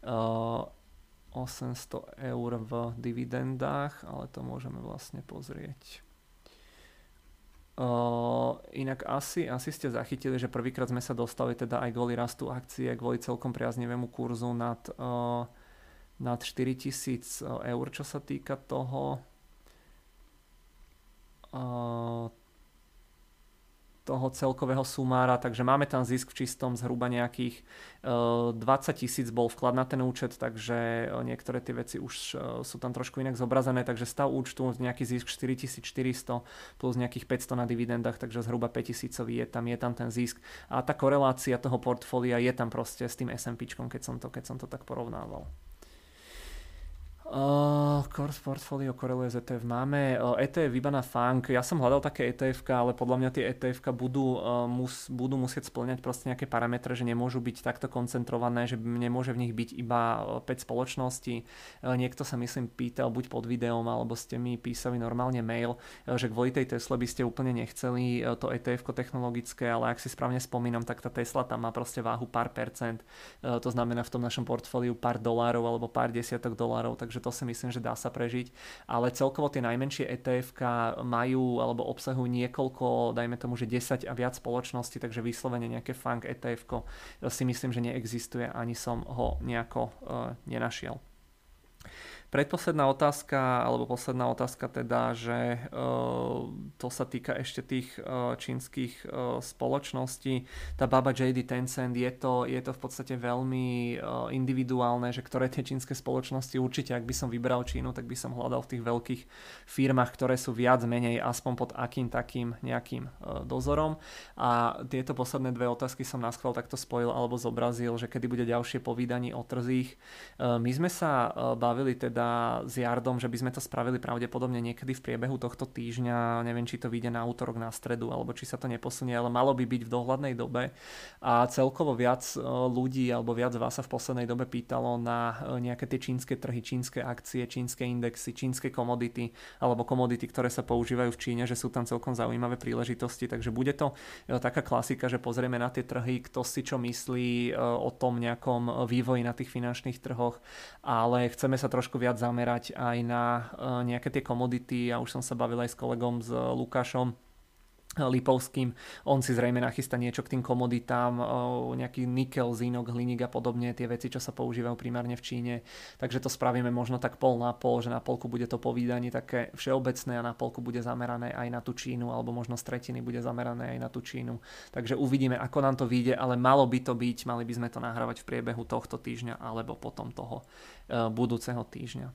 eur v dividendách, ale to môžeme vlastne pozrieť. Inak asi ste zachytili, že prvýkrát sme sa dostali teda aj kvôli rastu akcie, kvôli celkom priaznivému kurzu nad 4000 eur, čo sa týka toho celkového sumára, takže máme tam zisk v čistom zhruba nejakých 20 000 bol vklad na ten účet, takže niektoré tie veci už sú tam trošku inak zobrazené, takže stav účtu nejaký zisk 4400 plus nejakých 500 na dividendách, takže zhruba 5000 je tam ten zisk a tá korelácia toho portfólia je tam proste s tým S&Pčkom, keď som to tak porovnával. Portfolio koreluje z ETF. Máme ETF iba na FANG. Ja som hľadal také ETF, ale podľa mňa tie ETF budú musieť spĺňať proste nejaké parametre, že nemôžu byť takto koncentrované, že nemôže v nich byť iba 5 spoločností. Niekto sa myslím pýtal buď pod videom, alebo ste mi písali normálne mail, že kvôli tej Tesle by ste úplne nechceli to ETF technologické, ale ak si správne spomínam, tak tá Tesla tam má proste váhu pár percent. To znamená v tom našom portfóliu pár dolárov alebo pár desiatok dolárov, takže to si myslím, že dá sa prežiť, ale celkovo tie najmenšie ETF-ka majú alebo obsahujú niekoľko, dajme tomu, že 10 a viac spoločností, takže vyslovene nejaké FANG ETF-ko si myslím, že neexistuje, ani som ho nejako nenašiel. Predposledná otázka, alebo posledná otázka teda, že to sa týka ešte tých čínskych spoločností. Tá Baba JD Tencent, je to v podstate veľmi individuálne, že ktoré tie čínske spoločnosti určite, ak by som vybral Čínu, tak by som hľadal v tých veľkých firmách, ktoré sú viac menej aspoň pod akým takým nejakým dozorom. A tieto posledné dve otázky som naschvál takto spojil alebo zobrazil, že kedy bude ďalšie povídanie o trzích. My sme sa bavili teda s Jardom, že by sme to spravili pravdepodobne niekedy v priebehu tohto týždňa. Neviem, či to vyjde na útorok, na stredu, alebo či sa to neposunie, ale malo by byť v dohľadnej dobe. A celkovo viac ľudí, alebo viac vás sa v poslednej dobe pýtalo na nejaké tie čínske trhy, čínske akcie, čínske indexy, čínske komodity, alebo komodity, ktoré sa používajú v Číne, že sú tam celkom zaujímavé príležitosti. Takže bude to taká klasika, že pozrieme na tie trhy, kto si čo myslí o tom nejakom vývoji na tých finančných trhoch, ale chceme sa trošku viac zamerať aj na nejaké tie komodity. Ja už som sa bavil aj s kolegom, s Lukášom Lipovským, on si zrejme nachystá niečo k tým komoditám, nejaký nikel, zinok, hliník a podobne, tie veci, čo sa používajú primárne v Číne. Takže to spravíme možno tak pol na pol, že na polku bude to povídanie také všeobecné a na polku bude zamerané aj na tú Čínu, alebo možno z tretiny bude zamerané aj na tú Čínu. Takže uvidíme, ako nám to vyjde, ale malo by to byť, mali by sme to nahrávať v priebehu tohto týždňa alebo potom toho budúceho týždňa.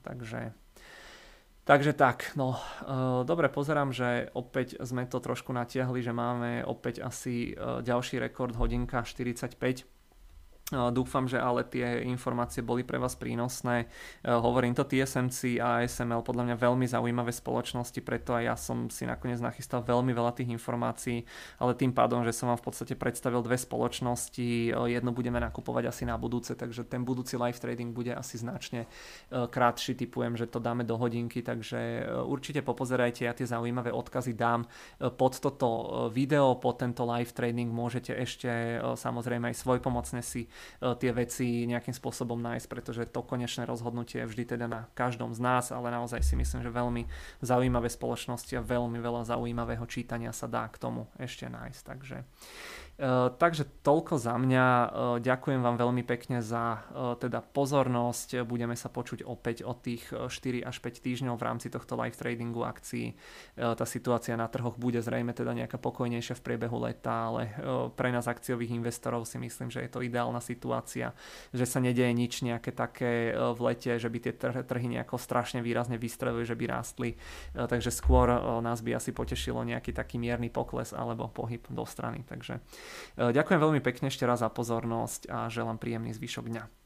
Takže tak, no dobre, pozerám, že opäť sme to trošku natiahli, že máme opäť asi ďalší rekord, hodinka 45. Dúfam, že ale tie informácie boli pre vás prínosné. Hovorím to, TSMC a ASML podľa mňa veľmi zaujímavé spoločnosti, preto aj ja som si nakoniec nachystal veľmi veľa tých informácií, ale tým pádom, že som vám v podstate predstavil dve spoločnosti, jednu budeme nakupovať asi na budúce, takže ten budúci live trading bude asi značne krátší, typujem, že to dáme do hodinky, takže určite popozerajte, ja tie zaujímavé odkazy dám pod toto video, pod tento live trading môžete ešte samozrejme aj svojpomocne si tie veci nejakým spôsobom nájsť, pretože to konečné rozhodnutie je vždy teda na každom z nás, ale naozaj si myslím, že veľmi zaujímavé spoločnosti a veľmi veľa zaujímavého čítania sa dá k tomu ešte nájsť. Takže toľko za mňa. Ďakujem vám veľmi pekne za teda pozornosť. Budeme sa počuť opäť od tých 4 až 5 týždňov v rámci tohto live tradingu akcií. Tá situácia na trhoch bude zrejme teda nejaká pokojnejšia v priebehu leta, ale pre nás akciových investorov si myslím, že je to ideálna situácia, že sa nedeje nič nejaké také v lete, že by tie trhy nejako strašne výrazne vystrelili, že by rástli. Takže skôr nás by asi potešilo nejaký taký mierny pokles alebo pohyb do strany. Takže ďakujem veľmi pekne ešte raz za pozornosť a želám príjemný zvyšok dňa.